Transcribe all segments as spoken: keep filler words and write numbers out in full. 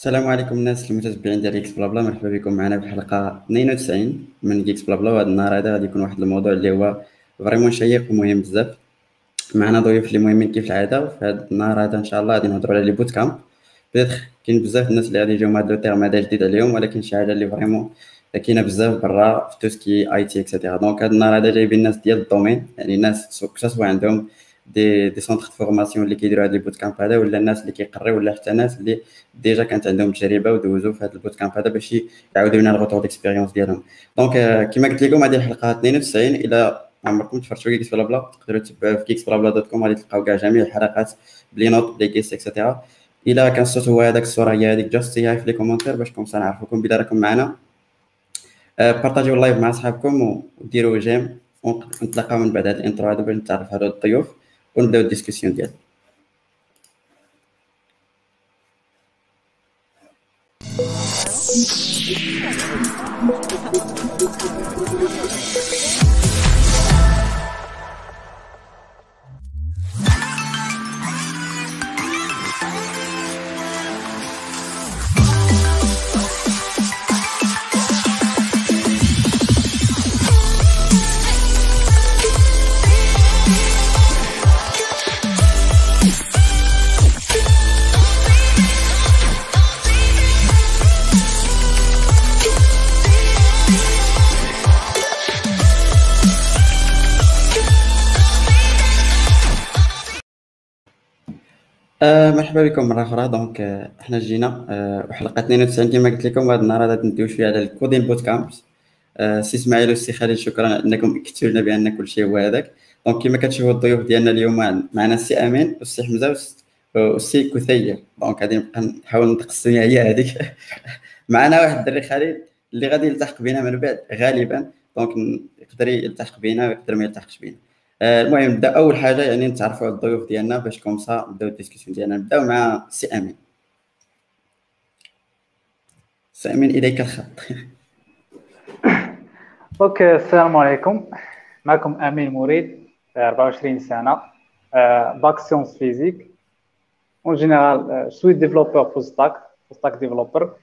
السلام عليكم الناس المتتبعين ديال اكس بلا بلا، مرحبا بكم معنا في الحلقه اثنين وتسعين من اكس بلا بلا. وهذا النهار هذا غادي يكون واحد الموضوع اللي هو فريمون شيق ومهم بزاف. معنا ضيوف اللي مهمين كيف العاده. في هذا النهار هذا ان شاء الله غادي نهضروا على لي بوت كامب. بدات كاين بزاف الناس اللي غادي يجيو مع هذا لو تيرم هذا جديد عليهم، ولكن شي حاجه اللي فريمون كاينه بزاف برا في توسكي اي تي اكسيتيرا. دونك هذا النهار هذا جايبين الناس ديال الدومين، يعني ناس كسوا عندهم دي دي سونتر فورماسيون اللي كيديروا هاد لي بوت كامب هذا، ولا الناس اللي كيقريو، ولا حتى ناس اللي ديجا كانت عندهم تجربه ودوزوا في هذا البوت كامب هذا باش يعاودوا لنا الغوتور ديكسبيريونس ديالهم. دونك آه، كما قلت لكم هذه الحلقه اثنين وتسعين. الى عمركم تفرجتوا في كيكس بلا بلا تقدروا تتبعوا في كيكس بلا بلا دوت كوم، غادي تلقاو كاع جميع الحلقات بلي نوت بلي كيس اكسيتيرا. الى كان الصوت هو هذاك، الصوره هي هذيك، جاست سي هاي في لي كومونتير باش كومسا نعرفوكم بلا راكم معنا. آه، بارطاجيو اللايف مع صحابكم وديروا جيم، ونتلاقاو من بعد هذا الانترو هذا باش نتعرف على الضيوف ونبداو الديسكسيون ديالنا. آه مرحبا بكم مره اخرى. دونك آه احنا جينا آه وحلقه اثنين وتسعين كما قلت لكم. هذا النهار هذا ندويو شويه على الكودين بوت كامبس. آه سي اسماعيل والسي خالد، شكرا انكم اكدتوا لنا بان كل شيء هو هذاك. دونك كما كتشوفوا الضيوف ديالنا اليوم معنا السي امين والسي حمزه والس- والسي كثير. دونك غادي نبقى نحاول نتقسم هي هذيك. معنا واحد الدري خالد اللي غادي يلتحق بنا من بعد غالبا. دونك يقدر يلتحق بنا ويقدر ما يلتحقش بنا. آه، المهم نبدا اول حاجه، يعني نتعرفوا على الضيوف ديالنا باش كومسا نبداو الديسكسيون ديالنا. نبداو مع سي امين. سي امين اليك الخط. اوكي، السلام عليكم. معكم امين مريد، أربعة وعشرين سنه، باك سيونس فيزيك. اون جينيرال سويت ديفلوبر فول ستاك فول ستاك ديفلوبر.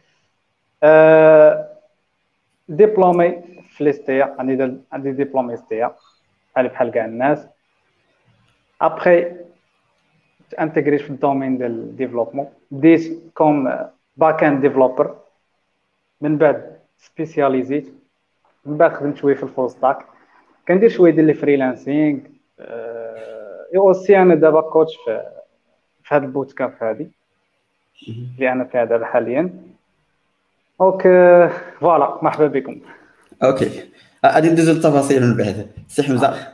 ديبلومي في ليستيا، عندي عندي ديبلومي ستيا بحال بحال كاع الناس. ابخي انتجريت في الدومين ديال الديفلوبمون، بديت كوم باك اند ديفلوبر، من بعد سبيسياليزيت، من بعد خدمت شويه في الفول ستاك، كندير شويه ديال الفريلانسينغ. اي اوسي انا دابا كوتش في في هذا البوت كامب هذه اللي انا فيها دابا حاليا. دونك فوالا، مرحبا بكم. اوكي، غادي ندوزو للتفاصيل من بعد. سي حمزه.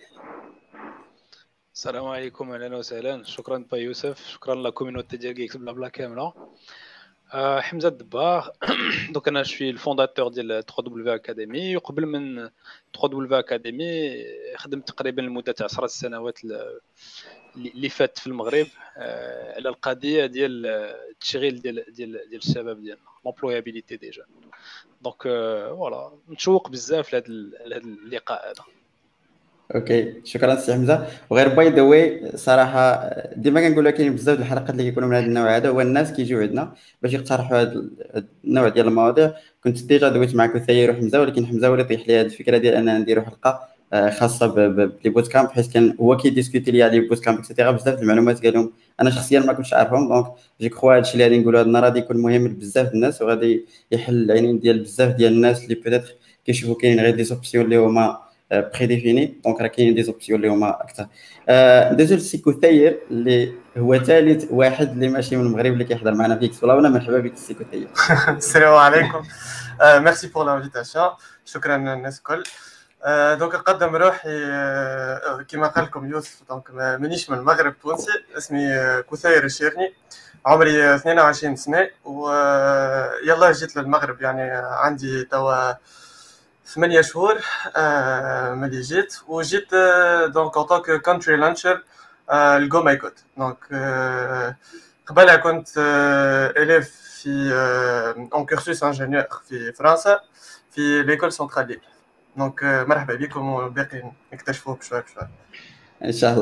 السلام عليكم، اهلا وسهلا. شكرا با يوسف، شكرا لكوميونيتي ديال كيكس بلا بلا كامله. أه حمزه الدباغ. دونك انا شوي الفونداتور ديال ثري دبليو اكاديمي، وقبل من ثري دبليو اكاديمي خدمت تقريبا لمده عشر سنوات اللي فات في المغرب أه على القضيه ديال التشغيل ديال ديال ديال الشباب ديالنا، لومبلويابيليتي دي جون. دونك فوالا متشوق بزاف لهذا اللقاء هذا. اوكي، شكرا سي حمزه. وغير باي ذا واي صراحه ديما كنقولوا كاين بزاف د الحلقات اللي كيكونوا من هذا النوع هذا، هو الناس كيجيو عندنا باش يقترحوا هذا النوع ديال المواضيع. كنت ديجا دويت مع كثير وحمزه، ولكن حمزه هو اللي طيح لي هذه الفكره ديال اننا نديروا حلقه آه، خاصه بلي بوت كامب، حيت كان هو كيديسكوتي لي على لي بوت كامب اكسيتيرا. بزاف د المعلومات قال لهم انا شخصيا ما كنتش عارفهم. دونك جو كخوا هادشي اللي غادي نقولوا هذا النهار غادي يكون مهم لبزاف د الناس، وغادي يحل العينين ديال بزاف ديال الناس اللي بيتيتر كيشوفوا كاين غير دي سوبسيون اللي هما بري ديفيني. دونك راه كاينين دي زوبسيون اللي هما اكثر. ندوزو لسي كثير اللي هو ثالث واحد اللي ماشي من المغرب اللي كيحضر معنا في اكس بلا. مرحبا بك سي كثير. السلام عليكم. ميرسي بور لانفيتاسيون، شكرا الناس الكل. دونك نقدم روحي كما قال لكم يوسف. دونك مانيش من المغرب، تونسي، اسمي كثير الشيرني، عمري اثنين وعشرين سنه، ويلا جيت للمغرب يعني عندي توا ثمانية شهور آه ملي جيت. وجيت آه دونك en tant que country launcher آه الجو ماي جود. دونك آه قبلها كنت آه élève في آه en cursus ingénieur في فرنسا في ليكول سنترال ليبيا. دونك آه مرحبا بكم، وباقي نكتشفوه بشوي بشوي ان شاء الله.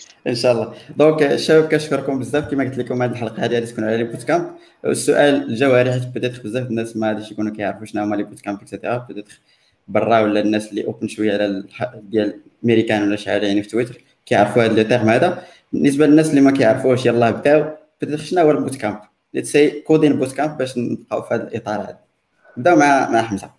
ان شاء الله. دونك الشباب كنشكركم بزاف كما قلت لكم هذه الحلقه هذه غادي تكون على لي بوت كامب. السؤال الجوهري حيت بدات بزاف الناس ما غاديش يكونوا كيعرفوا شنو هما لي بوت كامب اكسيتيرا، بدات برا ولا الناس اللي اوبن شويه على الح- ديال امريكان ولا شحال يعني في تويتر كيعرفوا هذا لو تيرم هذا. بالنسبه للناس اللي ما كيعرفوش يلاه بداو بدات شنو هو البوت كامب، ليتس سي كودين بوت كامب باش نبقاو في هذا الاطار هذا. نبداو مع مع حمزه.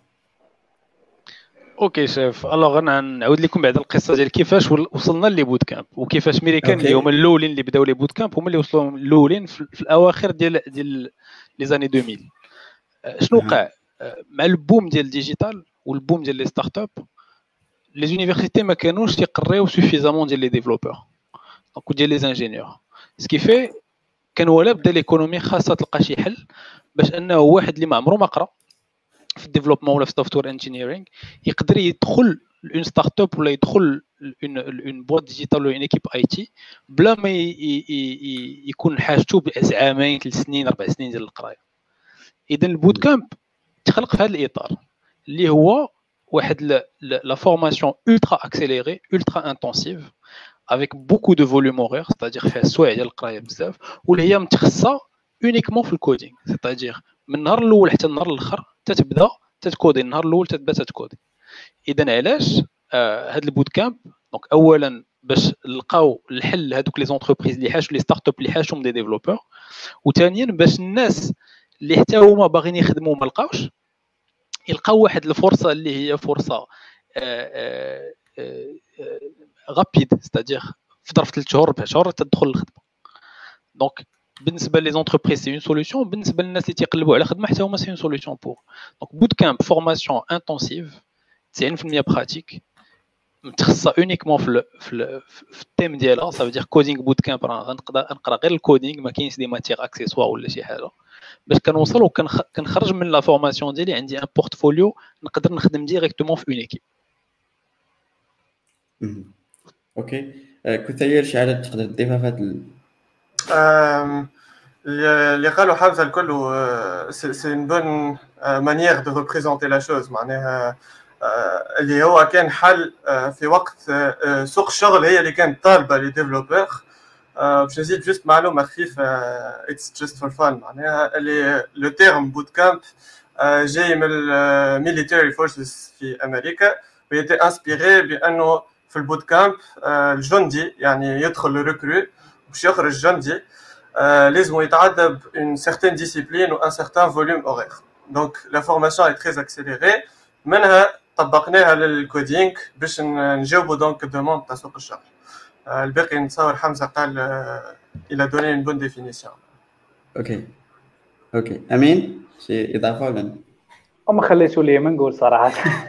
اوكي شاف، الوغ انا نعاود لكم بعد القصه ديال كيفاش ول- وصلنا لي بوت كامب، وكيفاش ميريكان اللي اوكي. هما الاولين اللي بداو لي بوت كامب هما اللي وصلوا الاولين في, في الاواخر ديال ديال لي زاني ألفين. آه، شنو أها. وقع آه، مع البوم ديال الديجيتال والبوم ديال لي ستارت اب، لي زونيفرسيتي ما كانوش يقريو سوفيزامون ديال لي ديفلوبور دونك وديال لي انجينيور، سكي في كان ولا بدا ليكونومي خاصه تلقى شي حل باش انه واحد اللي ما عمره ما قرا في الديفلوبمون ولا في السوفتوير انجينيرينغ يقدر يدخل اون ستارت اب ولا يدخل اون اون بوات ديجيتال ولا اون ايكيب اي تي بلا ما ي- ي- ي- يكون حاجته بعامين ثلاث سنين اربع سنين ديال القرايه. اذا البوت كامب تخلق في هذا الاطار اللي هو واحد لا فورماسيون ultra accélérée ultra intensive avec beaucoup de volume horaire، c'est-à-dire فيها سوايع ديال القرايه بزاف، واللي هي متخصصه اونيكمون في الكودينغ، c'est-à-dire من النهار الاول حتى النهار الاخر تتبدا تتكودي، النهار الاول تتبدا تتكودي. اذا علاش آه هاد البوت كامب؟ دونك اولا باش نلقاو الحل لهذوك لي زونتربريز اللي حاشوا لي ستارت اب اللي حاشهم دي ديفلوبور، وثانيا باش الناس اللي حتى هما باغيين يخدموا ما لقاوش يلقاو واحد الفرصه اللي هي فرصه غابيد، ستادير في ظرف ثلاث شهور اربع شهور تدخل الخدمه. دونك بالنسبه لي زونتربريز سي اون سوليوشن، بالنسبه للناس اللي تيقلبوا على خدمه حتى هما سي اون سوليوشن بور. دونك بوت كامب فورماسيون انتونسيف تسعين بالمية براتيك متخصصه اونيكمون في ال في, ال في التيم ديالها، صافي دير كودينغ بوت كامب راه غنقدر نقرا غير الكودينغ، ما كاينش دي ماتيغ اكسيسوار ولا شي حاجه، باش كنوصل وكنخرج من لا فورماسيون ديالي عندي ان بورتفوليو نقدر نخدم ديريكتومون في اون ايكيب. مهم. اوكي. آه، كنت هي شي حاجه تقدر تضيفها في هذا ال- Euh, اللي قالوا حمزة الكل سي اون بون مانيير دو ريبريزونتي لا شوز، معناها آه، اللي هو كان حل آه، في وقت آه، سوق الشغل هي اللي كانت طالبه لي ديفلوبور. باش نزيد جوست معلومه خفيفه، اتس جوست فور فان، معناها اللي لو تيرم بوت كامب جاي من الميليتري فورسز في امريكا، ويتي انسبيري بانه في البوت كامب الجندي يعني يدخل الريكرو باش يخرج جندي Euh, لازم يتعدى بune certaine discipline ou un certain volume horaire. Donc la formation est très accélérée. منها طبقناها للكودينغ باش نجاوبوا دونك الدوموند تاع سوق الشغل. الباقي نتصور حمزه قال الى دوني une bonne définition. اوكي. اوكي امين شي اضافه ولا؟ وما خليتوا لي ما نقول صراحه.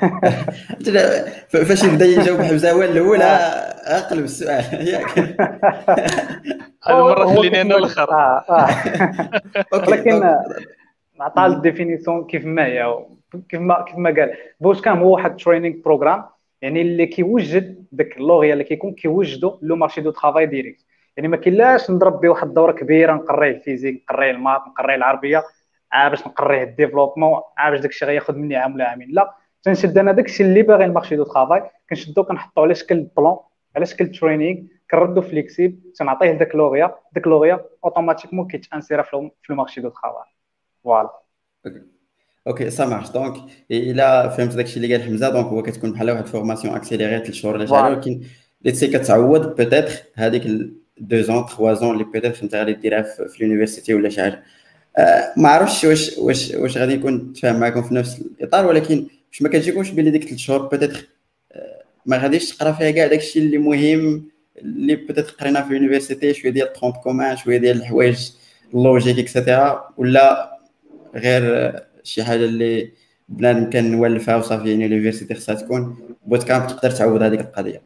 فاش يبدا يجاوب حمزه هو الاول اقلب السؤال ياك. هذه المره هو خليني انا كيف ما- الاخر. اه اه اوكي ولكن دونك نعطيها الديفينيسيون كيف ما هي، كيف ما كيف ما قال بوت كامب هو واحد تريننج بروغرام، يعني اللي كيوجد داك اللوغيا اللي كيكون كيوجدوا لو مارشي دو ترافاي ديريكت. يعني ما كاينلاش نضرب به واحد الدوره كبيره نقريه الفيزيك نقريه المات نقريه العربيه عا باش نقريه الديفلوبمون عا باش داكشي غياخذ مني عام ولا عامين. لا، تنشد انا داكشي اللي باغي المارشي دو ترافاي كنشدو كنحطو على شكل بلان على شكل تريننج كنردو فليكسيبل تنعطيه داك اللوغيا داك اللوغيا اوتوماتيكمون كيتانسيرا في المارشي دو ترافاي. فوالا. اوكي سا مارش. دونك الا فهمت داكشي اللي قال حمزه دونك هو كتكون بحال واحد فورماسيون اكسيليري ثلاث شهور ولا شحال، ولكن ليتسي كتعوض بيتيتر هذيك دو زون ثلاثة زون اللي بيتيتر انت غادي ديرها في, في اليونيفرسيتي ولا شي حاجه. آه ما عرفتش واش واش واش غادي نكون نتفاهم معكم في نفس الاطار، ولكن واش ما كتجيكمش بلي ديك ثلاث شهور بيتيتر آه ما غاديش تقرا فيها كاع داكشي اللي مهم اللي بيتيتر قرينا في اليونيفرسيتي، شويه ديال طرونت كومان شويه ديال الحوايج اللوجيك اكسيتيرا، ولا غير شي حاجه اللي بنادم كان نولفها وصافي يعني اليونيفرسيتي خصها تكون بوت كامب تقدر تعوض هذيك القضيه.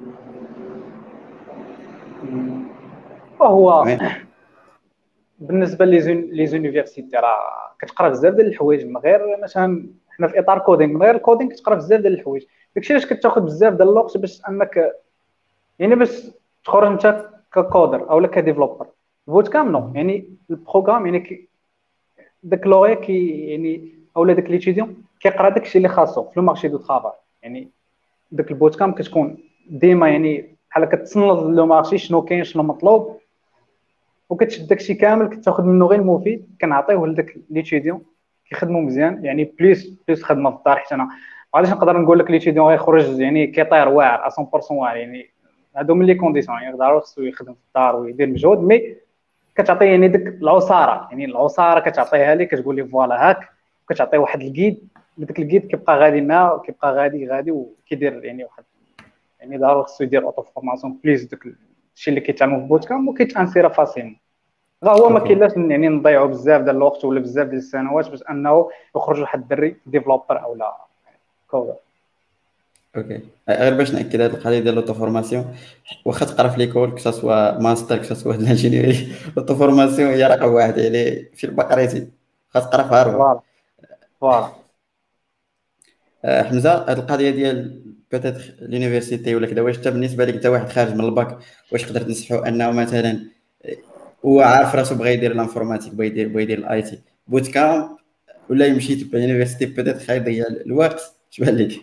وهو بالنسبه لي زونيفرسيتي راه كتقرا بزاف ديال الحوايج من غير مثلا حنا في اطار كودينغ من غير الكودينغ كتقرا بزاف ديال الحوايج، داكشي علاش كتاخذ بزاف ديال الوقت باش انك يعني باش تخرج انت ككودر او كديفلوبر. البوت كامب نو، يعني البروغرام يعني كي داك لوغي كي يعني اولا داك ليتيديون كيقرا داكشي اللي خاصو في المارشي دو طرافاي. يعني داك البوت كامب كتكون ديما يعني بحال كتصنت لو مارشي شنو كاين شنو مطلوب، وكتشد داكشي كامل كتاخذ منه غير المفيد كنعطيوه لذاك ليتيديون كيخدموا مزيان. يعني بليس بليس خدمه في الدار، حيت انا علاش نقدر نقول لك ليتيديون غيخرج يعني كيطير واعر مية بالمية واعر، يعني هادو من لي كونديسيون، يعني ضروري خصو يخدم في الدار ويدير مجهود، مي كتعطيه يعني ديك العصاره، يعني العصاره كتعطيها ليه كتقول لي فوالا هاك، كتعطيه واحد الكيد، داك الكيد كيبقى غادي معاه كيبقى غادي غادي وكيدير يعني واحد، يعني ضروري خصو يدير اوتو فورماسيون بليس داك الشيء اللي كيتعلمو في بوت كامب وكيتانسيرا فاسيل. راه هو ما كاين لاش يعني نضيعوا بزاف ديال الوقت ولا بزاف ديال السنوات باش انه يخرج واحد الدري ديفلوبر او لا كودر. اوكي، غير باش ناكد هذه القضيه ديال لوطو فورماسيون، واخا تقرا في ليكول كو سوا ماستر كو سوا الانجينيري، لوطو فورماسيون هي رقم واحد يعني في البقريتي، خاص تقرا في هارفارد. فوالا فوالا. آه، حمزه، هذه القضيه ديال بيتيتر لونيفرسيتي ولا كذا، واش انت بالنسبه لك انت واحد خارج من الباك واش تقدر تنصحو انه مثلا هو عارف راسو بغى يدير الانفورماتيك بغى يدير بغى يدير الاي تي بوت كامب، ولا يمشي تبع لونيفرسيتي بيتيتر خايب يضيع الوقت؟ اش بان لك؟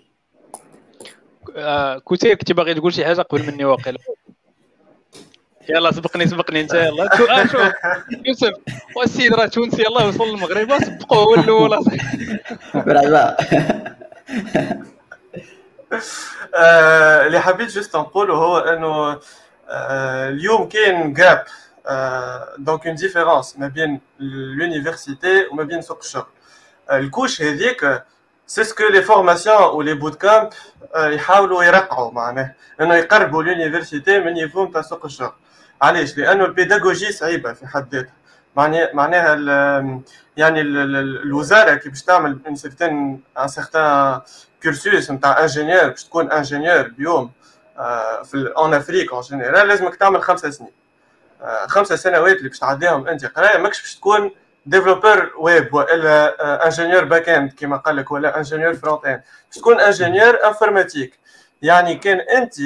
آه كوتير كنتي باغي تقول شي حاجه قبل مني واقيلا. يلا سبقني سبقني انت يلا. آه شوف يوسف والسيد راه تونسي يلاه وصل للمغرب سبقوه هو الاول. مرحبا. اللي حبيت جست نقوله هو انه اليوم كاين جاب، دونك اون ديفيرونس ما بين لونيفرسيتي وما بين سوق الشغل. الكوش هذيك سي سكو لي فورماسيون و لي بوت كامب يحاولوا يرقعوا، معناه انه يقربوا لونيفرسيتي من نيفو نتاع سوق الشغل. علاش؟ لانه البيداغوجي صعيبه في حد ذاتها، معناها معناها يعني الوزاره كي باش تعمل ان سيغتان ان سيغتان كورسوس نتاع انجينيور باش تكون انجينيور اليوم في اون افريك اون جينيرال لازمك تعمل خمسة سنين، خمسة سنوات اللي باش تعديهم انت قرايه، ماكش باش تكون ديفلوبر ويب ولا انجينيور باك اند كما قال لك ولا انجينيور فرونت اند، باش تكون انجينيور انفورماتيك. يعني كان انت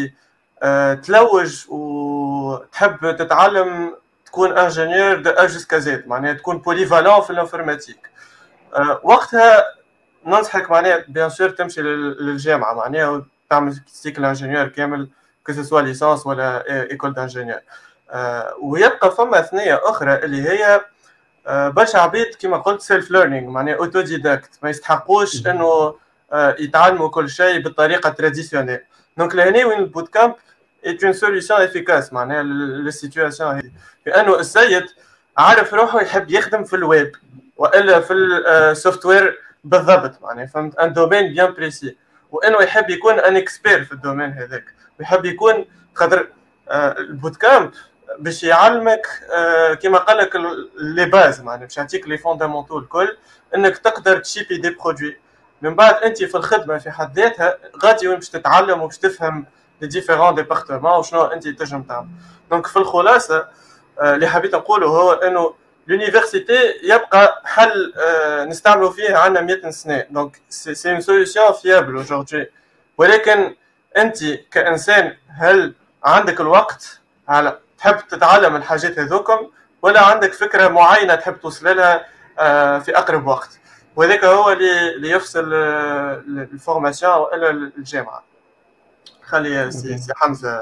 تلوج وتحب تتعلم تكون انجينيور دو ا جوسكا زد، معناها تكون بوليفالون في الانفورماتيك، وقتها ننصحك معناها بيان سور تمشي للجامعه معناها وتعمل سيكل انجينيور كامل كو سوا ليسانس ولا ايكول دانجينيور. ويبقى فما ثنيه اخرى اللي هي برشا عبيد كما قلت سيلف ليرنينغ، معناها اوتو ديداكت، ما يستحقوش انه يتعلموا كل شيء بالطريقه تراديسيونيل. دونك لهنا وين البوت كامب est une solution efficace معناها للسيتواسيون هذه، لانه السيد عارف روحه يحب يخدم في الويب والا في السوفت وير بالضبط، معناها فهمت ان دومين بيان بريسي، وانه يحب يكون ان اكسبير في الدومين هذاك، ويحب يكون خاطر البوت كامب باش يعلمك كما قال لك لي باز، معناها باش يعطيك لي فوندامونتو الكل انك تقدر تشيبي دي برودوي. من بعد انت في الخدمه في حد ذاتها غادي وين باش تتعلم وباش تفهم لي ديفيرون ديبارتمون وشنو انت تنجم تعمل. دونك في الخلاصه اللي حبيت نقوله هو انه l'université يبقى حل نستعملوا فيه عندنا مئة سنه، دونك سي اون سوليوشن فيابل اaujourd'hui، ولكن انت كانسان هل عندك الوقت على تحب تتعلم الحاجات هذوكم، ولا عندك فكره معينه تحب توصل لها في اقرب وقت؟ وهذاك هو اللي اللي يفصل الفورماسيون ولا الجامعه. خلي سي سي حمزه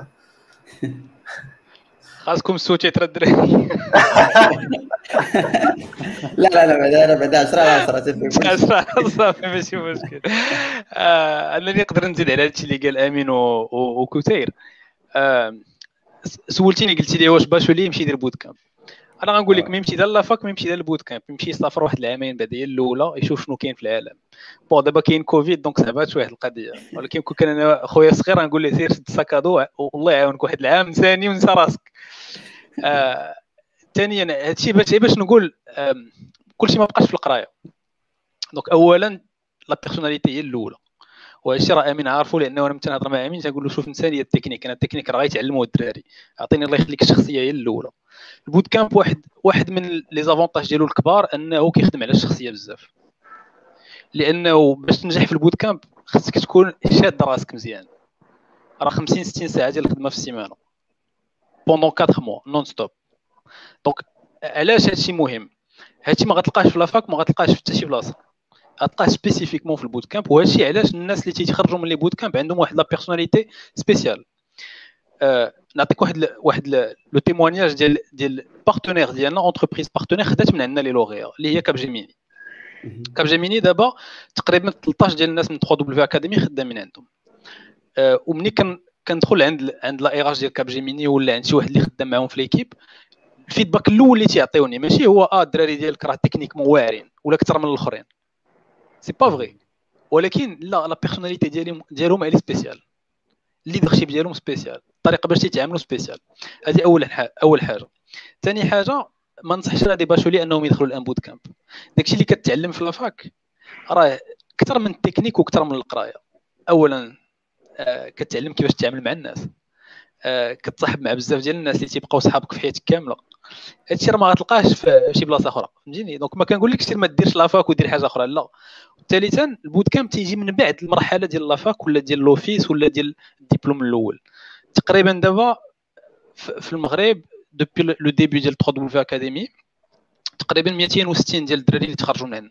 خاصكم السوتي تردري. لا لا لا بعدا بعدا عشرة على عشرة صافي ماشي مشكل. انا اللي نقدر نزيد على هادشي اللي قال امين وكوتير. سولتيني قلتي لي واش باشولي يمشي يدير بوت كامب، انا غنقول لك ما يمشي دار لافاك ما يمشي دار البوت كامب، يمشي يسافر واحد العامين بعديه الاولى يشوف شنو كاين في العالم. بون دابا كاين كوفيد دونك صعبات شويه القضيه، ولكن كون كان انا خويا صغير غنقول له سير شد ساكادو والله يعاونك واحد العام ثاني ونسى راسك. آه ثانيا هادشي باش باش نقول آه كلشي ما بقاش في القرايه. دونك اولا لا بيرسوناليتي هي الاولى، وهادشي راه امين عارفو لانه انا متى نهضر مع امين تنقول له شوف انت هي التكنيك، انا التكنيك راه غيتعلموه الدراري، عطيني الله يخليك الشخصيه هي الاولى. البوت كامب واحد واحد من لي زافونتاج ديالو الكبار انه كيخدم على الشخصيه بزاف، لانه باش تنجح في البوت كامب خصك تكون شاد راسك مزيان، راه خمسين ستين ساعه ديال الخدمه في السيمانه بوندون أربعة موا نون ستوب. دونك علاش هادشي مهم؟ هادشي ما غتلقاش في لافاك، ما غتلقاش في حتى شي بلاصه، غتلقاه سبيسيفيكمون في البوت كامب. وهادشي علاش الناس اللي تيخرجوا من لي بوت كامب عندهم واحد لا بيرسوناليتي سبيسيال. آه نعطيك واحد ل... واحد لو تيموانياج ديال ديال بارتنير ديالنا اونتربريز بارتنير خدات من عندنا لي لوغيا اللي هي كابجيميني. كابجيميني دابا تقريبا ثلاثطاش ديال الناس من ثري دبليو اكاديمي خدامين عندهم. آه ومني كان كندخل عند عند لا ايراج ديال كابجيميني ولا عند شي واحد اللي خدام معاهم في ليكيب، الفيدباك الاول اللي تيعطيوني ماشي هو اه الدراري ديالك راه تكنيكمون واعرين ولا اكثر من الاخرين، سي با فغي، ولكن لا لا بيرسوناليتي ديالهم ديالهم اللي سبيسيال، الليدرشيب ديالهم سبيسيال، الطريقه باش تيتعاملوا سبيسيال. هذه اول حاجه. اول حاجه ثاني حاجه ما نصحش انا دي باشولي انهم يدخلوا الان بوت كامب. داكشي اللي كتعلم في لافاك راه اكثر من التكنيك واكثر من القرايه. اولا آه كتعلم كيفاش تتعامل مع الناس، آه كتصاحب مع بزاف ديال الناس اللي تيبقاو صحابك في حياتك كامله. هادشي راه ما غتلقاهش في شي بلاصه اخرى، فهمتيني؟ دونك ما كنقولكش سير ما ديرش لافاك ودير حاجه اخرى، لا. ثالثا البوت كامب تيجي من بعد المرحله ديال لافاك ولا ديال لوفيس ولا ديال الدبلوم الاول. تقريبا دابا في المغرب دوبي لو ديبي ديال ثري دبليو اكاديمي تقريبا مئتين وستين ديال الدراري اللي تخرجوا من عندنا.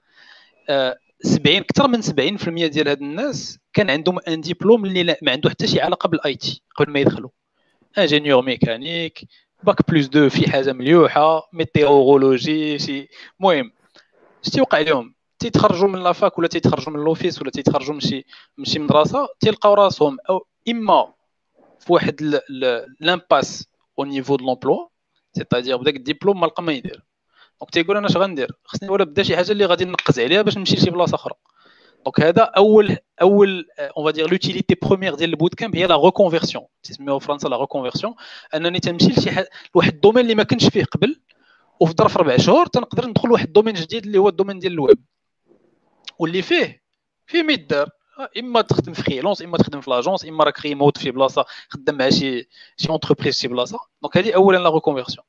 آه سبعين اكثر من سبعين بالمئة ديال هاد الناس كان عندهم ان ديبلوم اللي ما عنده حتى شي علاقه بالاي تي قبل ما يدخلوا. انجينيور ميكانيك، باك بلس دو في حاجه مليوحه، ميتيورولوجي، شي المهم اش تيوقع لهم تيتخرجوا من لافاك ولا تيتخرجوا من لوفيس ولا تيتخرجوا من شي من شي مدرسه تيلقاو راسهم او اما في واحد لامباس او نيفو دو لومبلوا، سيتادير بداك الدبلوم ما لقى ما يدير. دونك تيقول انا اش غندير، خصني ولا بدا شي حاجه اللي غادي نقز عليها باش نمشي لشي بلاصه اخرى. دونك هذا اول اول اون فادير لوتيليتي بروميير ديال البوت كامب هي لا ريكونفيرسيون، تسميوها في فرنسا لا ريكونفيرسيون، انني تنمشي لشي حاجه لواحد الدومين اللي ما كنتش فيه قبل، وفي ظرف ربع شهور تنقدر ندخل لواحد الدومين جديد اللي هو الدومين ديال الويب، واللي فيه فيه ما يدار، اما تخدم في فريلانس، اما تخدم في لاجونس، اما راك ريموت في بلاصه خدام مع شي شي اونتربريز شي بلاصه. دونك هذه اولا لا ريكونفيرسيون.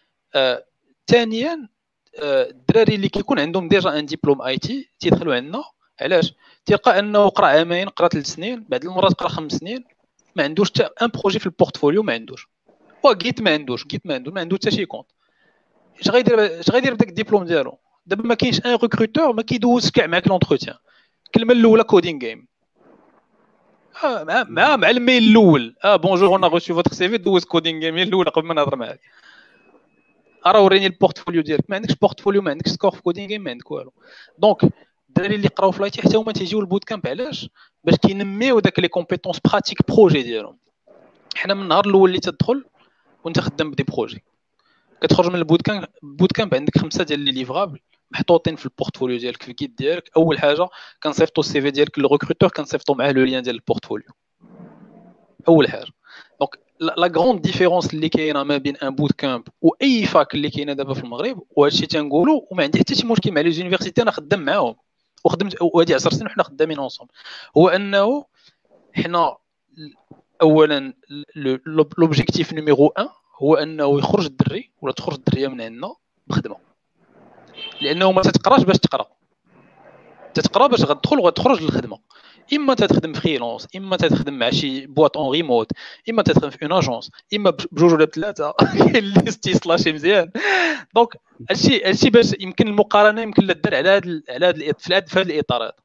ثانيا آه الدراري اللي كيكون عندهم ديجا ان ديبلوم اي تي تيدخلوا عندنا، علاش؟ تلقى انه قرا عامين، قرا ثلاث سنين، بعد المرات قرا خمس سنين، ما عندوش حتى ان بروجي في البورتفوليو، ما عندوش وجيت ما عندوش جيت ما عنده ما عنده حتى شي كونت. اش غيدير اش غيدير بداك الدبلوم ديالو؟ دابا ما كاينش ان ريكروتور ما كيدوز كاع معاك لونتروتيان. الكلمه الاولى كودين جيم، اه مع مع مع الميل الاول، اه بونجور انا غوشي فوتر سي في، دوز كودين جيم الاولى قبل ما نهضر معاك. راه وريني البورتفوليو ديالك، ما عندكش بورتفوليو، ما عندكش سكور في كودين جيم، ما عندك والو. دونك الدراري اللي قراو في لايتي حتى هما تيجيو البوت كامب، علاش؟ باش كينميو داك لي كومبيتونس براتيك بروجي ديالهم. حنا من النهار الاول اللي تدخل وانت خدام بدي بروجي، كتخرج من البوت كامب البوت كامب عندك خمسه ديال لي ليفرابل محطوطين في البورتفوليو ديالك، في الكيت ديالك. اول حاجه كنصيفطوا السي في ديالك للريكروتور، كنصيفطوا معاه لو لين ديال البورتفوليو، اول حاجه. دونك لا غروند ديفيرونس اللي كاينه ما بين ان بوت كامب واي فاك اللي كاينه دابا في المغرب، وهادشي تنقولوا وما عندي حتى شي مشكل مع لي زونيفرسيتي، انا خدام معاهم وخدمت وهادي عشر سنين وحنا خدامين اونصوم، هو انه حنا اولا لوبجيكتيف نيميرو واحد هو انه يخرج الدري ولا تخرج الدريه من عندنا بخدمه، لانه ما تتقراش باش تقرا، تتقرا باش غتدخل وغتخرج للخدمه. اما تخدم فريلانس، اما تخدم مع شي بواط اون ريموت، اما تخدم في اون اجونس، اما بجوج ولا بثلاثه الليستي سلاشي مزيان. دونك هادشي هادشي باش يمكن المقارنه يمكن لا دار على هذا على هذا في هذا الاطار هذا.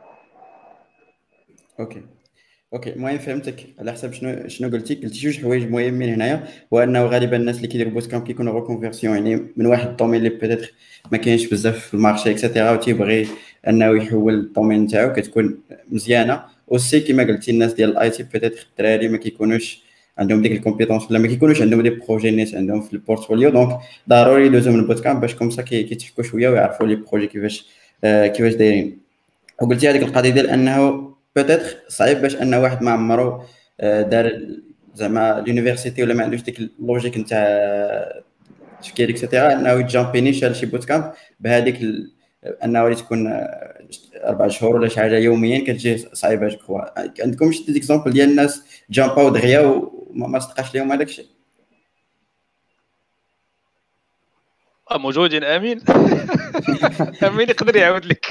اوكي اوكي المهم فهمتك على حسب شنو شنو قلتي قلتي جوج حوايج مهمين هنايا، هو انه غالبا الناس اللي كيديروا بوت كامب كيكونوا ريكونفيرسيون، يعني من واحد الدومين اللي بيتيتر ما كاينش بزاف في المارشي اكسيتيرا، وتيبغي انه يحول الدومين نتاعو، كتكون مزيانه. وسي كما قلتي الناس ديال الاي تي بيتيتر الدراري ما كيكونوش عندهم ديك الكومبيتونس ولا ما كيكونوش عندهم دي بروجي نيت عندهم في البورتفوليو، دونك ضروري يدوزو من البوت كامب باش كومسا كيتحكوا شويه ويعرفوا لي بروجي كيفاش آه كيفاش دايرين. وقلتي هذيك القضيه ديال انه بيتيتر صعيب باش ان واحد ما عمرو دار زعما لونيفرسيتي ولا ما عندوش ديك اللوجيك نتاع التفكير اكسيتيرا، انه يجامبيني شال شي بوت كامب بهذيك ال... انه تكون اربع شهور ولا شي حاجه يوميا كتجي صعيبه. جو عندكم شي ديكزامبل ديال الناس جامباو دغيا وما صدقاش لهم هذاك الشيء؟ موجودين. امين امين يقدر يعاود لك.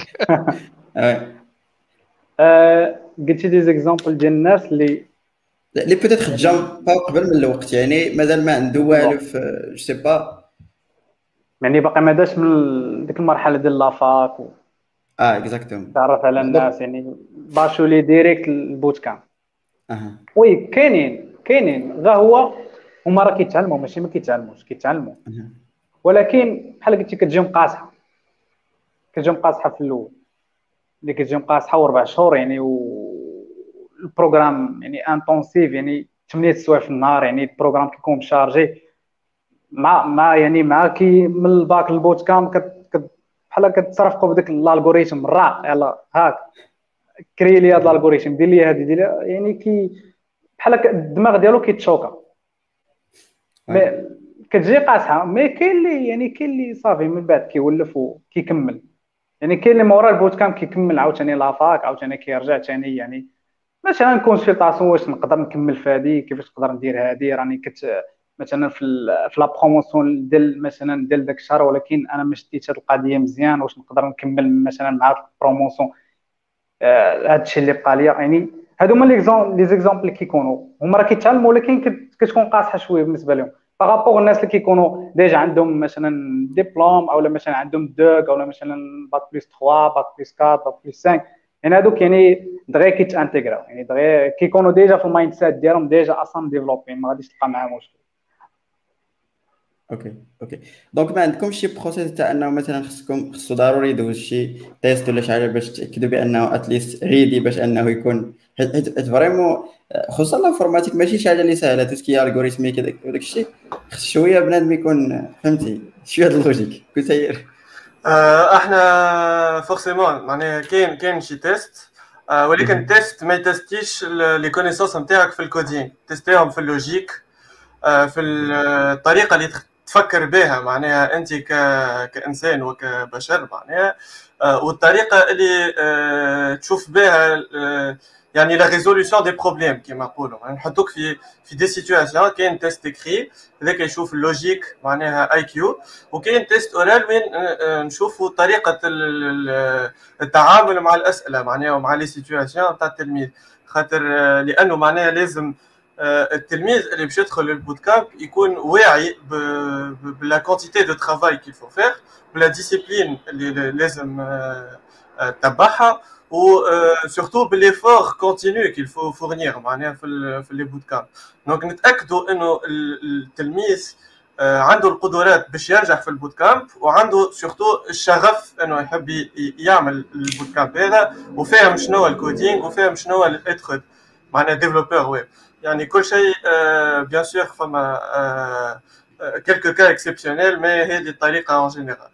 اه قلتي دي زيكزامبل ديال الناس اللي اللي بيتيتر جامباو قبل من الوقت، يعني مازال ما عنده والو في جو سي با، يعني باقي ما داش من ديك المرحله ديال لافاك و... اه اكزاكتوم تعرف على الناس، يعني باشولي ديريكت البوت كامب. اها وي كاينين كاينين غير هو هما راه كيتعلموا ماشي ما كيتعلموش كيتعلموا ولكن بحال قلتي كتجيهم قاصحه كتجيهم قاصحه في الاول اللي كتجيهم قاصحه وربع شهور يعني و البروغرام يعني انتونسيف يعني ثمانية سوايع في النهار يعني البروغرام كيكون مشارجي مع مع يعني مع كي من الباك للبوت كام كت بحال كتصرفقوا بداك الالغوريثم الرا يلا هاك كري لي هذا الالغوريثم دير لي هذه دير يعني كي بحال الدماغ ديالو كيتشوكا مي كتجي قاصحه مي كاين اللي يعني كاين اللي صافي من بعد كيولف وكيكمل يعني كاين اللي مورا البوت كام كيكمل عاوتاني لافاك عاوتاني كيرجع ثاني يعني مثلا كونسلطاسيون واش نقدر نكمل في هذه كيفاش نقدر ندير هذه راني كت مثلا في في لا بروموسيون ديال مثلا ديال داك الشهر ولكن انا ما شديتش هذه القضيه مزيان واش نقدر نكمل مثلا مع البروموسيون هذا الشيء اللي بقى ليا يعني هادو هما لي لي زيكزامبل اللي كيكونوا هما راه كيتعلموا ولكن كتكون قاصحه شويه بالنسبه لهم بارابور الناس اللي كيكونوا ديجا عندهم مثلا ديبلوم او مثلا عندهم دوك او مثلا باك بلس ثلاثة باك بلس أربعة باك بلس خمسة يعني هذوك يعني دغيا كيتانتيغراو يعني دغيا كيكونوا ديجا في المايند سيت ديالهم ديجا اصلا ديفلوبين ما غاديش تلقى معاهم مشكل. اوكي اوكي دونك ما عندكمش شي بروسيس تاع انه مثلا خصكم خصو ضروري يدوز شي تيست ولا شي حاجه باش تاكدوا بانه اتليست ريدي باش انه يكون حيت فريمون خصوصا الانفورماتيك ماشي شي حاجه اللي سهله توسكي الغوريثمي كذا وداك الشيء خص شويه بنادم يكون فهمتي شويه اللوجيك كنت سير احنا فورسيمون معناها كاين كاين شي تيست ولكن التيست ما يتستيش لي كونيسونس نتاعك في الكودينغ تيستيهم في اللوجيك في الطريقه اللي تفكر بها معناها انت كانسان وكبشر معناها والطريقه اللي تشوف بها يعني لا ريزولوشن دي بروبليم كيما نقولوا يعني نحطوك في في دي سيتوياسيون كاين تيست اكري هذاك يشوف اللوجيك معناها اي كيو وكاين تيست اورال وين نشوفوا طريقه التعامل مع الاسئله معناها ومع لي سيتوياسيون تاع التلميذ خاطر لانه معناها لازم التلميذ اللي باش يدخل للبوت كامب يكون واعي بلا كونتيتي دو ترافاي كيل فو فير بلا ديسيبلين اللي لازم تتبعها و سورتو بالافور كونتينيو كيل فو فورنير معناها في في لي بوت كامب دونك نتاكدوا انه التلميذ عنده القدرات باش ينجح في البوت كامب وعنده سورتو الشغف انه يحب يعمل البوت كامب هذا وفاهم شنو الكودينغ وفاهم شنو الاتخذ معناها ديفلوبور ويب يعني كل شيء بيان سور فما كلكو كا اكسبسيونيل مي هذه الطريقه اون جينيرال.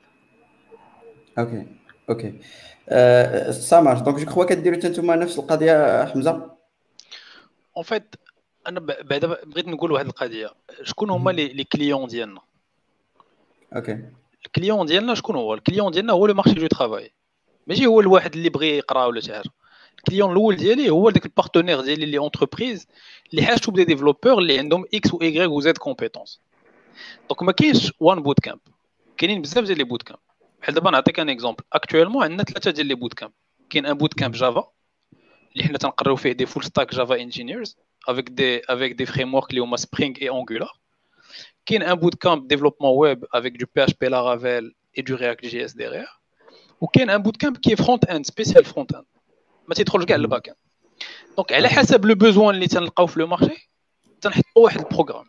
اوكي اوكي سامر دونك جو كخوا كديروا نتوما نفس القضيه حمزه اون فيت انا بعدا بغيت نقول واحد القضيه شكون هما لي كليون ديالنا اوكي الكليون ديالنا شكون هو الكليون ديالنا هو لو مارشي دو ترافاي ماشي هو الواحد اللي بغى يقرا ولا شي حاجه الكليون الاول ديالي هو داك البارتنير ديالي اللي اونتربريز اللي حاجته بدي ديفلوبور اللي عندهم اكس و اي و زد كومبيتونس دونك ما كاينش وان بوت كامب كاينين بزاف ديال لي بوت كامب بحال دابا نعطيك ان اكزومبل اكطوالمون عندنا ثلاثه ديال لي بوت كامب كاين ان بوت كامب جافا اللي حنا تنقراو فيه دي فول ستاك جافا انجينيرز افيك دي افيك دي فريم ورك اللي هما سبرينغ اي انجولار كاين ان بوت كامب ديفلوبمون ويب افيك دو بي اتش بي لارافيل اي دو رياكت جي اس ديغير وكاين ان بوت كامب كي فرونت اند سبيسيال فرونت اند ما تيدخلش كاع الباك اند دونك على حسب لو بوزوان اللي تنلقاو في لو مارشي تنحطوا واحد البروغرام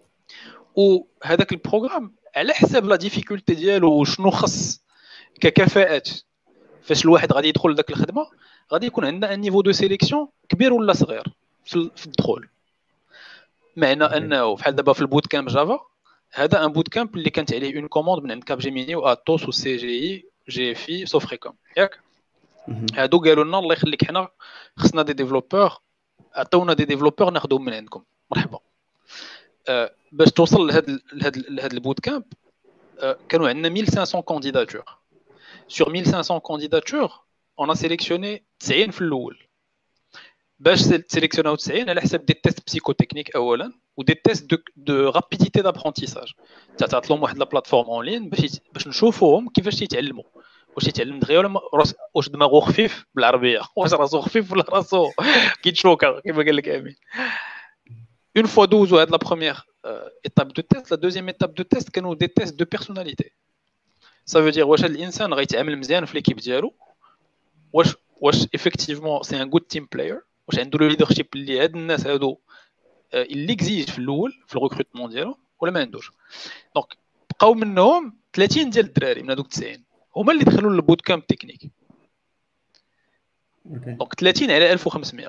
وهذاك البروغرام على حسب لا ديفيكولتي ديالو وشنو خص ككفاءات فاش الواحد غادي يدخل لذاك الخدمه غادي يكون عندنا ان نيفو دو سيليكسيون كبير ولا صغير في الدخول معنى انه بحال دابا في البوت كامب جافا هذا ان بوت كامب اللي كانت عليه اون كوموند من عند كاب جيميني واتوس وسي جي اي جي اف اي سوفريكوم ياك هادو قالوا لنا الله يخليك حنا خصنا دي ديفلوبور عطيونا دي ديفلوبور ناخذهم من عندكم مرحبا أه باش توصل لهاد لهاد لهاد البوت كامب أه كانوا عندنا mille cinq cents كانديداتور sur mille cinq cents كانديداتور on a sélectionné تسعين في الاول باش سيليكسيوناو تسعين على حساب دي تيست بسيكوتكنيك اولا ودي تيست دو دو رابيديتي دابرونتيساج تعطات لهم واحد لا بلاتفورم اون لين باش باش نشوفوهم كيفاش تيتعلموا واش يتعلم دغيا ولا واش دماغو خفيف بالعربيه واش راسو خفيف ولا راسو كيتشوكا كيما قال لك امين اون فوا دوزو هاد لا بروميير ايتاب دو تيست لا دوزيام ايتاب دو تيست كانوا دي تيست دو بيرسوناليتي سا فو دير واش هاد الانسان غيتعامل مزيان في ليكيب ديالو واش واش ايفيكتيفمون سي ان غود تيم بلاير واش عنده لو ليدرشيب اللي هاد الناس هادو اللي اكزيج في الاول في الريكروتمون ديالو ولا ما عندوش. دونك بقاو منهم ثلاثين ديال الدراري من هذوك تسعين هما اللي دخلوا للبوت كامب تكنيك. دونك ثلاثين على ألف وخمسمية.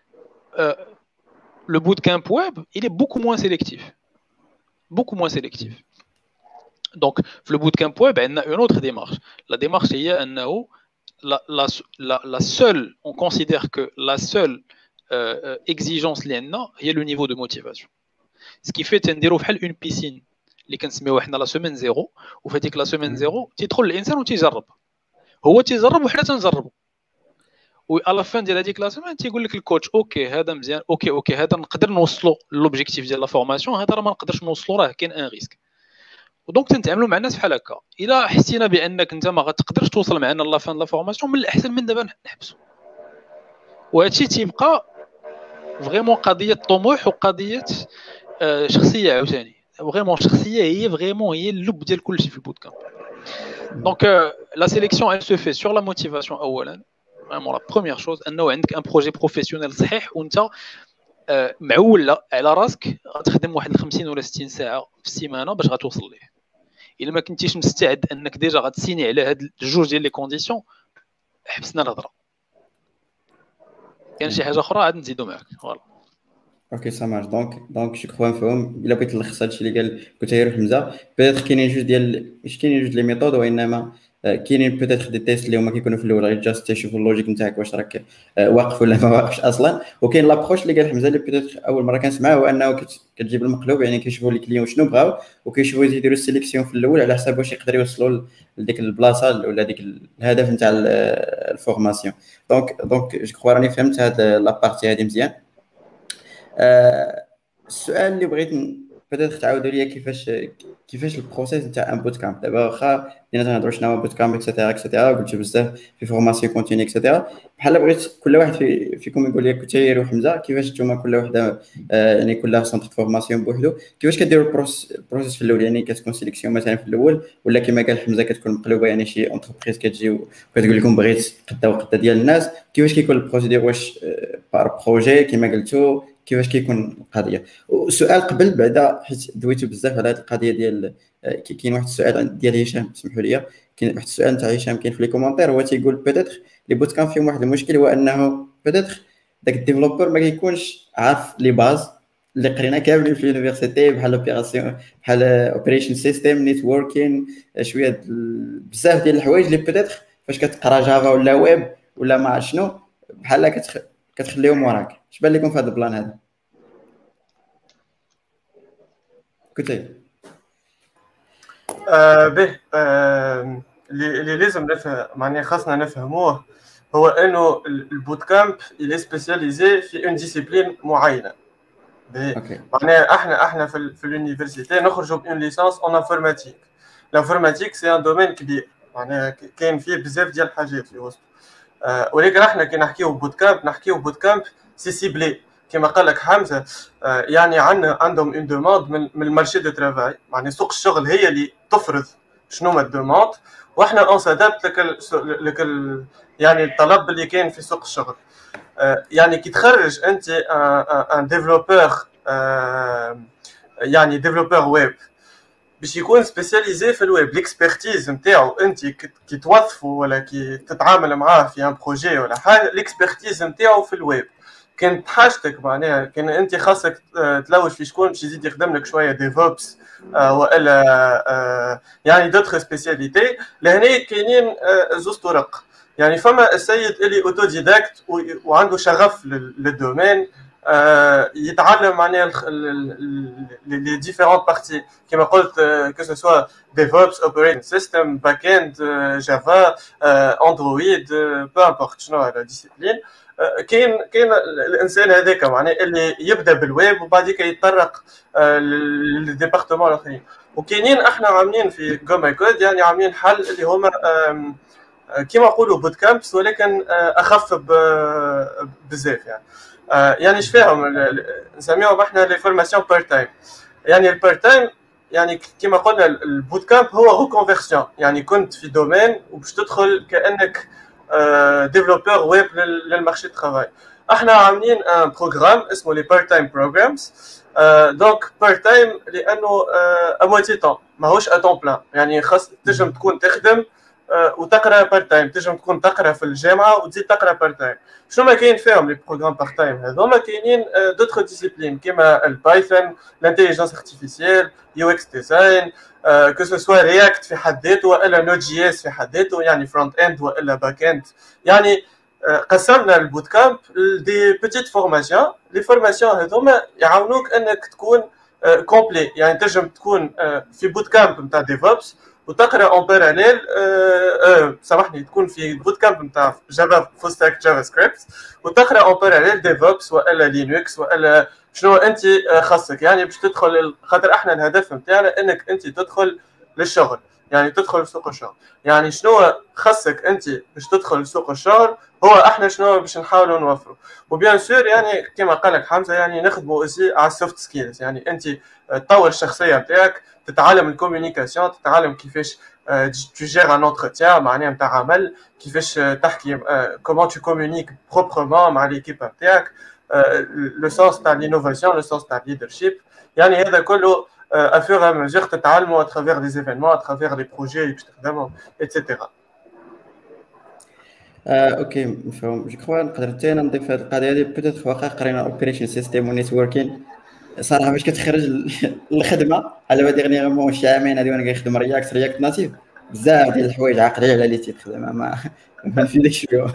لو بوت كامب ويب il est beaucoup moins sélectif beaucoup moins sélectif. دونك في لو بوت كامب ويب عندنا اون اوتر ديمارش. لا ديمارش هي انه la la la la seule on considère que la seule euh, exigence اللي عندنا هي لو نيفو دو موتيفاسيون. ce qui fait تنديرو بحال اون بيسين اللي كنسميوها حنا لا سيمين زيرو، وفي هذيك لا سيمين زيرو تيدخل الانسان وتيجرب، هو تيجرب وحنا تنجربوا، و على فان ديال هذيك لا سيمين تيقول لك الكوتش اوكي هذا مزيان، اوكي اوكي هذا نقدر نوصلوا لوبجيكتيف ديال لا فورماسيون، هذا راه ما نقدرش نوصلوا، راه كاين ان ريسك. ودونك تنتعاملوا مع الناس بحال هكا. الا حسينا بانك انت ما غتقدرش توصل معنا لا فان لا فورماسيون، من الاحسن من دابا نحبسوا. وهادشي تيبقى فريمون قضيه طموح وقضيه آه شخصيه عاوتاني. فريمون شخصيه هي فريمون هي اللب ديال كلشي في البوت كامب. دونك لا سيليكسيون elle se fait sur la motivation اولا. فريمون لا بروميير شوز انه عندك ان بروجي بروفيسيونيل صحيح، وانت آه معول على راسك غتخدم واحد خمسين ولا ستين ساعه في السيمانه باش غتوصل ليه. الا ما كنتيش مستعد انك ديجا غتسيني على هاد الجوج ديال لي كونديسيون، حبسنا الهضره. كاين شي حاجه اخرى عاد نزيدو معاك. فوالا اوكي سا مارش. دونك دونك جو كخوا مفهوم. الا بغيت نلخص هادشي اللي قال كنت غير حمزه، بيتيتر كاينين جوج ديال ماشي كاينين جوج لي ميثود، وانما كاينين بيتيتر دي تيست اللي هما كيكونوا في الاول غير جاست تشوفوا اللوجيك نتاعك واش راك واقف ولا ما واقفش اصلا. وكاين لابروش اللي قال حمزه اللي بيتيتر اول مره كنسمعها، هو انه كتجيب المقلوب، يعني كيشوفوا لي كليون شنو بغاو وكيشوفوا يديروا السيليكسيون في الاول على حساب واش يقدروا يوصلوا لديك البلاصه ولا ديك الهدف نتاع الفورماسيون. دونك دونك جو كخوا راني فهمت هاد لابارتي هادي مزيان. السؤال اللي بغيت بدات تعاودوا لي كيفاش كيفاش البروسيس نتاع ان بوت كامب. دابا واخا بدينا تنهضروا شنو هو بوت كامب اكسيتيرا اكسيتيرا، قلت بزاف في فورماسيون كونتيني اكسيتيرا. بحال بغيت كل واحد في فيكم يقول لي كثير وحمزه كيفاش نتوما كل وحده آه يعني كلها سونتر فورماسيون بوحدو، كيفاش كديروا البروسيس في الاول؟ يعني كتكون سيليكسيون مثلا في الاول، ولا كما قال حمزه كتكون مقلوبه، يعني شي انتربريز كتجي وكتقول لكم بغيت قدا وقدا ديال الناس. كيفاش كيكون البروسيدور؟ واش بار بروجي كما قلتوا؟ كيفاش كيكون القضيه؟ وسؤال قبل بعدا حيت دويتو بزاف على هذه القضيه ديال كاين واحد السؤال ديال هشام، سمحوا لي، كاين واحد السؤال نتاع هشام كاين في لي كومونتير، هو تيقول بيتيتر لي بوت كان فيهم واحد المشكل، هو انه بيتيتر داك الديفلوبر ما كيكونش عارف لي باز اللي قرينا كاملين في اليونيفرسيتي، بحال اوبيراسيون بحال اوبريشن سيستم نيتوركين، شويه بزاف ديال الحوايج اللي بيتيتر فاش كتقرا جافا ولا ويب ولا ما عرف شنو بحال كتخ... كتخليهم وراك. اش بان لكم في هذا البلان هذا؟ كنتي آه به آه اللي لازم نفهم معناها خاصنا نفهموه هو انه البوت كامب اللي سبيسياليزي في اون ديسيبلين معينه. معناها احنا احنا في, في اليونيفرسيتي نخرجوا بون ليسانس اون انفورماتيك. الانفورماتيك سي ان دومين كبير، معناها كاين فيه بزاف ديال الحاجات في وسط. آه ولكن احنا كي نحكيو بوت كامب نحكيو بوت كامب سي سيبلي كما قال لك حمزه. آه يعني عندنا عندهم اون دوموند من, من المارشي دو ترافاي، معناها سوق الشغل هي اللي تفرض شنو ما الدوموند، واحنا اون سادابت لك لك يعني الطلب اللي كاين في سوق الشغل. آه يعني كي تخرج انت ان ديفلوبور آه يعني ديفلوبور ويب باش يكون سبيسياليزي في الويب، ليكسبرتيز نتاعو انت كي توظفه ولا كي تتعامل معاه في ان بروجي ولا حاجه، ليكسبرتيز نتاعو في الويب. كانت حاجتك معناها كان انت خاصك تلوج في شكون باش يزيد يخدم لك شويه ديفوبس آه والا آه يعني دوتر سبيسياليتي. لهنا كاينين آه زوج طرق. يعني فما السيد اللي اوتوديداكت وعنده شغف للدومين، آه يتعلم معناها لي ديفيرونت بارتي كما قلت، كو سو سوا ديفوبس، اوبريتنج سيستم، باك اند، جافا، اندرويد، بو امبورت شنو هذا ديسيبلين. كاين كاين الانسان هذاك معناه اللي يبدا بالويب وبعديك يتطرق للديبارتمون الاخرين. وكاينين احنا عاملين في جوماي كود يعني عاملين حل اللي هما كيما نقولوا بوت كامبس، ولكن اخف بزاف. يعني يعني اش فيهم نسميوهم احنا لي فورماسيون بار تايم. يعني البار تايم يعني كيما قلنا البوت كامب هو ريكونفيرسيون، يعني كنت في دومين وباش تدخل كانك ديفلوبور ويب للمارشي ترافاي. احنا عاملين ان بروجرام اسمه لي بارت تايم بروجرامز. دونك بارت تايم لانه اموتي طون ماهوش ا طون بلان، يعني خاص تنجم تكون تخدم وتقرا بارت تايم، تنجم تكون تقرا في الجامعه وتزيد تقرا بارت تايم. شنو ما كاين فيهم لي بروغرام بارت تايم هذوما؟ كاينين دوتر ديسيبلين كيما البايثون، الانتيليجنس ارتيفيسيال، يو اكس ديزاين، كو سو سوا رياكت في حد ذاته والا نوت جي اس في حد ذاته، يعني فرونت اند والا باك اند. يعني قسمنا البوت كامب دي بيتيت فورماسيون. لي فورماسيون هذوما يعاونوك انك تكون كومبلي، يعني تنجم تكون في بوت كامب نتاع ديفوبس وتقرا اون باراليل سامحني تكون في بوت كامب نتاع جافا فول ستاك جافا سكريبت وتقرا اون باراليل ديفوبس والا لينكس والا شنو انت خاصك، يعني باش تدخل. خاطر احنا الهدف نتاعنا انك انت تدخل للشغل، يعني تدخل لسوق الشغل. يعني شنو خاصك انت باش تدخل لسوق الشغل هو احنا شنو باش نحاولوا نوفروا. وبيان سور يعني كما قال لك حمزه يعني نخدموا اوسي على السوفت سكيلز، يعني انت تطور الشخصيه نتاعك، تتعلم الكوميونيكاسيون، تتعلم كيفاش تجير ان انتروتيان معناها نتاع عمل، كيفاش تحكي كومون تو كومونيك بروبرمون مع ليكيب نتاعك، لو سونس تاع لينوفاسيون، لو سونس تاع ليدرشيب. يعني هذا كله à fur et à mesure تتعلموا à travers des événements, à travers les projets اللي باش تخدموا ايتترا. آه، اوكي مفهوم. جو كخوا نقدر حتى انا نضيف هذه القضيه هذه. بوتيت واخا قرينا اوبريشن سيستيم ونيتوركين صراحه باش كتخرج الخدمه على با ديغنيغمون شي عامين هادي وانا كنخدم رياكت رياكت ناتيف، بزاف ديال الحوايج عاقلين على اللي تيخدم ما ما نفيدكش فيهم.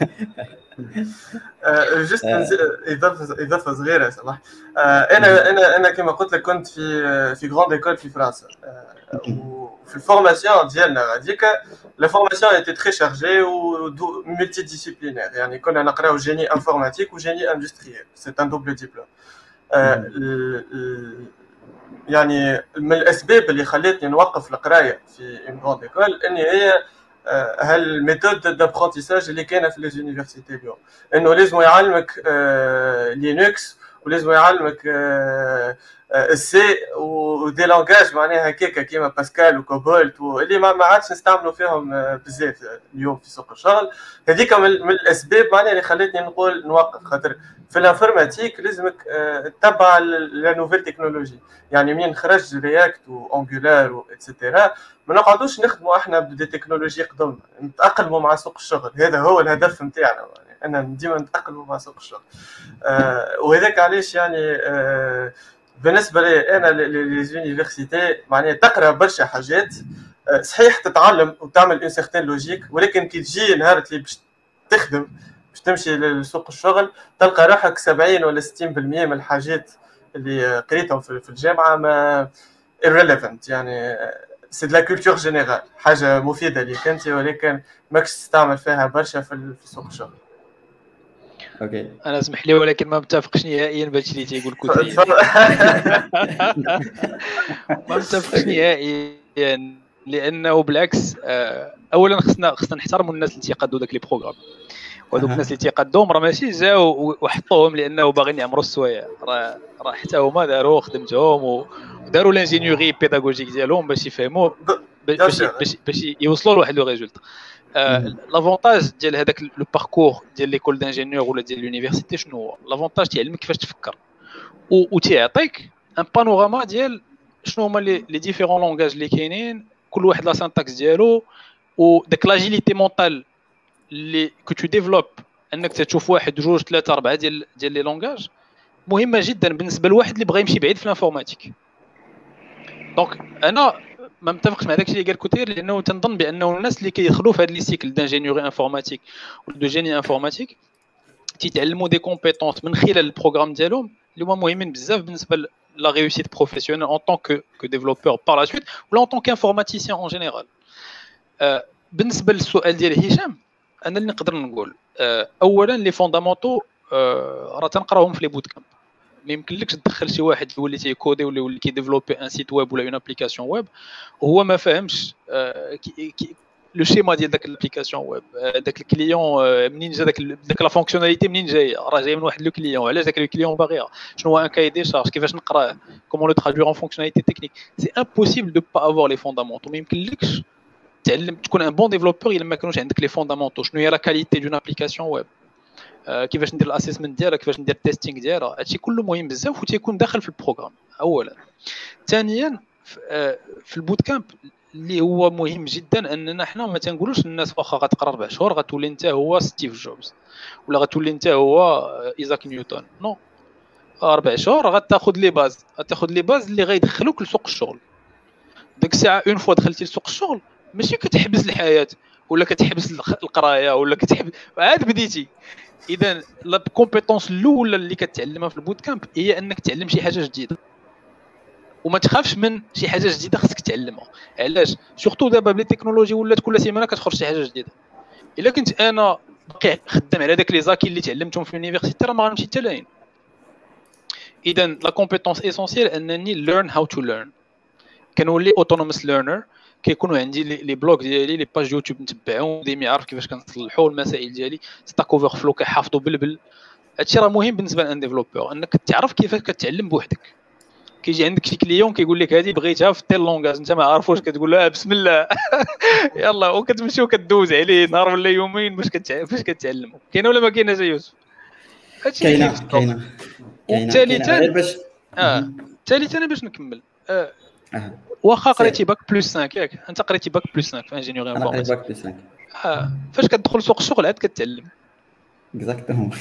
جست اضافه اضافه صغيره صراحه. انا انا انا كما قلت لك كنت في في غروند ايكول في فرنسا، وفي الفورماسيون ديالنا غاديك لا فورماسيون ايتي تري شارجي و ملتي ديسيبلينير، يعني كنا نقراو جيني انفورماتيك وجيني اندستريال، سي ان دوبل ديبلوم. يعني من الاسباب اللي خلتني نوقف القرايه في اون غروند ايكول اني هي هالميثود دابرونتيساج اللي كاينه في لي زونيفرسيتي اليوم، انه لازم يعلمك لينكس ولازم يعلمك السي ودي لونغاج معناها هكاكا كيما باسكال وكوبولت واللي ما عادش نستعملوا فيهم بزاف اليوم في سوق الشغل. هذيك من الاسباب معناها اللي خلتني نقول نوقف، خاطر في الانفورماتيك لازمك تتبع لا نوفيل تكنولوجي. يعني منين خرج رياكت وانجولار واتسيتيرا ما نقعدوش نخدموا احنا بدي تكنولوجي قدم، نتاقلموا مع سوق الشغل. هذا هو الهدف نتاعنا، يعني ان ديما نتاقلموا مع سوق الشغل. آه وهذاك علاش يعني آه بالنسبه لي انا لي زونيفرسيتي معناها تقرا برشا حاجات، آه صحيح تتعلم وتعمل اون سيغتين لوجيك، ولكن كي تجي نهار اللي باش تخدم باش تمشي لسوق الشغل تلقى روحك سبعين ولا ستين بالمية من الحاجات اللي قريتهم في الجامعه ما irrelevant، يعني سي دو لا كولتور جينيرال، حاجه مفيده ليك انت ولكن ماكش تستعمل فيها برشا في سوق الشغل. اوكي انا اسمح لي ولكن ما متفقش نهائيا بهادشي اللي تيقول كوتري. ما متفقش نهائيا، لانه بالعكس اولا خصنا خصنا نحترموا الناس اللي تيقادوا داك لي بروغرام، وهذوك الناس اللي تيقادوهم راه ماشي جاو وحطوهم لانه باغيين يعمروا السوايع، راه راه حتى هما داروا خدمتهم وداروا لانجينيوري بيداغوجيك ديالهم باش يفهموا باش باش باش يوصلوا لواحد لو ريزولتا. لافونتاج ديال هذاك لو باركور ديال ليكول دانجينيور ولا ديال لونيفرسيتي شنو هو؟ لافونتاج تيعلمك كيفاش تفكر وتيعطيك ان بانوراما ديال شنو هما لي ديفيرون لونغاج اللي كاينين، كل واحد لا سانتاكس ديالو، وداك لاجيليتي مونطال اللي كو تو ديفلوب انك تشوف واحد جوج ثلاثه اربعه ديال ديال لي لونغاج مهمه جدا بالنسبه لواحد اللي بغى يمشي بعيد في الانفورماتيك. دونك انا ما متفقش مع داكشي اللي قال كوتير، لانه تنظن بانه الناس اللي كيدخلوا في هذا لي سيكل دانجينيوري انفورماتيك ولا دو جيني انفورماتيك تيتعلموا دي كومبيتونس من خلال البروغرام ديالهم اللي هما مهمين بزاف بالنسبه لا ريوسيت بروفيسيونيل اون طون كو كو ديفلوبور بار لا سويت ولا اون طون كانفورماتيسيان اون جينيرال. بالنسبه للسؤال ديال هشام، انا اللي نقدر نقول اولا لي فوندامونتو راه تنقراوهم في لي بوت كامب. ما يمكنلكش تدخل شي واحد يولي تيكودي ولا يولي كيديفلوبي ان سيت ويب ولا اون ابليكاسيون ويب وهو ما فاهمش لو شيما ديال داك الابليكاسيون ويب، داك الكليون منين جا داك داك لا فونكسيوناليتي منين جايه، راه جاي من واحد لو كليون، علاش داك الكليون باغيها، شنو هو ان كاي دي شارج، كيفاش نقراه، كومون لو ترادوير ان فونكسيوناليتي تكنيك. سي امبوسيبل دو با افوار لي فوندامونتو. ما يمكنلكش تعلم تكون ان بون ديفلوبور الا ما كانوش عندك لي فوندامونتو. شنو هي لا كاليتي دون ابليكاسيون ويب، كيفاش ندير الاسيسمنت ديالها، كيفاش ندير التيستينغ ديالها. هادشي كله مهم بزاف وتيكون داخل في البروغرام اولا. ثانيا في البوت كامب اللي هو مهم جدا اننا حنا ما تنقولوش للناس واخا غتقرا ربع شهور غتولي انت هو ستيف جوبز ولا غتولي انت هو ايزاك نيوتن. نو، اربع شهور غتاخذ لي باز، غتاخذ لي باز اللي غيدخلوك لسوق الشغل. ديك الساعه اون فوا دخلتي لسوق الشغل ماشي كتحبس الحياه ولا كتحبس القرايه ولا كتحبس، عاد بديتي. اذا لا كومبيتونس الاولى اللي كتعلمها في البوت كامب هي انك تعلم شي حاجه جديده، وما تخافش من شي حاجه جديده خصك تعلمها. علاش؟ سورتو دابا بلي التكنولوجي ولات كل سيمانه كتخرج شي حاجه جديده. الا كنت انا باقي خدام على داك لي زاكي اللي تعلمتهم في اليونيفرسيتي راه ما غنمشي حتى لاين. اذا لا كومبيتونس اسونسيال انني ليرن هاو تو ليرن. كنولي اوتونوموس ليرنر، كيكونوا عندي لي بلوك ديالي، لي باج يوتيوب نتبعهم، ديما عارف كيفاش كنصلحوا المسائل ديالي، ستاك اوفر فلو كيحافظوا بالبل. هادشي راه مهم بالنسبه لان ديفلوبور، انك تعرف كيفاش كتعلم بوحدك. كيجي عندك شي كليون كيقول لك هذه بغيتها في تيل لونغاج، انت ما عارفوش، كتقول له بسم الله يلا، وكتمشي وكدوز عليه نهار ولا يومين باش كتع... باش كتعلموا. كاينه ولا ما كايناش يا يوسف؟ هادشي اللي كاينه كاينه كاينه وثالثا غير باش اه ثالثا انا باش نكمل آه. آه. واخا قريتي باك بلس خمسة ياك انت قريتي باك بلس خمسة في انجينيوري انا قريت انفورماتيك، باك بلس خمسة اه فاش كتدخل سوق الشغل عاد كتعلم اكزاكتومون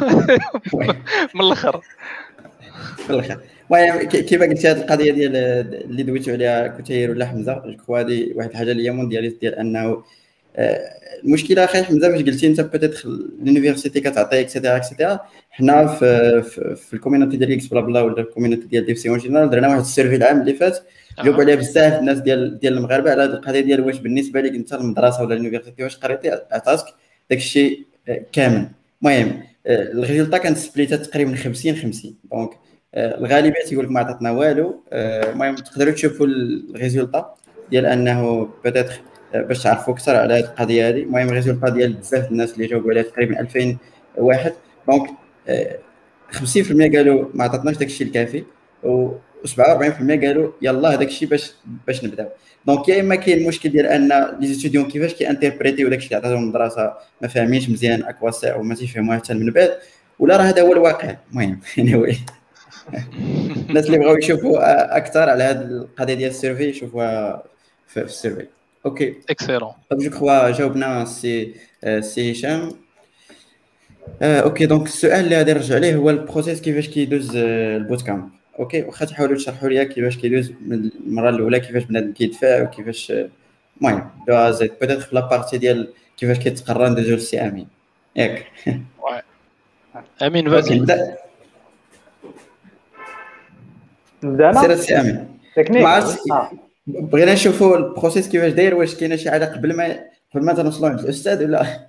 من الاخر. في الاخر. المهم كيما قلتي هذه القضيه ديال اللي دويتو عليها كثير ولا حمزه، جو كخوا هذه واحد الحاجه اللي هي موندياليست، ديال انه المشكله اخي حمزه باش قلتي انت بيتيتر لونيفرسيتي كتعطي اكسيتيرا اكسيتيرا. حنا في في, في الكوميونيتي ديال اكس بلا بلا ولا الكوميونيتي ديال ديف سي اون جينيرال درنا واحد السيرفي العام اللي فات، جاوبوا عليها بزاف الناس ديال ديال المغاربه على هذه القضيه ديال واش بالنسبه لك انت المدرسه ولا اليونيفرسيتي واش قريتي عطاتك داك الشيء كامل. المهم الريزلتا كانت سبليتات تقريبا خمسين خمسين، دونك الغالبيه تيقول لك ما عطاتنا والو. المهم تقدروا تشوفوا الريزلتا ديال انه بيتيتر باش تعرفوا اكثر على هذه القضيه هذه. المهم الريزلتا ديال بزاف الناس اللي جاوبوا عليها تقريبا ألفين واحد، دونك خمسين بالمية قالوا ما عطاتناش داك الشيء الكافي، و سبعة وأربعين بالمية قالوا يلا هذاك الشيء باش باش نبداو. دونك يا اما كاين المشكل ديال ان لي ستوديون كيفاش كيانتربريتيو داك الشيء اللي عطاتهم المدرسه ما فاهمينش مزيان اكواسير وما تيفهموها حتى من بعد، ولا راه هذا هو الواقع. المهم anyway الناس اللي بغاو يشوفوا اكثر على هذه القضيه ديال السيرفي يشوفوها في السيرفي. اوكي اكسيلون. طيب جو كخوا جاوبنا سي سي هشام. آه، اوكي دونك السؤال اللي غادي نرجع ليه هو البروسيس كيفاش كيدوز آه، البوت كامب. اوكي واخا تحاولوا تشرحوا لي كيفاش كيدوز من المره الاولى، كيفاش بنادم كيدفع وكيفاش آه، المهم دو زيد بيتيت في لابارتي ديال كيفاش كيتقرر ندوزو للسي امين ياك. امين اوكي فازي نبدا نبدا سير انا السي امين. تكنيك. ما عرفتش اه بغينا نشوفوا البروسيس كيفاش داير، واش كاينه شي حاجه قبل ما قبل ما تنوصلوا عند الاستاذ ولا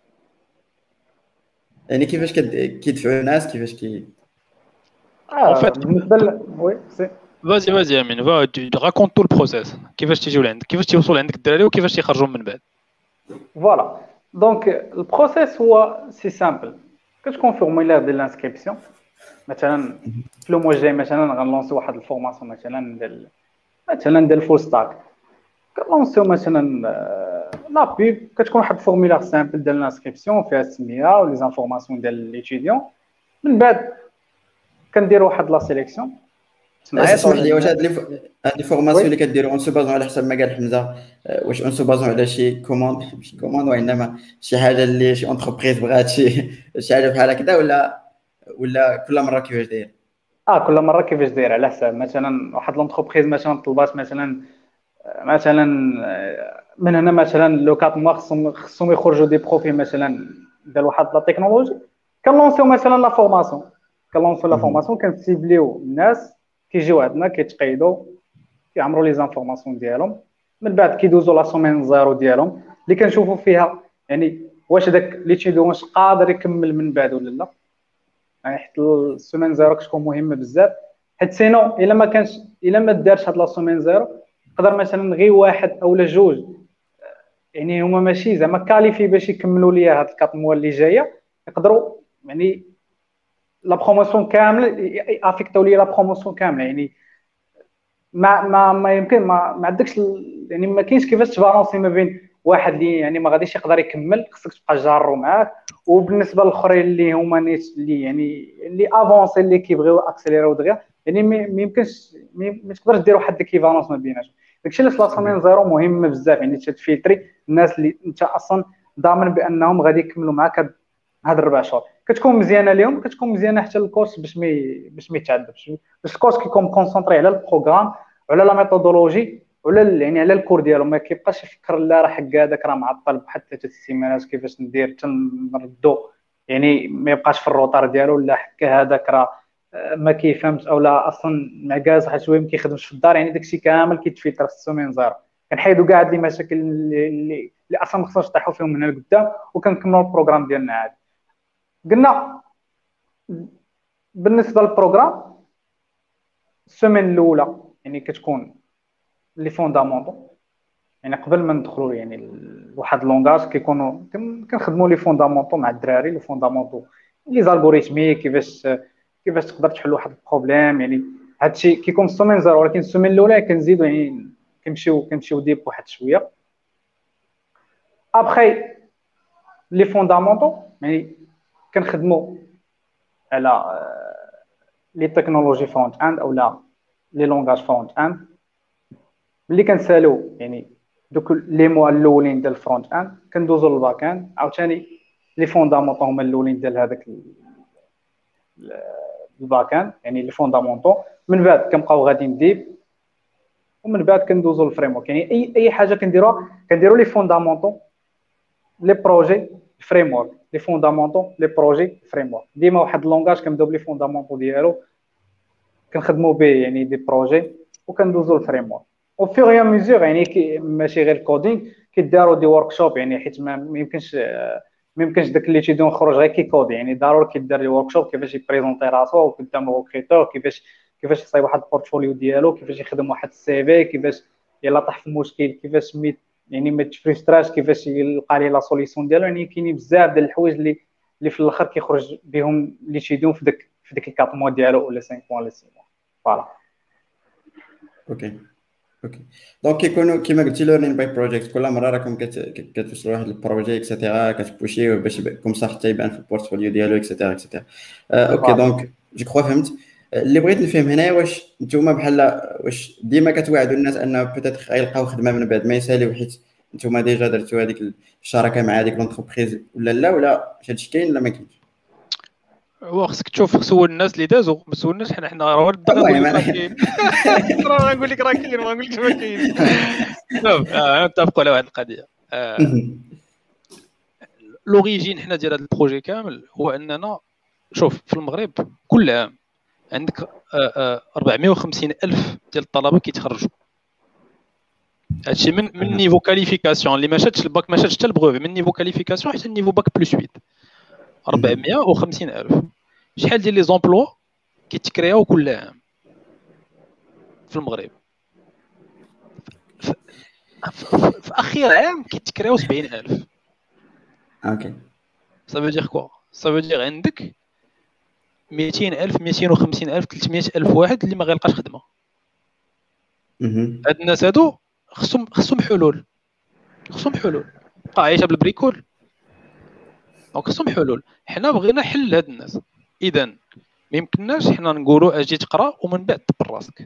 يعني كيفاش كد- كيدفعوا الناس كيفاش كي اه En fait- بالنسبه ل... وي سي فازي فازي امين فا راكونت تو البروسيس، كيفاش تيجيو لعندك، كيفاش تيوصلوا عندك الدراري وكيفاش تيخرجوا من بعد. فوالا. دونك البروسيس هو سي سامبل. كتكون فورمولير ديال الانسكريبسيون. مثلا في لو موا جاي مثلا غنلونسي واحد الفورماسيون مثلا ديال مثلا ديال الفول ستاك، كنلونسيو مثلا آه، لا بيب، كتكون واحد الفورمولير سامبل ديال الانسكريبسيون فيها السميه ولي زانفورماسيون ديال ليتيديون. من بعد كندير واحد لا سيليكسيون. اسمح لي، واش هاد لي هاد لي فورماسيون اللي كديروا اون سو بازون على حسب ما قال حمزه، آه، واش اون سو بازون على شي كوموند ماشي كوموند وانما شي حاجه اللي شي اونتربريز بغات شي شي حاجه بحال هكذا، ولا ولا كل مره كيفاش داير؟ اه كل مره كيفاش داير على حساب مثلا واحد لونتربريز مثلا طلبات مثلا مثلا من هنا مثلا لو كات موا خصهم خصهم يخرجوا دي بروفي مثلا ديال واحد لا تكنولوجي، كنلونسيو مثلا لا فورماسيون كنلونسيو لا فورماسيون كنسيبليو الناس كيجيو عندنا كيتقيدوا كيعمروا لي زانفورماسيون ديالهم. من بعد كيدوزوا لا سومين زيرو ديالهم اللي كنشوفوا فيها يعني واش داك ليتيديون واش قادر يكمل من بعد ولا لا. يعني حيت السومين زيرو كتكون مهمه بزاف، حيت سينو الا ما كانش الا ما دارش هاد لا سومين زيرو يقدر مثلا غير واحد اولا جوج يعني هما ماشي زعما كاليفي باش يكملوا ليا هاد الكاط موا اللي جايه، يقدروا يعني لا بروموسيون كامله افيكتو ليا لا بروموسيون كامله. يعني ما ما ما يمكن ما, ما عندكش يعني ما كاينش كيفاش تبالونسي ما بين واحد اللي يعني ما غاديش يقدر يكمل خصك تبقى جارو معاه. وبالنسبه للاخرين اللي هما نيت اللي يعني اللي افونسي اللي كيبغيو اكسيليرو دغيا يعني ما يمكنش ما تقدرش دير واحد الكيفالونس ما بيناتهم. داكشي علاش لاسومين زيرو مهمه بزاف يعني تفلتري الناس اللي انت اصلا ضامن بانهم غادي يكملوا معاك هاد الربع شهور. كتكون مزيانه ليهم كتكون مزيانه حتى للكورس باش ما باش ما يتعذبش باش الكورس كيكون كونسونطري على البروغرام وعلى لا ميثودولوجي وعلى يعني على الكور ديالو ما كيبقاش يفكر لا راه حق هذاك راه معطل بواحد ثلاثه السيمانات كيفاش ندير تنردو يعني ما يبقاش في الروطار ديالو ولا حق هذاك راه ما كيفهمش او لا اصلا معكاز حيت شويه ما كيخدمش في الدار يعني داكشي كامل كيتفلتر في السومين زيرو. كنحيدوا كاع هاد المشاكل اللي اللي اصلا ما خصناش نطيحوا فيهم من هنا لقدام وكنكملوا البروغرام ديالنا عادي. قلنا بالنسبه للبروغرام السومين الاولى يعني كتكون لي فوندامونطو يعني قبل ما ندخلوا يعني لواحد لونغاج كيكونوا كنخدموا لي فوندامونطو مع الدراري لي فوندامونطو لي زالغوريثمي كيفاش كيفاش تقدر تحل واحد البروبليم يعني هادشي كيكون السومين زيرو. ولكن السومين الاولى كنزيدوا يعني كنمشيو كنمشيو ديب واحد شويه. ابخي لي فوندامونطو يعني كنخدموا على لي تكنولوجي فرونت اند او لا لي لونغاج فرونت اند. ملي كنسالو يعني دوك لي موا الاولين ديال الفرونت اند كندوزو للباك اند عاوتاني لي فوندامونطو هما الاولين ديال هذاك الباك اند يعني لي فوندامونطو. من بعد كنبقاو غاديين ديب ومن بعد كندوزو للفريمورك يعني اي اي حاجه كنديروها كنديروا لي فوندامونطو لي بروجي فريمورك لي فوندامونطو لي بروجي فريمورك. ديما واحد اللونغاج كنبداو بلي فوندامونطو ديالو كنخدموا به يعني دي بروجي وكندوزو للفريمورك. او فيغ يا ميزور يعني ماشي غير الكودينغ كيداروا دي ورك شوب يعني حيت ما يمكنش ما يمكنش داك اللي تيدون خرج غير كيكودي يعني ضروري كيدار لي ورك شوب كيفاش يبريزونطي راسو قدام الريكروتور كيفاش كيفاش يصايب واحد البورتفوليو ديالو كيفاش يخدم واحد السي في كيفاش يلا طاح في مشكل كيفاش ميت يعني ما تفريستراش كيفاش يلقى لي لا سوليسيون ديالو. يعني كاينين بزاف ديال الحوايج اللي اللي في الاخر كيخرج بهم اللي تيدون في داك في ديك الكاط موا ديالو ولا خمسة موا ولا ستة موا. فوالا اوكي اوكي دونك كيكونوا كيما قلتي ليرنين باي بروجيكت كل مره راكم كتوصلوا لواحد البروجي اكسيتيرا كتبوشيو باش كوم صح حتى يبان في البورتفوليو ديالو اكسيتيرا اكسيتيرا. اوكي دونك جو كخوا فهمت. اللي بغيت نفهم هنايا واش نتوما بحال واش ديما كتوعدوا الناس انه بوتيتر غيلقاو خدمه من بعد ما يساليو حيت نتوما ديجا درتوا هذيك الشراكه مع هذيك لونتربريز ولا لا ولا هادشي كاين ولا ما كاينش؟ هو خصك تشوف سول الناس اللي دازوا ما سولناش حنا حنا راه الدغا نقول لك راه كاين راه نقول لك راه كاين ما نقول لكش ما كاين. شوف نتفقوا على واحد القضيه. لوريجين حنا ديال هذا البروجي كامل هو اننا شوف في المغرب كل عام عندك أربعمائة وخمسين ألف ديال الطلبه كيتخرجوا. هادشي من من نيفو كاليفيكاسيون اللي ما شاتش الباك ما شاتش حتى البروفي من نيفو كاليفيكاسيون حتى النيفو باك بلس ثمانية أربعمائة وخمسين ألف. شحال ديال لي زومبلوا كيتكرياو كل عام في المغرب؟ في, في اخر عام كيتكرياو سبعين ألف. اوكي صافي دير كوا صافي دير عندك مئتين ألف مئتين وخمسين ألف ثلاثمائة ألف واحد اللي ما غيلقاش خدمه. هاد الناس هادو خصهم خصهم حلول خصهم حلول بقى عايشه بالبريكول دونك خصهم حلول. حنا بغينا حل لهاد الناس. اذا ما يمكنناش حنا نقولوا اجي تقرا ومن بعد تبر راسك.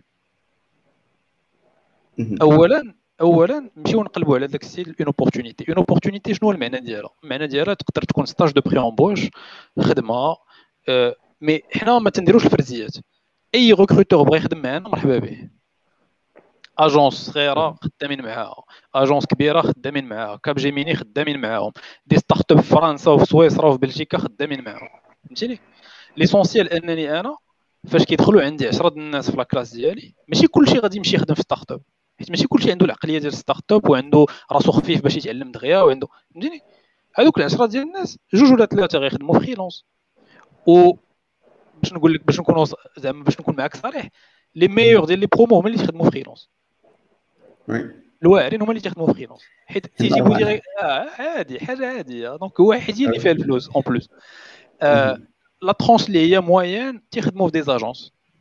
اولا اولا نمشيو نقلبوا على داك السيل اون اوبورتونيتي. اون اوبورتونيتي شنو المعنى ديالها؟ المعنى ديالها تقدر تكون ستاج دو بري امبوش خدمه أه مي حنا ما تنديروش الفرزيات. اي ريكروتور بغى يخدم معنا مرحبا به. اجونس صغيره خدامين معاها اجونس كبيره خدامين معاها كاب جيميني خدامين معاهم دي ستارت اب في فرنسا وفي سويسرا وفي بلجيكا خدامين معاهم. فهمتيني ليسونسيال انني انا فاش كيدخلوا عندي عشرة الناس في لاكلاس ديالي ماشي كلشي غادي يمشي يخدم في ستارت اب حيت ماشي كلشي عنده العقليه ديال ستارت اب وعنده راسو خفيف باش يتعلم دغيا وعنده فهمتيني. هذوك العشرة ديال الناس جوج ولا ثلاثه غيخدموا فريلانس. و باش نقول لك باش نكون زعما باش نكون معاك صريح لي ميور ديال لي برومو هما اللي تخدموا فريلانس. وي الواعرين هما اللي تخدموا فريلانس حيت تيجيبوا ديريكت اه عادي حاجه عاديه. دونك هو حيت اللي فيها الفلوس اون بلوس. لا ترونش اللي هي موين تيخدموا في دي اجونس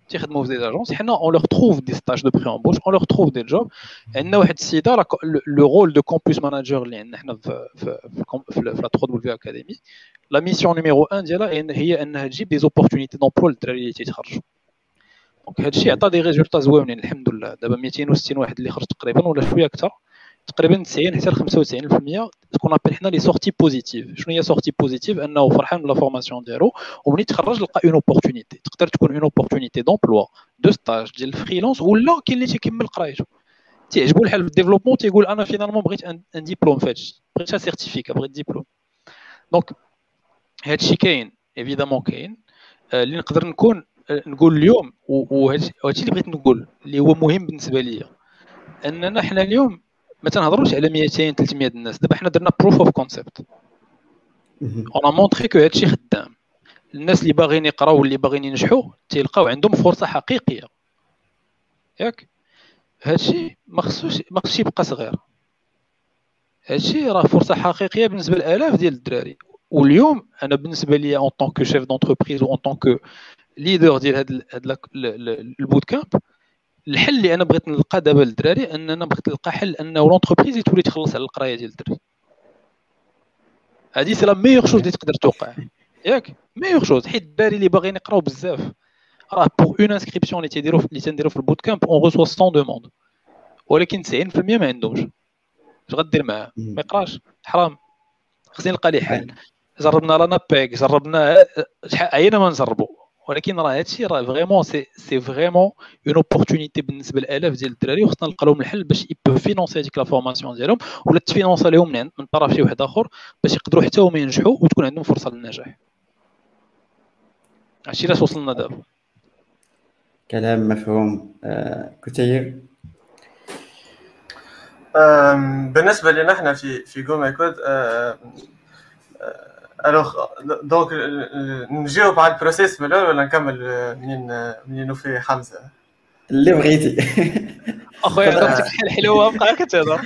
تيخدموا في دي اجونس حنا اون لور تروف دي ستاج دو بري امبوش اون لور تروف دي جوب. عندنا واحد السيده لو رول دو كومبوس ماناجر اللي عندنا حنا في في في لا ثري دبليو اكاديمي. لا ميسيون نيميرو واحد ديالها هي انها تجيب دي زوبورتونيتي دومبلوا للدراري اللي تيتخرجوا. دونك هذا الشيء عطى دي ريزولطا زوينين الحمد لله. دابا مئتين وستين واحد اللي خرج تقريبا ولا شويه اكثر، تقريبا تسعين حتى ل خمسة وتسعين بالمية تكون ابل حنا لي سورتي بوزيتيف. شنو هي سورتي بوزيتيف؟ انه فرحان بلا فورماسيون ديالو وملي تخرج لقى اون اوبورتونيتي. تقدر تكون اون اوبورتونيتي دومبلوا دو ستاج ديال الفريلانس، ولا كاين اللي تيكمل قرايته تيعجبو الحال في الديفلوبمون تيقول انا فينالمون بغيت ان ديبلوم فهادشي، بغيت سيرتيفيكا، بغيت ديبلوم. دونك هادشي كاين ايفيدامون كاين اللي نقدر نكون نقول اليوم، وهادشي اللي بغيت نقول اللي هو مهم بالنسبه ليا، اننا حنا اليوم ما تنهضروش على مئتين ثلاثمية الناس. دابا حنا درنا بروف اوف كونسيبت، اون مونطري كو هادشي خدام. الناس اللي باغيين يقراو واللي باغيين ينجحوا تيلقاو عندهم فرصه حقيقيه، ياك؟ هادشي ما خصوش ما خصش يبقى صغير. هادشي راه فرصه حقيقيه بالنسبه لالاف ديال الدراري. واليوم انا بالنسبه لي اون طون كو شيف دونتربريز و اون طون كو ليدر ديال هاد هاد البوت كامب، الحل اللي انا بغيت نلقى دابا للدراري اننا بغيت نلقى حل انه لونتربريز تولي تخلص على القرايه ديال الدراري. هادي سي لا ميور شوز اللي تقدر توقع، ياك؟ ميور شوز، حيت الدراري اللي باغيين يقراو بزاف راه بوغ اون انسكريبسيون اللي تيديروا اللي تنديروا في البوت كامب اون ريسوا مية دوموند، ولكن تسعين بالمية ما عندهمش. اش غدير معاه؟ ما يقراش، حرام. خصني نلقى ليه حل. جربنا لانا بيك، جربنا شحال عينا ما نجربوا، ولكن راه هادشي راه فريمون سي سي فريمون اون اوبورتونيتي بالنسبه لالاف ديال الدراري، وخصنا نلقى لهم الحل باش يبو فينونسي هذيك لا فورماسيون ديالهم، ولا تفينونسا لهم من من طرف شي واحد اخر باش يقدروا حتى هما ينجحوا وتكون عندهم فرصه للنجاح. هادشي علاش وصلنا دابا. كلام مفهوم. آه كتير. بالنسبه لنا احنا في في جو ماي كود، الوغ دونك نجاوب على البروسيس من الاول ولا نكمل منين منين في حمزه؟ اللي بغيتي. اخويا عطيتك الحل حلوه بقى كتهضر.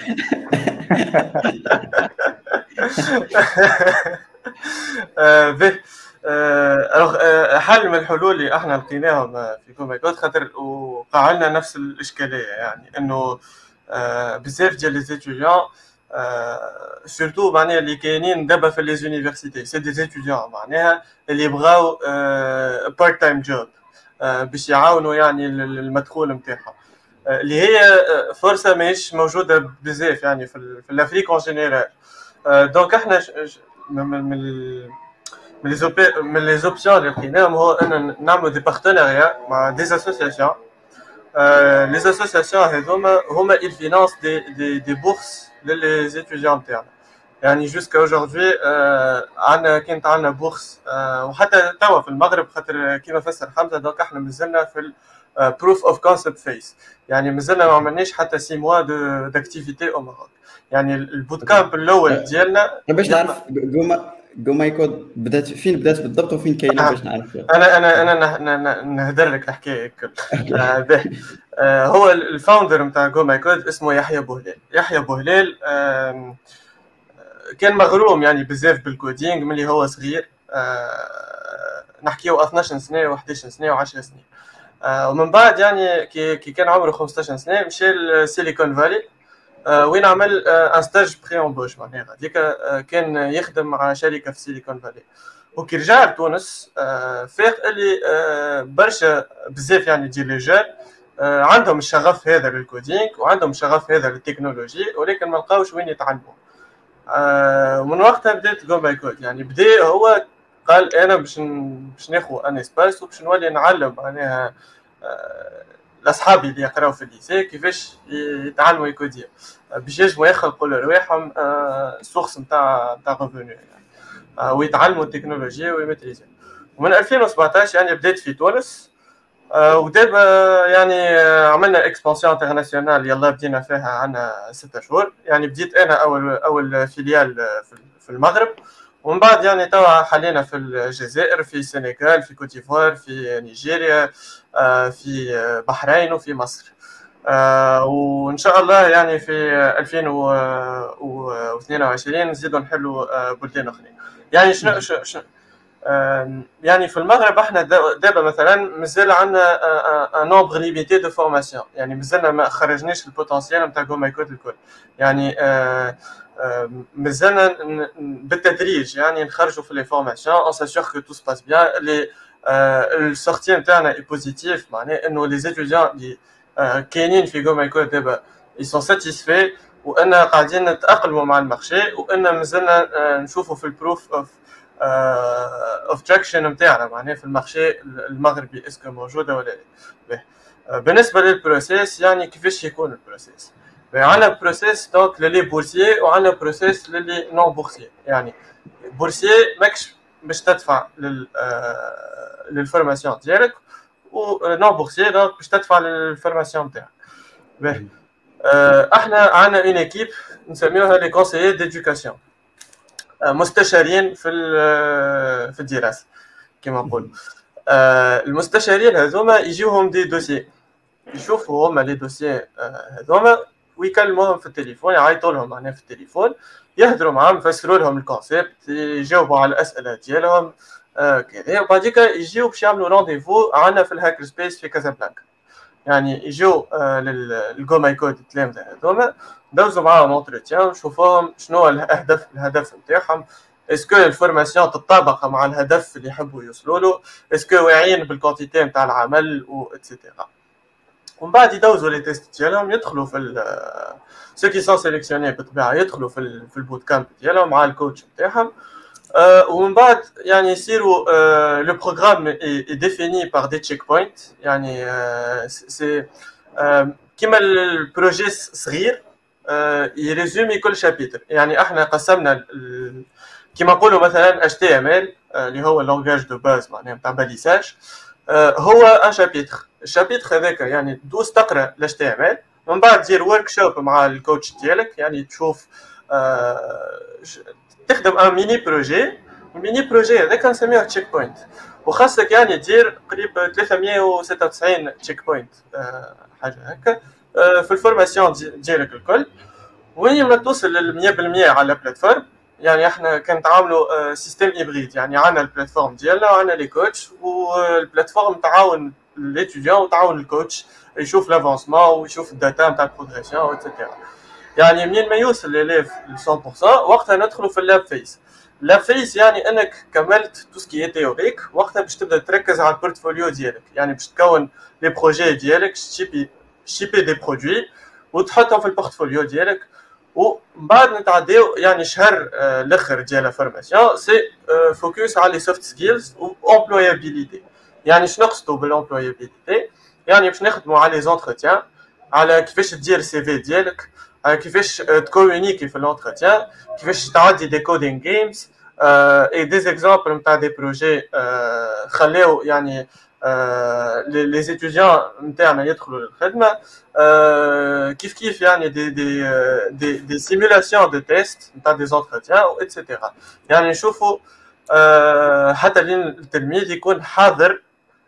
به الوغ حل من الحلول اللي احنا لقيناهم في جو ماي كود، خاطر وقع لنا نفس الاشكاليه، يعني انه بزاف ديال لي ستوديون سورتو معناها اللي كاينين دابا في لي زونيفرسيتي سي دي ستوديون معناها اللي بغاو بارت تايم جوب باش يعاونوا يعني المدخول نتاعهم، اللي هي فرصه ماهيش موجوده بزاف يعني في الافريك اون جينيرال. دونك احنا من من من لي من لي زوبسيون اللي لقيناهم هو ان نعملوا دي بارتناريا مع دي اسوسياسيون. لي اسوسياسيون هذوما هما ils financent des des des bourses للي étudiants نتاعنا. يعني جوسكا اوجوردي عندنا كانت عندنا بورس، وحتى توا في المغرب خاطر كيما فسر حمزه. دونك احنا مازلنا في البروف اوف كونسيبت فيس، يعني مازلنا ما عملناش حتى سي موا دو داكتيفيتي او ماروك. يعني البوت كامب الاول ديالنا باش نعرف جوما جو ماي كود بدات فين، بدات بالضبط وفين كاينه باش نعرف. انا انا انا نهدر لك الحكايه الكل. هو الفاوندر نتاع جو ماي كود اسمه يحيى بوهلال. يحيى بوهلال كان مغروم يعني بزاف بالكودينغ ملي هو صغير، نحكيو اثناش سنه و11 سنه و10 سنين. ومن بعد يعني كي كان عمره خمسطاش سنه مشى لسيليكون فالي وين عمل ان ستاج بري امبوش. معناها هذيك كان يخدم مع شركه في سيليكون فالي، وكي رجع لتونس فاق اللي برشا بزاف يعني ديال لي جون عندهم الشغف هذا للكودينغ وعندهم الشغف هذا للتكنولوجي، ولكن ما لقاوش وين يتعلموا. ومن وقتها بدات جو ماي كود. يعني بدا هو قال انا باش باش ناخذ ان اسباس وباش نولي نعلم معناها لاصحابي اللي يقراو في الليسي كيفاش يتعلموا يكوديو باش يجموا يخلقوا لرواحهم سورس نتاع نتاع ريفوني يعني، ويتعلموا التكنولوجيا ويمتريزيو. ومن ألفين وسبعطاش يعني بديت في تونس، ودابا يعني عملنا اكسبانسيون انترناسيونال يلا بدينا فيها عندنا ستة شهور. يعني بديت انا اول اول فيليال في المغرب، ومن بعد يعني توا حاليا في الجزائر، في السنغال، في كوت ديفوار، في نيجيريا، في بحرين وفي مصر. وان شاء الله يعني في ألفين واثنين وعشرين نزيدوا نحلوا بلدان اخرين. يعني شنو شنو يعني في المغرب احنا دابا مثلا مازال عندنا ان نومبر ليميتي دو فورماسيون، يعني مازلنا ما خرجناش البوتنسيال نتاع جو ماي كود الكل، يعني مازلنا بالتدريج يعني نخرجوا في لي فورماسيون اون ساسيور كو تو سباس بيان. لي السورتي نتاعنا اي بوزيتيف، معناه انه لي ستوديون اللي كاينين في جو ماي كود دابا اي سون ساتيسفي، وان قاعدين نتاقلموا مع المارشي، وان مازلنا نشوفوا في البروف اوف اوف تراكشن نتاعنا معناه في المارشي المغربي اسكو موجوده ولا لا. بالنسبه للبروسيس يعني كيفاش يكون البروسيس؟ عندنا بروسيس دونك للي بورسيي وعندنا بروسيس للي نون بورسيي. يعني بورسيي ماكش باش تدفع لل للفورماسيون ديالك، و نون بورسيي دونك باش تدفع للفورماسيون تاعك. باهي احنا عندنا اون ايكيب نسميوها لي كونسيي ديدوكاسيون، مستشارين في في الدراسه كما نقولوا. المستشارين هذوما يجيوهم دي دوسي، يشوفوا هما لي دوسي هذوما ويكلموهم في التليفون، يعيطوا لهم معناها في التليفون، يهضروا معاهم، يفسروا لهم الكونسيبت، يجاوبوا على الاسئله ديالهم كذا، وبعديك يجيو باش يعملوا رونديفو عندنا في الهاكر سبيس في كازابلانكا. يعني يجيو للجو ماي كود التلامذه هذوما، دوزوا معاهم اونتروتيان، نشوفوهم شنو الاهداف الهدف نتاعهم، اسكو الفورماسيون تتطابق مع الهدف اللي يحبوا يوصلوا له، اسكو واعيين بالكونتيتي نتاع العمل و اتسيتيرا. ومن بعد يدوزوا لي تيست ديالهم، يدخلوا في سو كي سون سيليكسيوني بالطبيعه، يدخلوا في في البوت كامب ديالهم مع الكوتش نتاعهم. Euh, ومن بعد يعني يصيروا لو بروغرام اي ديفيني بار دي تشيك بوينت، يعني سي كيما البروجي صغير يريزومي كل شابيتر. يعني احنا قسمنا كيما نقولوا مثلا اتش تي ام ال اللي هو اللونغاج دو باز معناها نتاع باليساج، هو ان شابيتر. الشابيتر هذاك يعني دوز تقرا الاتش تي ام ال، ومن بعد دير ورك شوب مع الكوتش ديالك، يعني تشوف تخدم ان ميني بروجي. الميني بروجي هذاك نسميوه تشيك بوينت، وخاصك يعني دير قريب ثلاثمية وستة وتسعين تشيك بوينت حاجه هكا في الفورماسيون ديالك الكل، وين ما توصل لل مية بالمية على البلاتفورم. يعني احنا كنتعاملوا سيستم هيبريد، يعني عندنا البلاتفورم ديالنا وعندنا لي كوتش، والبلاتفورم تعاون ليتيديون وتعاون الكوتش يشوف لافونسمون ويشوف الداتا نتاع البروغريسيون واتسيتيرا. يعني منين ما يوصل لليف ل مية بالمية وقتها ندخلوا في اللاب فيس. اللاب فيس يعني انك كملت تو سكي تيوريك، وقتها باش تبدا تركز على البورتفوليو ديالك، يعني باش تكون لي بروجي ديالك، شيبي شيبي دي برودوي وتحطهم في البورتفوليو ديالك. ومن بعد نتعداو يعني شهر الاخر ديال الفورماسيون سي فوكس على لي سوفت سكيلز وامبلويابيليتي. يعني شنو نقصدوا بالامبلويابيليتي؟ يعني باش نخدموا على لي زونتروتيان، على كيفاش دير السي في ديالك، كيفاش تكومونيكي في لونتروتيان، كيفاش تعدي دي كودينغ جيمز اي دي زيكزامبل نتاع دي بروجي خلاو يعني لي زيتيديون نتاعنا يدخلوا للخدمه. كيف كيف يعني دي دي دي دي سيمولاسيون دو تيست نتاع دي زونتروتيان و اتسيتيرا. يعني نشوفوا حتى لين التلميذ يكون حاضر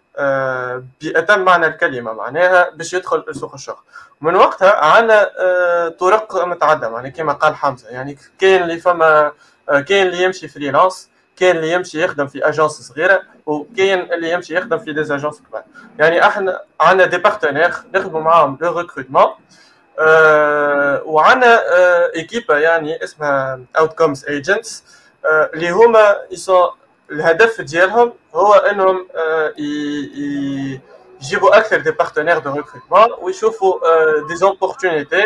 بأتم معنى الكلمة، معناها باش يدخل سوق الشغل. ومن وقتها عندنا طرق متعددة، يعني كما قال حمزة، يعني كاين اللي فما كاين اللي يمشي فريلانس، كاين اللي يمشي يخدم في اجانس صغيره، وكاين اللي يمشي يخدم في دي اجانس كبار. يعني احنا عندنا دي بارتنير نخدموا معاهم لو ريكروتمون، أه وعندنا أه ايكيبا يعني اسمها اوتكومز ايجنتس، أه اللي هما يسون الهدف ديالهم هو انهم أه يجيبوا اكثر دي بارتنير دو ريكروتمون ويشوفوا أه دي زوبورتونيتي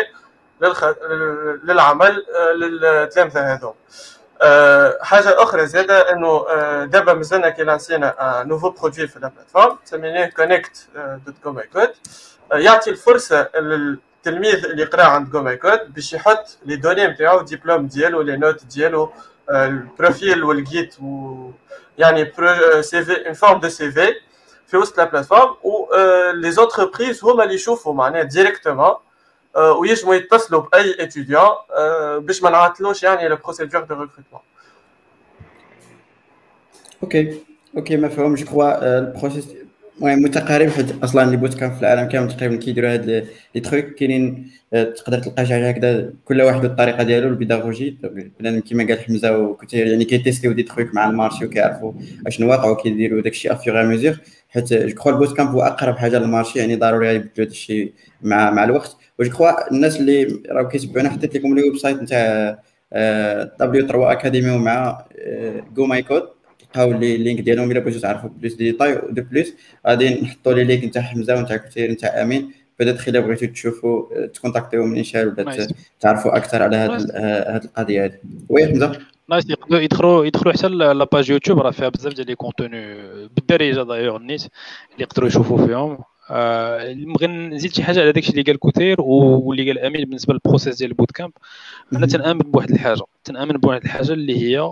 للعمل للتلامذه هذوم. أه حاجه اخرى زاده انه أه دابا مازلنا كي لانسينا نوفو برودوي في البلاتفورم سميناه كونيكت دوت جو ماي كود، أه يعطي الفرصه للتلميذ اللي يقرا عند جو ماي كود باش يحط لي دوني نتاعو، الدبلوم ديالو، لي نوت ديالو، أه البروفيل والجيت، و يعني سي في ان فورم دو سي في في وسط البلاتفورم. و لي زونتربريز هما اللي يشوفوا معناها ديريكتومون ويجموا يتصلوا باي اتيديون باش ما نعطلوش يعني لو بروسيدور دو ريكروتمون. اوكي اوكي مفهوم. جو كروا البروسيس المهم متقارب، حيت اصلا لي بوت كامب في العالم كامل تقريبا كيديروا هاد لي لي تروك كاينين. آه، تقدر تلقى شي حاجه هكذا، كل واحد بالطريقه ديالو البيداغوجي. بنادم كيما قال حمزه وكثير يعني كيتيستيو دي تروك مع المارشي وكيعرفوا اشنو واقع وكيديروا داكشي افيغ ميزور. حيت جو كخوا البوت كامب هو اقرب حاجه للمارشي، يعني ضروري يبدلوا داكشي مع مع الوقت. وجو كخوا الناس اللي راهو كيتبعونا حطيت لكم لي ويب سايت نتاع دبليو ثلاثة اكاديمي ومع جو ماي كود، تلقاو لي اللينك ديالهم الا بغيتو تعرفوا بلوس دي ديتاي. ودو بلوس غادي نحطوا لي لينك نتاع حمزه ونتاع كثير نتاع امين، بدات الا بغيتو تشوفوا تكونتاكتيو من شال ولا نايس تعرفوا اكثر على هاد نايس هاد القضيه هذه. وي حمزه نايس. يقدروا يدخلوا يدخلوا حتى لاباج يوتيوب، راه فيها بزاف ديال لي كونتوني بالدارجه دايوغ النيت اللي يقدروا يشوفوا فيهم. آه بغي نزيد شي حاجه على داكشي اللي قال كوتير واللي قال امين بالنسبه للبروسيس ديال البوت كامب. انا تنامن بواحد الحاجه تنامن بواحد الحاجه اللي هي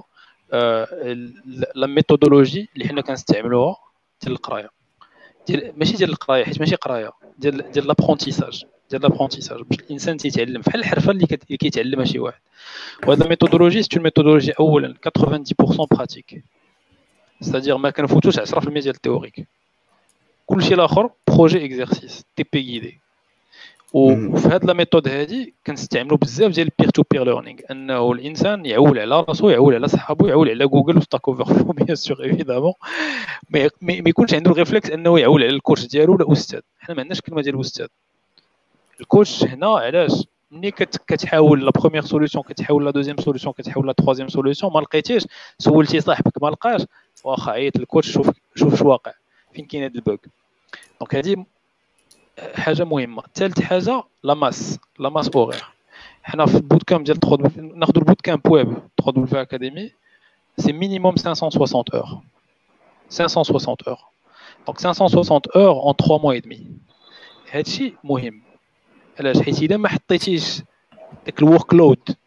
آه لا ميثودولوجي اللي حنا كنستعملوها ديال القرايه، ديال ماشي ديال القرايه حيت ماشي قرايه، ديال ديال لابرونتيساج ديال لابرونتيساج باش الانسان تيتعلم بحال الحرفه اللي كيتعلمها شي واحد. وهذا الميثودولوجي سي ميثودولوجي اولا ثمانين بالمية براتيك، c'est-à-dire ما كنفوتوش عشرة بالمية ديال التيوريك، كلشي الاخر بروجي اكزرسيس تي بي غيدي. وفي هاد لا ميثود هادي كنستعملوا بزاف ديال البير تو بير ليرنينغ، انه الانسان يعول على راسو، يعول على صحابو، يعول على جوجل وستاك اوفر فلو بيان سور ايفيدامون، ما ما يكونش عنده الريفلكس انه يعول على الكوتش ديالو ولا استاذ. حنا ما عندناش كلمه ديال استاذ. الكوتش هنا علاش ملي كتحاول لا بروميير سوليوشن كتحاول لا دوزيام سوليوشن كتحاول لا تروازيام سوليوشن ما لقيتيش، سولتي صاحبك ما لقاش، واخا عيط للكوتش شوف شوف اش واقع فين كاين هاد البوغ. دونك هادي حاجه مهمه. ثالث حاجه لا ماس لا ماس اورير. حنا في البوت كامب ديال ناخذ البوت كامب ويب ثلاثة دبليو اكاديمي سي مينيموم خمسمية وستين اور خمسمية وستين اور، دونك خمسمية وستين اور en trois mois et demi. هادشي مهم علاش؟ حيت الا ما حطيتيش داك الورك لود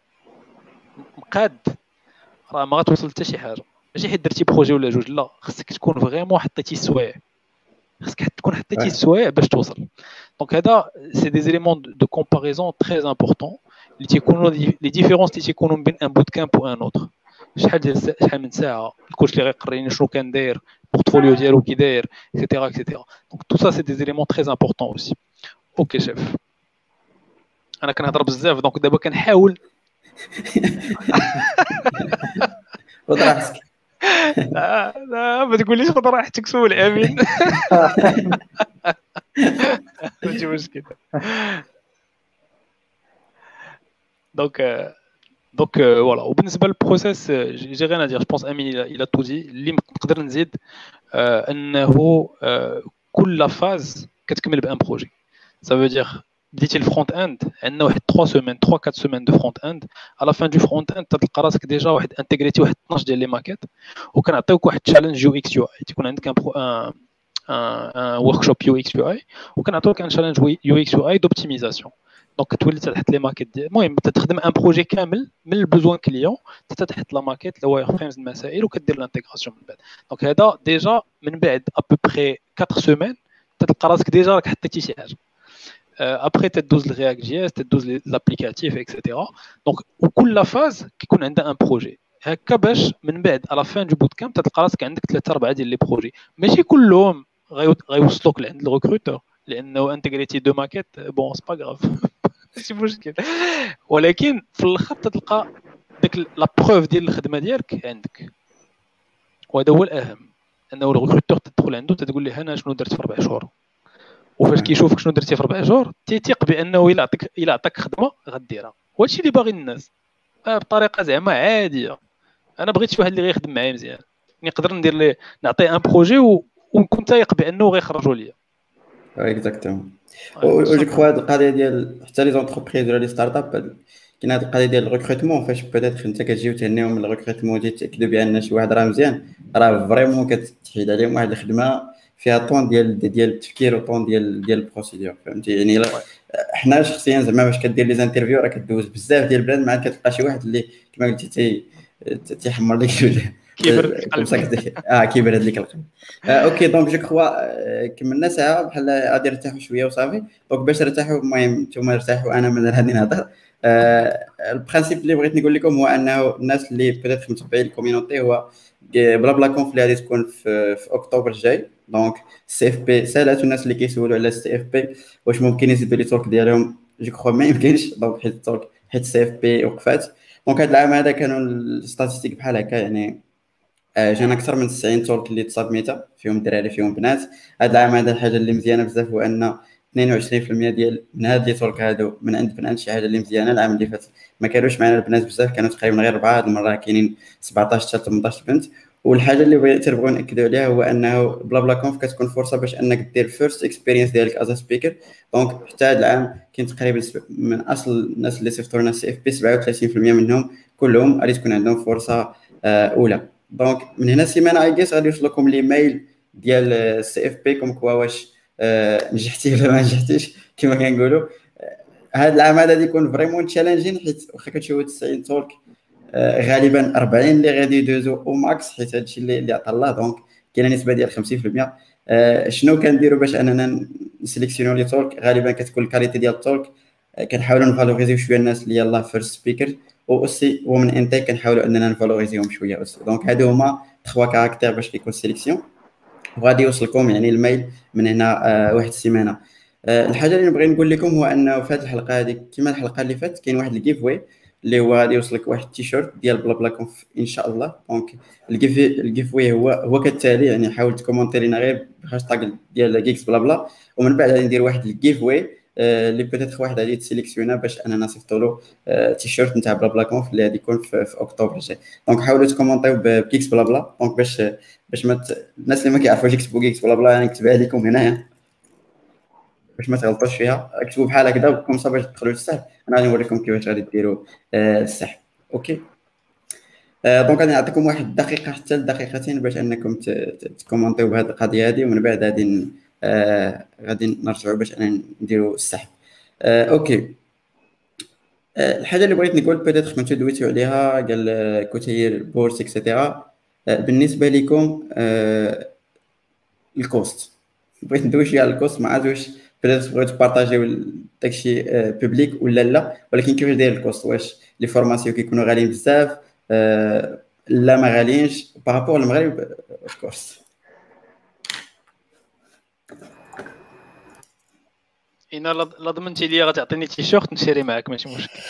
مقاد راه ما غتوصل حتى شي حاجه. ماشي حيت درتي بروجي ولا جوج، لا، خصك تكون فريمون حطيتي السوايع، خصك تكون حطيتي السوايع باش توصل. دونك هذا سي دي زيليمون دو كومباريزون تري امبورطون اللي تيكونوا لي ديفيرونس اللي تيكونوا بين ان بوت كامب و ان اوتر. شحال ديال شحال من ساعه الكوتش اللي غيقريني شنو كان داير، البورتفوليو ديالو كي داير اكسيتيرا اكسيتيرا. دونك تو سا سي دي زيليمون تري امبورطون اوسي. اوكي شيف، انا كنهضر بزاف دونك دابا كنحاول خذ راحتك. لا لا ما تقوليش خذ راحتك، سول امين ماشي مشكل. دونك دونك فوالا. وبالنسبه للبروسيس جي غير ندير، جو بونس امين الى تو دي. اللي نقدر نزيد انه كل فاز كتكمل بان بروجي. ça veut dire بديتي الفرونت اند عندنا واحد ثلاثة سيمين ثلاثة أربعة سيمين دو فرونت اند، على فان دو فرونت اند تلقى راسك ديجا واحد انتغريتي واحد اثناش ديال لي ماكيت، وكنعطيوك واحد تشالنج يو اكس يو اي. تيكون عندك ان ان ان ورك شوب يو اكس يو اي، وكنعطيوك ان تشالنج يو اكس يو اي دوبتيميزاسيون. دونك كتولي تحط لي ماكيت ديال، المهم تخدم ان بروجي كامل من البوزوان كليون حتى تحط لا ماكيت الواير فريمز المسائل وكدير الانتغراسيون من بعد. دونك هذا ديجا من بعد ابوبري أربعة سيمين تلقى راسك ديجا راك حطيتي شي حاجه. ابري تدوز الرياكت جي اس، تدوز لابليكاتيف اكسيتيرا. دونك وكل فاز كيكون عندها ان بروجي هكا، باش من بعد على فان دو بوت كامب تلقى راسك عندك ثلاثه اربعه ديال لي بروجي. ماشي كلهم غيوصلوك لعند الريكروتور لانه انتغريتي دو ماكيت بون سي با غراف ماشي مشكل، ولكن في الاخر تلقى داك لا بروف ديال الخدمه ديالك عندك. وهذا هو الاهم، انه الريكروتور تدخل عنده تقول له انا شنو درت في اربع شهور، وفاش كيشوفك شنو درتي في اربع شهور تيثيق بانه الا عطاك الا عطاك خدمه غديرها. وهادشي اللي باغي الناس بطريقه زعما عاديه. انا بغيت شي واحد اللي غيخدم معايا مزيان، نقدر ندير ليه نعطيه ان بروجي ونكون تايق بانه غيخرجوا ليا. اكزاكتومون. و جو كخوا هاد القضيه ديال حتى لي زونتربريز ولا لي ستارت اب كاين هاد القضيه ديال الريكروتمون، فاش بيتيت انت كتجي وتهنيهم من الريكروتمون ديال تاكدوا بان شي واحد راه مزيان، راه فريمون كتحيد عليهم واحد الخدمه فيها طون ديال ديال التفكير وطون ديال ديال البروسيدور، فهمتي يعني. حنا شخصيا زعما باش كدير لي زانترفيو راه كدوز بزاف ديال البلاد، مع كتلقى شي واحد اللي كما قلتي تي تيحمر لك الوجه، كيبرد القلب. اه كيبرد لك القلب. آه اوكي دونك جو كخوا كملنا ساعه بحال غادي نرتاحوا شويه وصافي. دونك باش نرتاحوا المهم نتوما ارتاحوا انا مازال غادي نهضر. آه البرانسيپ اللي بغيت نقول لكم هو انه الناس اللي بدات متبعين الكوميونيتي هو بلا بلا كونف اللي غادي تكون في, في اكتوبر الجاي دونك السي اف بي سالات الناس اللي كيسولوا على السي اف بي واش ممكن يزيدوا لي تورك ديالهم، جو كخوا ما يمكنش. دونك حيت التورك حيت السي اف بي وقفات. دونك هذا العام هذا كانوا الستاتستيك بحال هكا، يعني آه، جانا اكثر من تسعين تورك اللي تصابميتا فيهم دراري فيهم بنات. هذا العام هذا الحاجه اللي مزيانه بزاف هو ان اثنين وعشرين بالمئة ديال من هاد لي تورك هادو من عند بنات، شي حاجه اللي مزيانه. العام اللي فات ما كانوش معنا البنات بزاف، كانوا تقريبا غير اربعه، هاد المره كاينين سبعطاش حتى ثمنطاش بنت. والحاجه اللي بغيت تنبغيو ناكدوا عليها هو انه بلا بلا كونف كتكون فرصه باش انك دير فيرست اكسبيرينس ديالك از سبيكر. دونك حتى هذا العام كاين تقريبا من اصل الناس اللي صيفطوا لنا سي اف بي سبعة وثلاثين بالمئة منهم كلهم غادي تكون عندهم فرصه آه، اولى. دونك من هنا سيمانه اي جيس غادي يوصل لكم ليميل ديال السي اف بي كوم كوا واش آه، نجحتي ولا ما نجحتيش كما كنقولوا. هذا العام هذا يكون فريمون تشالنجين، حيت واخا كتشوفوا تسعين تورك آه، غالبا أربعين اللي غادي يدوزو او ماكس، حيت هادشي اللي اللي عطا الله. دونك كاينه نسبه ديال خمسين بالمئة. آه، شنو كنديروا باش اننا نسيليكسيونيو لي تورك؟ غالبا كتكون الكاليتي ديال التورك، آه، كنحاولوا نفالوريزيو شويه الناس اللي يلاه فيرست سبيكر، و اوسي ومن انتاج كنحاولوا اننا نفالوريزيوهم شويه اوسي. دونك هادو هما تخوا كاركتير باش كيكون سيليكسيون، وغادي يوصلكم يعني الميل من هنا آه، واحد السيمانه. آه، الحاجه اللي نبغي نقول لكم هو انه في هذه الحلقه هذه كما الحلقه اللي فاتت كاين واحد الجيف واي اللي هو غادي يوصلك واحد التيشيرت ديال بلا بلا كونف ان شاء الله. دونك الجيف الجيف واي هو هو كالتالي، يعني حاول تكومونتي لنا غير بهاشتاغ ديال جيكس بلا بلا، ومن بعد غادي ندير واحد الجيف واي اللي بيتيت واحد غادي تسيليكسيونا باش اننا نصيفطوا له تيشيرت نتاع بلا بلا كونف اللي غادي يكون في, في اكتوبر الجاي. دونك حاولوا تكومونتيو بجيكس بلا بلا، دونك باش باش ما ت... الناس اللي ما كيعرفوش يكتبوا جيكس بلا بلا يعني نكتبها لكم هنايا باش ما تغلطوش فيها. اكتبوا بحال هكذا وكم صافي تدخلوا للسحب، انا غادي نوريكم كيفاش غادي ديروا آه السحب. اوكي آه دونك غادي نعطيكم واحد دقيقه حتى لدقيقتين باش انكم تكومونتيو بهذه القضيه هذه، ومن بعد غادي آه غادي نرجعوا باش انا نديروا السحب. آه اوكي آه الحاجه اللي بغيت نقول بيتيتر كنتو دويتو عليها قال كوتير بورس اكسيتيرا. آه بالنسبه لكم آه الكوست، بغيت ندوي شويه على الكوست، ما عرفتش واش بغيتو بغيتو تبارطاجيو داكشي بوبليك ولا لا، ولكن كيفاش داير الكوست؟ واش لي فورماسيون كيكونوا غاليين بزاف آه لا ما غاليينش بارابور للمغرب اوف كورس؟ انا لا ضمنتي لي غتعطيني تيشيرت نشري معاك ماشي مشكل.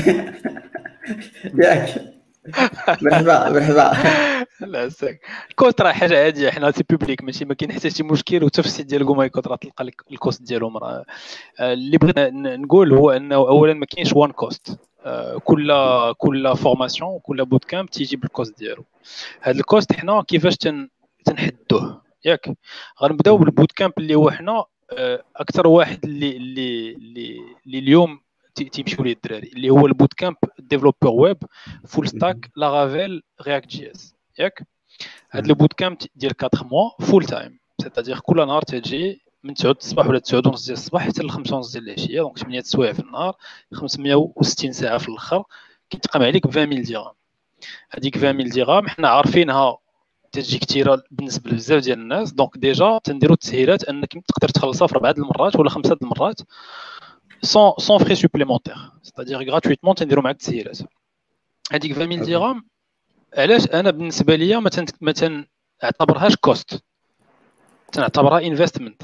ياك مرحبا مرحبا. لا ساك الكوست راه حاجه عاديه، حنا سي بوبليك ماشي ما كاين حتى شي مشكل، وحتى في السيت ديال كومايكوت راه تلقى لك الكوست ديالهم. راه اللي بغيت نقول هو انه اولا ما كاينش وان كوست، كل كل فورماسيون وكل بوت كامب تيجي بالكوست ديالو. هذا الكوست حنا كيفاش تن تنحدوه ياك؟ غنبداو بالبوت كامب اللي هو حنا اكثر واحد اللي اللي اللي اليوم تيمشيو ليه الدراري، اللي هو البوت كامب ديفلوبر ويب فول ستاك لارافيل رياكت جي اس ياك. هاد البوت كامب ديال أربعة موا فول تايم، سيتادير كل نهار تجي من تسعة الصباح ولا تسعة ونص ديال الصباح حتى ل خمسة ونص ديال العشيه، دونك ثمانية سوايع في النهار، خمسمية وستين ساعه في الاخر، كيتقام عليك عشرين ميل درهم. هذيك عشرين ميل درهم حنا عارفينها تجي كثيره بالنسبه لبزاف ديال الناس، دونك ديجا تنديروا التسهيلات انك تقدر تخلصها في اربعه المرات ولا خمسه المرات سون سون فري سوبليمونتير، سيتادير غراتويتمون تنديروا معاك التسهيلات. هذيك عشرين ميل درهم علاش انا بالنسبه ليا ما ما تنعتبرهاش كوست، تنعتبرها انفستمنت،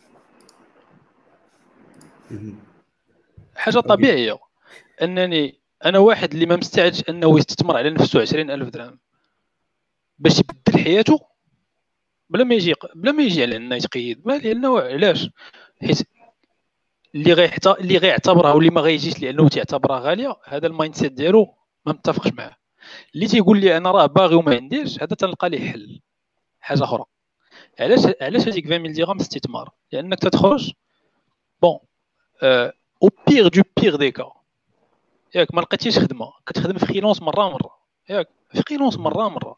حاجه طبيعيه. انني انا واحد اللي ما مستعدش انه يستثمر على نفسه عشرين ألف درهم باش يبدل حياته بلا ما يجي بلا ما يجي على انه يتقيد، لانه علاش؟ حيت اللي غيحتى اللي غيعتبرها واللي ما غيجيش لانه تيعتبرها غاليه، هذا المايند سيت ديالو ما متفقش معاه. اللي تيقول لي انا راه باغي وما عنديش، هذا تنلقى ليه حل حاجه اخرى. علاش علاش هذيك عشرين ميل درهم استثمار؟ لانك تتخرج بون او بيغ دو بيغ دي كا ياك ما لقيتيش خدمه، كتخدم في فريلانس مره مره ياك، في فريلانس مره مره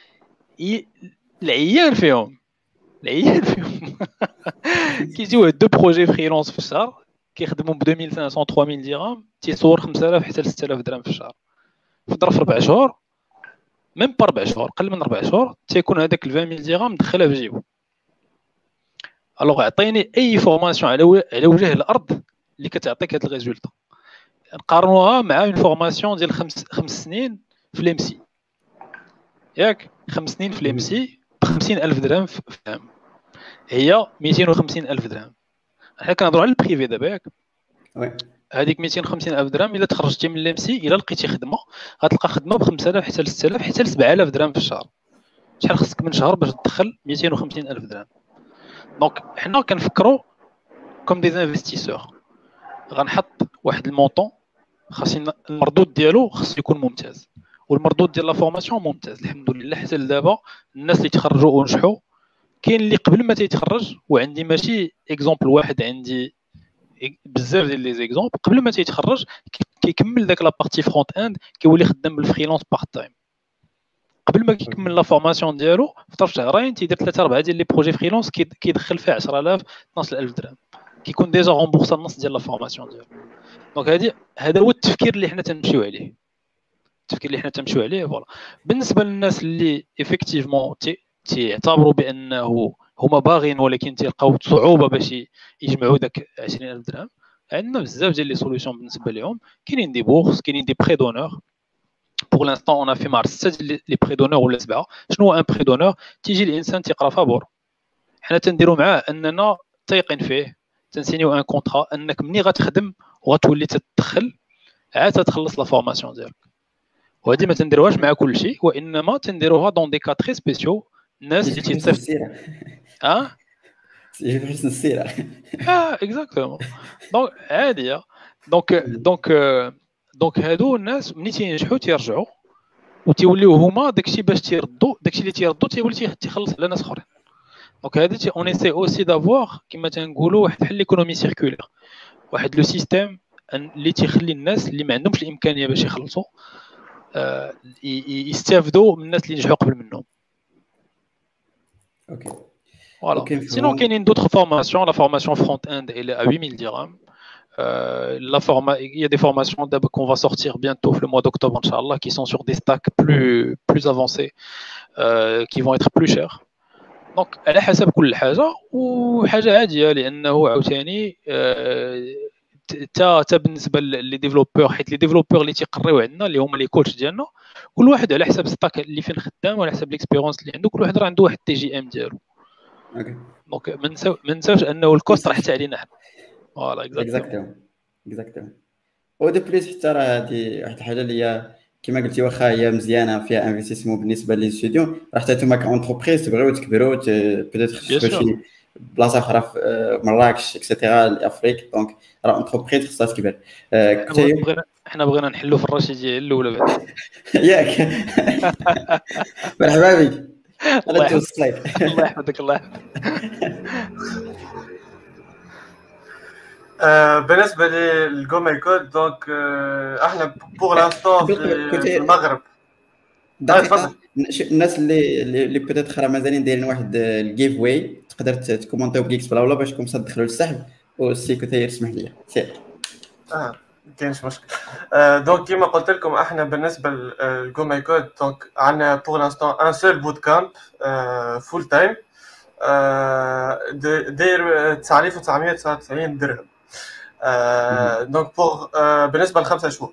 العيال فيهم العيال فيهم كيجيو دو بروجي فريلانس في الشهر كيخدموا ب ألفين وخمسمية ثلاثة ميل درهم، تيصور خمسة آلاف حتى ستة آلاف درهم في الشهر، فضرب في ربع شهور ميم با ربع شهور قل من ربع شهور تيكون هذاك عشرين ميل درهم مدخلها في جيبو. الوغ عطيني اي فورماسيون على على وجه الارض اللي كتعطيك هاد الريزولطا، نقارنوها مع اون فورماسيون ديال خمس خمس سنين في الام سي ياك، خمس سنين في الام سي ب خمسين ألف درهم في العام. هي مئتين وخمسين ألف درهم. حنا كنهضروا على البريفي دابا ياك. وي هذيك مئتين وخمسين ألف درهم الا تخرجتي من ليمسي الا لقيتي خدمه غتلقى خدمه ب خمسة آلاف حتى ل ستة آلاف حتى ل سبعة آلاف درهم في الشهر. شحال خصك من شهر باش تدخل مئتين وخمسين ألف درهم؟ دونك حنا كنفكروا كوم دي انفستيسور. غنحط واحد المونطون خاصنا المردود ديالو خص يكون ممتاز، والمردود ديال لا فورماسيون ممتاز الحمد لله. حتى لدابا الناس اللي تخرجوا ونجحوا كاين اللي قبل ما تيتخرج، وعندي ماشي اكزومبل واحد، عندي بزاف ديال لي زيكزومبل قبل ما تيتخرج كيكمل داك لا بارتي فرونت اند كيولي خدام بالفريلانس بارت تايم. قبل ما كيكمل لا فورماسيون ديالو في طرف شهرين تيدير ثلاثة أربعة ديال لي بروجي فريلانس كيدخل فيه عشرة آلاف اثناش ألف درهم، كيكون ديجا رومبورسا النص ديال لا فورماسيون ديالو. دونك هادي هذا هو التفكير اللي حنا تنمشيو عليه، التفكير اللي حنا تنمشيو عليه فوالا. بالنسبه للناس اللي ايفيكتيفمون تيعتبروا بانه هما باغيين ولكن تلقاو صعوبه باش يجمعوا داك عشرين ألف درهم، عندنا بزاف ديال لي سوليوشن بالنسبه لهم. كاينين دي بورس، كاينين دي بري دونور. بور لانستون اون في مار ستة ديال لي بري دونور ولا سبعه. شنو هو ان بري دونور؟ تيجي الانسان تيقرا فابور، حنا تنديروا معاه اننا تايقين فيه، تنسينيو ان كونطرا انك ملي غتخدم وغتولي تدخل عاد تخلص لا فورماسيون ديالك. وهذه ما تنديروهاش مع كل شيء، وانما تنديروها دون دي كا تري سبيسيو. الناس اللي تيتصيفط اه يجي حسن السيره اه اكزاكتومون. دونك عاديه. دونك دونك دونك هادو الناس ملي تينجحوا تيرجعوا وتيوليو هما داكشي باش تيردوا داكشي اللي تيردوا تيولي تيخلص على ناس اخرين. دونك هذا تي اون ايسي اوسي دافوار كما تنقولوا واحد بحال ليكونومي سيركولير، واحد لو سيستيم اللي تيخلي الناس اللي ما عندهمش الامكانيه باش يخلصوا آه يستافدوا من الناس اللي نجحوا قبل منهم. اوكي فوالا. سينون كاينين دوطخ فورماسيون. لا فورماسيون فرونت اند elle est à huit mille dirhams. Euh, la forma... Il y a des formations qu'on va sortir bientôt le mois d'octobre, Inch'Allah, qui sont sur des stacks plus, plus avancés, euh, qui vont être plus chers. Donc, على حسب كل حاجة وحاجة عادية، لأنه عاوتاني تا تا بالنسبة لي ديفلوبور، حيت لي ديفلوبور اللي تيقريو عندنا اللي هما لي كوتش ديالنا كل واحد على حسب ستاك اللي فين خدام وعلى حسب ليكسبيرونس اللي عنده، كل واحد راه عنده واحد التي جي ام ديالو. اوكي دونك ما نساوش انه الكوست راه حتى علينا حنا. فوالا اكزاكتومون اكزاكتومون. و دو بليس حتى راه هادي واحد الحاجه اللي هي كما قلتي واخا هي مزيانه فيها انفستيسمون بالنسبه لي ستوديون، راه حتى نتوما كونتربريز تبغيو تكبروا بيتيتر تخشوا شي بلاصه اخرى في مراكش اكسيتيرا لافريك، دونك راه انتربريز خصها تكبر. بغينا حنا بغينا نحلوا في الرشيديه الاولى بعد ياك مرحبا بك. الله يحفظك الله يحفظك الله يحفظك. بالنسبه للجو ماي كود دونك احنا بور لانستون في المغرب. دقيقه الناس اللي اللي بيتيتر راه مازالين دايرين واحد الجيف واي، تقدر تكومونتيو بكيكس بلا ولا باش تكون تدخلوا للسحب والسي كثير اسمح لي سير. اه كاينش مشكل. دونك كيما قلت لكم احنا بالنسبه للجو ماي كود دونك عندنا بور لانستون ان سول بوت كامب فول تايم داير تسعة آلاف وتسعمية وتسعة وتسعين درهم. دونك بور بالنسبه لخمسة شهور.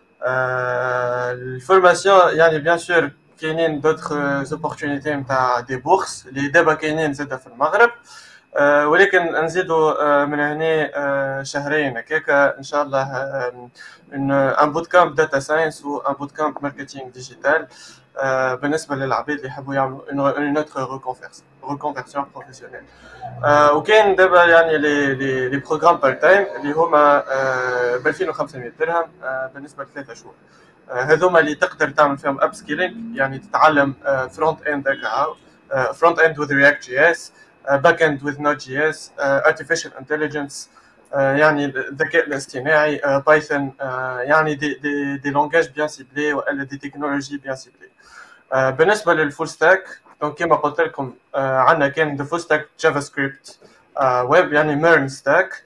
الفورماسيون يعني بيان سور كاينين دوطخ زوبورتونيتي نتاع دي بورس اللي دابا كاينين زاده في المغرب، ولكن نزيدوا من هنا شهرين هكاك ان شاء الله ان بوت كامب داتا ساينس و ان بوت كامب ماركتينغ ديجيتال بالنسبه للعباد اللي يحبوا يعملوا اون اوتر ريكونفيرسيون بروفيسيونيل. وكاين دابا يعني لي لي لي بروغرام بار تايم اللي هما ب ألفين وخمسمية درهم بالنسبه لثلاثة شهور. هذوما اللي تقدر تعمل فيهم اب سكيلينغ، يعني تتعلم فرونت اند هكا فرونت اند وذ رياكت جي اس، باك اند وذ نوت جي اس، ارتفيشال انتليجنس يعني الذكاء الاصطناعي، بايثون يعني دي دي دي لونغاج بيان سيبلي ولا دي تكنولوجي بيان سيبلي. بالنسبه للفول ستاك دونك كيما قلت لكم عندنا كاين دو فول ستاك جافا سكريبت ويب يعني ميرن ستاك.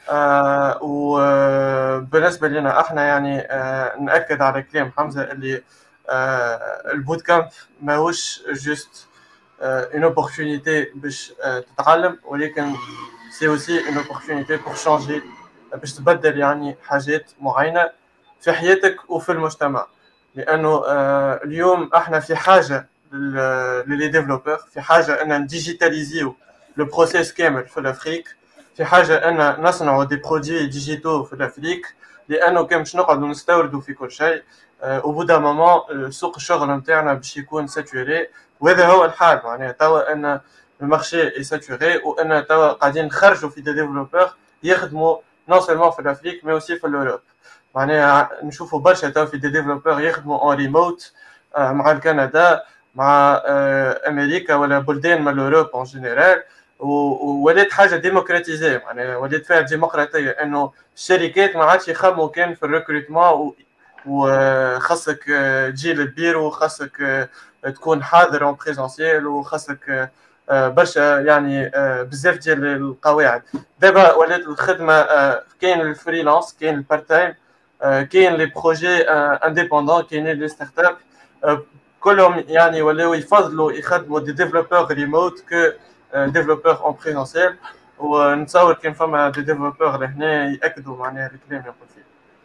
وبالنسبه لنا احنا يعني ناكد على كلام حمزه اللي البوت كامب ماهوش جوست une opportunité باش تتعلم، ولكن سي اوسي une opportunité pour changer باش تبدل يعني حاجات معينه في حياتك وفي المجتمع. لانه اليوم احنا في حاجه للي ديفلوبر، في حاجه ان نديجيتاليزيو لو بروسيس كامل في الافريك، في حاجه ان نصنعوا دي برودوي ديجيتو في الافريك، لانه كان باش نقعدوا نستوردوا في كل شيء او بودا مومون سوق الشغل نتاعنا باش يكون ساتوري. وهذا هو الحال معناها توا ان المارشي اي ساتوري، وان توا قاعدين نخرجوا في دي ديفلوبور يخدموا نون سيلمون في الافريك مي اوسي في الاوروب. معناها نشوفوا برشا توا في دي ديفلوبور يخدموا اون ريموت مع الكندا مع امريكا ولا بلدان من الاوروب اون جينيرال، وولات حاجه ديموكراتيزي معناها ولات فيها ديمقراطيه، انه الشركات ما عادش يخموا كان في الريكروتمون وخاصك تجي للبيرو وخاصك تكون حاضر اون بريزونسيال وخاصك برشا يعني بزاف ديال القواعد. دابا ولات الخدمه كاين الفريلانس، كاين البارت تايم، كاين لي بروجي انديبوندون، كاينين لي ستارت اب، كلهم يعني ولاو يفضلوا يخدموا دي ديفلوبور ريموت كو ديفلوبور اون بريزونسيال. ونتصور كان فما دي ديفلوبور لهنا ياكدوا معناها الكلام اللي قلت فيه.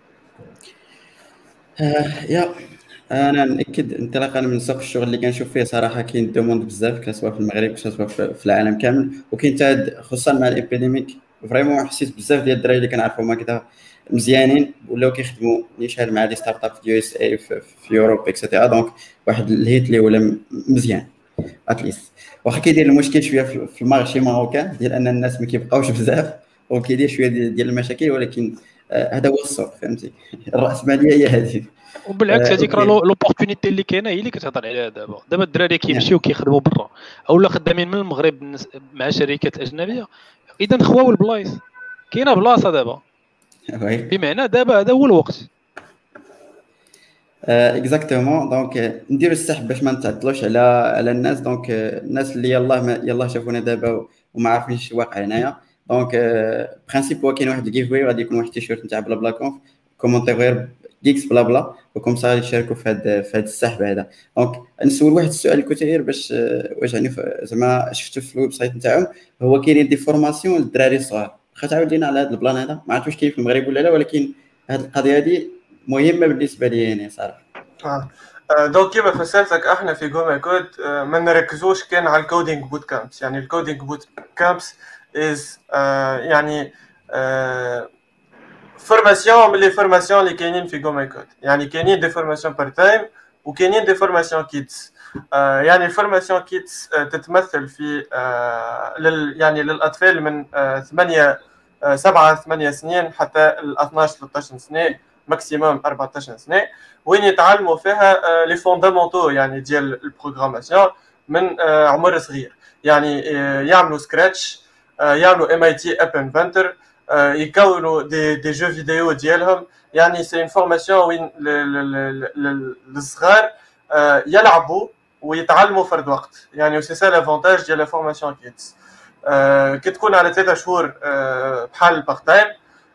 آه يا انا ناكد انطلاقا من سوق الشغل اللي كنشوف فيه صراحه كاين دوموند بزاف، كسواء في المغرب كسواء في العالم كامل، وكاين حتى خصوصا مع الابيديميك فريمون حسيت بزاف ديال الدراري اللي كنعرفهم هكذا مزيانين ولاو كيخدموا نيشان مع دي ستارت اب في يو اس اي في, في يوروب اكسيتيرا. دونك واحد الهيت اللي ولا مزيان اتليست، واخا كيدير المشكل شويه في المارشي ماروكان ديال ان الناس ما كيبقاوش بزاف وكيدير شويه ديال المشاكل، ولكن هذا هو السوق فهمتي، الراسماليه هي هذه. وبالعكس هذيك راه لوبورتونيتي اللي كاينه هي اللي كتهضر عليها دابا. دابا الدراري كيمشيو كيخدموا برا اولا خدامين من المغرب مع شركات اجنبيه، اذا خواو البلايص كاينه بلاصه دابا، بمعنى دابا هذا هو الوقت. اكزاكتومون. دونك نديروا السحب باش ما نتعطلوش على على الناس. دونك الناس اللي يلاه يلاه شافونا دابا وما عارفينش واقع هنايا، دونك برينسيپ هو كاين واحد الجيف واي غادي يكون واحد التيشيرت نتاع بلا بلا كونف كومونتير غير جيكس بلا بلا، وكم صار يشاركوا في هذا في هذا السحب هذا. دونك نسول واحد السؤال كثير باش واش يعني زعما شفتوا في الويب سايت نتاعهم هو كاينين دي فورماسيون للدراري الصغار. واخا تعاود لينا على هذا البلان هذا، ما عرفتش كاين في المغرب ولا لا، ولكن هذه القضيه هذه مهمه بالنسبه لي يعني صراحه. اه دونك كيما فسرتك احنا في جوما كود ما نركزوش كان على الكودينج بوت كامبس. يعني الكودينج بوت كامبس از يعني فورماسيون من لي فورماسيون اللي كاينين في جوما كود. يعني كاينين دي فورماسيون بار تايم وكاينين دي فورماسيون كيتس. يعني الفورماسيون كيتس تتمثل في لل يعني للاطفال من ثمانية سبعة ثمانية سنين حتى ال اثناش ثلاثة عشر سنه، ماكسيموم أربعة عشر سنه، وين يتعلموا فيها لي فوندامونتو يعني ديال البروغراماسيون من عمر صغير. يعني يعملوا سكراتش، يعملوا ام اي تي اب انفنتر، يكونوا دي دي جو فيديو ديالهم. يعني سي اون فورماسيون وين الصغار يلعبوا ويتعلموا فرد وقت. يعني سي سا لافونتاج ديال لا فورماسيون كيتس. كي تكون على ثلاثة شهور بحال البارت تايم،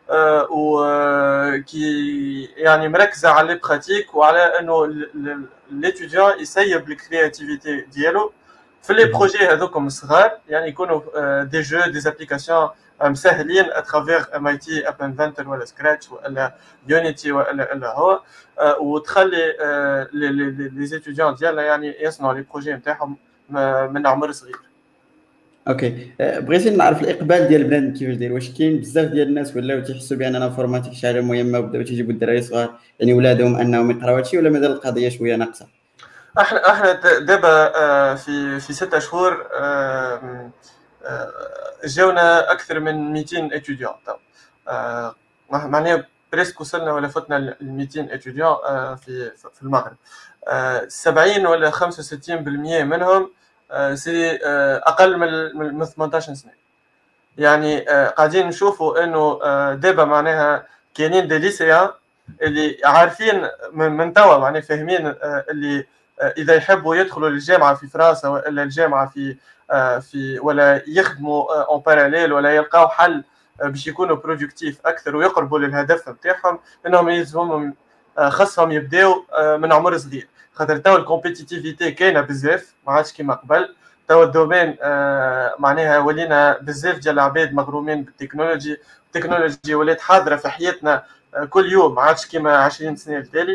وكي يعني مركزه على لي براتيك وعلى انه ليتيديون يسيب الكرياتيفيتي ديالو في لي بروجي هذوكم الصغار. يعني يكونوا دي جو دي ابليكاسيون مسهلين اترافير ام اي تي اب انفنتر ولا سكراتش ولا يونيتي ولا الا هو، وتخلي لي زيتيديون ديالنا يعني يصنعوا لي بروجي نتاعهم من عمر صغير. اوكي، بغيتي نعرف الاقبال ديال البنات كيفاش داير، واش كاين بزاف ديال الناس ولاو تيحسوا بان الانفورماتيك شي حاجه مهمه وبداو تيجيبوا الدراري صغار يعني ولادهم انهم يقراو هادشي، ولا مازال القضيه شويه ناقصه؟ احنا احنا دابا في في ستة شهور جاونا اكثر من مئتين اتيديون. معناها بريسك وصلنا ولا فتنا ل مئتين اتيديون في في المغرب. سبعين ولا خمسة وستين بالمئة منهم سي اقل من ثمانية عشر سنه. يعني قاعدين نشوفوا انه دابا معناها كاينين دي ليسيان اللي عارفين من توا معناها فاهمين اللي اذا يحبوا يدخلوا للجامعه في فرنسا ولا الجامعه في في ولا يخدموا اون باراليل ولا يلقاو حل باش يكونوا برودكتيف اكثر ويقربوا للهدف نتاعهم، انهم يلزمهم خاصهم يبداو من عمر صغير. خاطر توا الكومبيتيتيفيتي كاينه بزاف ما عادش كيما قبل. توا الدومين معناها ولينا بزاف ديال العباد مغرومين بالتكنولوجي، التكنولوجي ولات حاضره في حياتنا كل يوم ما عادش كيما عشرين سنه التالي.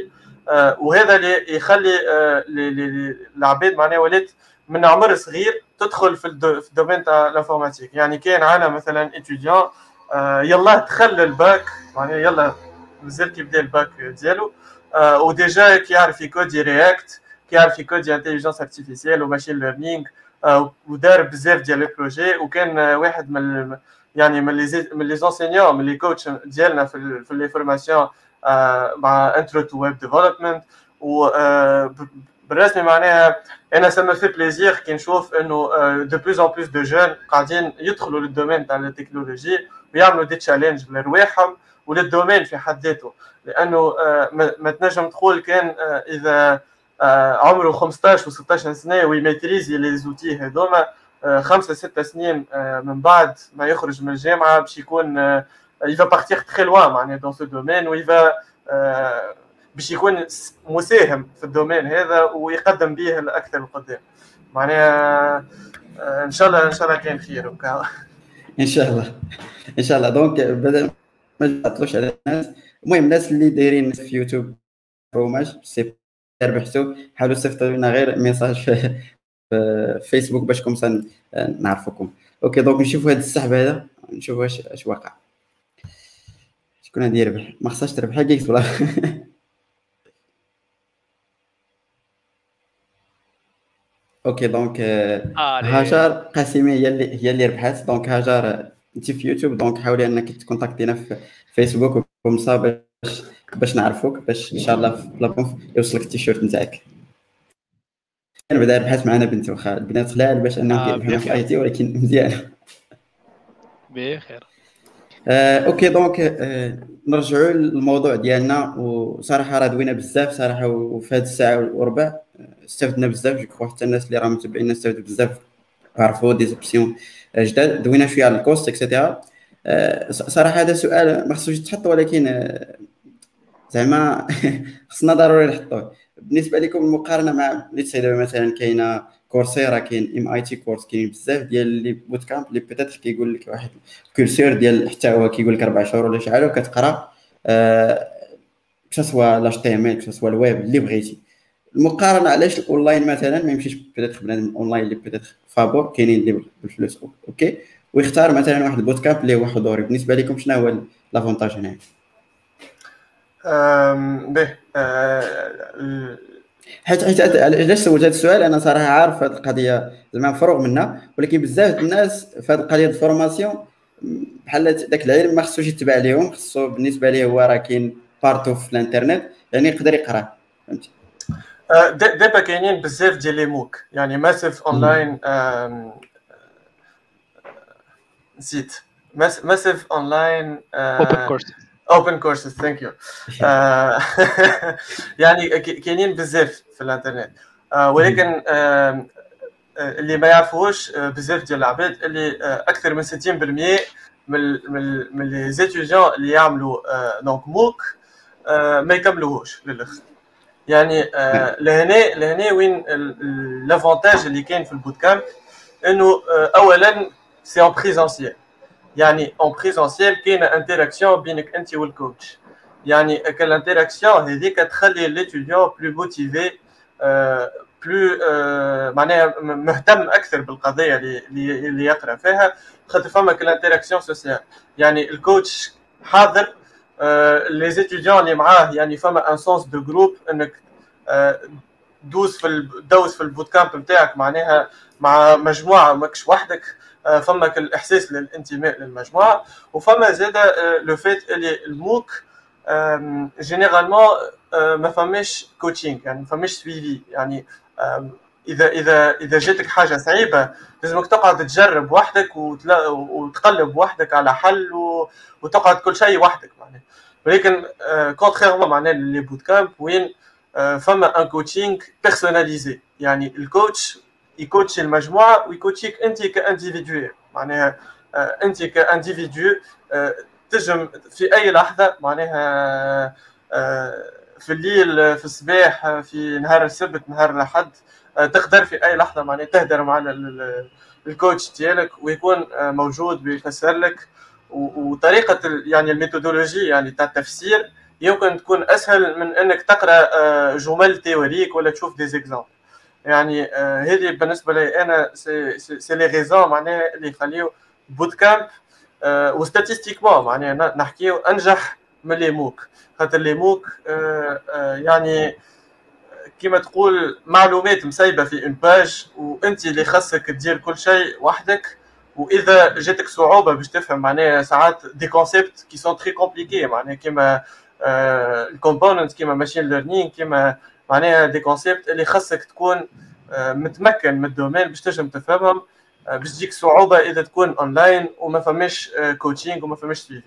آه وهذا اللي يخلي آه العباد معناها ولات من عمر صغير تدخل في الدومين تاع الانفورماتيك. يعني كاين عنا مثلا اتيديون آه يلا دخل الباك معناها يلا مازال كيبدا الباك ديالو آه وديجا كيعرف يكودي رياكت، كيعرف يكودي انتيليجنس ارتيفيسيال وماشين ليرنينغ آه ودار بزاف ديال لي بروجي. وكان آه واحد من يعني من لي من لي زونسينيون من لي كوتش ديالنا في في لي فورماسيون آه مع انترو تو ويب ديفلوبمنت. و آه بالرسمي معناها انا سما في بليزير كي نشوف انه دو بلوس ان بلوس دو جون قاعدين يدخلوا للدومين تاع التكنولوجي ويعملوا دي تشالنج لرواحهم وللدومين في حد ذاته. لانه ما تنجم تقول كان اذا عمره خمسطاش و ستطاش سنه ويميتريزي لي زوتي هذوما خمسه سته سنين من بعد ما يخرج من الجامعه باش يكون il va partir très loin معناها dans ce domaine و il va باش يكون مساهم في الدومين هذا ويقدم به الاكثر القدام. معناها ان شاء الله ان شاء الله كاين خير وكا. ان شاء الله ان شاء الله. دونك بدل ما نعطلوش على الناس، المهم الناس اللي دايرين في يوتيوب فروماج سي ربحتوا حاولوا تصيفطوا لنا غير ميساج في فيسبوك باش كم نعرفوكم. اوكي دونك نشوفوا هذا السحب هذا نشوفوا واش اش واقع. شكون غادي يربح؟ ما خصهاش تربح كيكس ولا اوكي دونك هاجر قاسمي هي اللي هي اللي ربحات. دونك هاجر انت في يوتيوب دونك حاولي انك تكونتاكتينا في فيسبوك وكمصا باش باش نعرفوك باش ان شاء الله في بلاكونف يوصلك التيشيرت نتاعك. انا بعدا ربحات معنا بنت واخا البنات خلال باش انهم كيفهموا في الاي تي ولكن مزيان بخير. آه، اوكي دونك آه، نرجعوا للموضوع ديالنا. وصراحه راه دوينا بزاف صراحه وفي هذه الساعه وربع استفدنا بزاف. جو كخوا حتى الناس اللي راهم متابعينا استفدوا بزاف عرفوا دي زوبسيون جداد. دوينا شويه على الكوست اكسيتيرا. آه، صراحه هذا سؤال ما خصوش يتحط ولكن آه، زعما خصنا ضروري نحطوه. بالنسبه لكم المقارنه مع اللي تسيدوا مثلا كاينه كورسيرا كاين ام اي تي كورس كاين بزاف ديال لي بوت كامب اللي بيتيتر كيقول لك واحد كورسور ديال حتى هو كيقول لك اربع شهور ولا شحال وكتقرا أه كسوا لاش تي ام ال كسوا الويب اللي بغيتي. المقارنه علاش الاونلاين مثلا ما يمشيش بيتيتر بنادم اونلاين اللي بيتيتر فابور كاينين اللي بالفلوس اوكي ويختار مثلا واحد البوت كامب اللي هو حضوري. بالنسبه لكم شنو هو لافونتاج هنا؟ امم به حيت حيت علاش سولت هذا السؤال انا صراحه عارف هذه القضيه زعما مفروغ منها ولكن بزاف الناس في هذه القضيه الفورماسيون بحال داك العلم ما خصوش يتبع ليهم. خصو بالنسبه ليه هو راه كاين بارتو في الانترنت يعني يقدر يقرا فهمتي. دابا كاينين بزاف ديال لي موك يعني ماسيف اونلاين نسيت ماسيف اونلاين اوبن كورس open courses thank you يعني كاينين بزاف في الانترنت ولكن اللي ما يعرفوش بزاف ديال العباد اللي اكثر من ستين بالمية من من من لي زيتيديون اللي يعملوا دونك موك ما يكملوهوش للاخر. يعني لهنا لهنا وين لافونتاج اللي كاين في البوت كامب انه اولا سي اون بريزونسيال. يعني اون بريزونسيال كاينه انتراكسيون بينك انت والكوتش. يعني كالانتراكسيون هذيك تخلي ليتيديون بلو موتيفي بلو معناها مهتم اكثر بالقضيه اللي اللي يقرا فيها خاطر فما كالانتراكسيون سوسيال. يعني الكوتش حاضر لي زيتيديون اللي معاه يعني فما ان سونس دو جروب انك دوز في دوز في البوت كامب نتاعك معناها مع مجموعه ماكش وحدك. فما الاحساس للانتماء للمجموعه وفما زاده لو فيت اللي الموك جينيرالمون ما فماش كوتشينغ يعني ما فماش سويفي. يعني اذا اذا اذا جاتك حاجه صعيبه لازمك تقعد تجرب وحدك وتقلب وحدك على حل وتقعد كل شيء وحدك معناها. ولكن كونتريرمون معناها لي بوت كامب وين فما ان كوتشينغ بيرسوناليزي. يعني الكوتش يكوتشي المجموعه ويكوتشيك انت كانديفيديو. معناها انت كانديفيديو تجم في اي لحظه معناها في الليل في الصباح في نهار السبت نهار الاحد تقدر في اي لحظه معناها تهدر مع الكوتش ديالك ويكون موجود ويفسر لك. وطريقه يعني الميثودولوجي يعني تاع التفسير يمكن تكون اسهل من انك تقرا جمل تيوريك ولا تشوف دي زيكزامبل. يعني هذه بالنسبه لي انا سي سي لي ريزون معناها اللي يخليو بوت كامب وستاتيستيكمون معناها نحكيو انجح من لي موك، خاطر لي موك يعني كما تقول معلومات مسيبه في اون باج وانت اللي خاصك تدير كل شيء وحدك. واذا جاتك صعوبه باش تفهم معناها ساعات دي كونسيبت كي سون تري كومبليكي معناها كيما الكومبوننت كيما ماشين ليرنينغ كيما معناها دي كونسيبت اللي خاصك تكون متمكن من الدومين باش تنجم تفهمهم، باش تجيك صعوبه اذا تكون اونلاين وما فماش كوتشينغ وما فماش سويفي.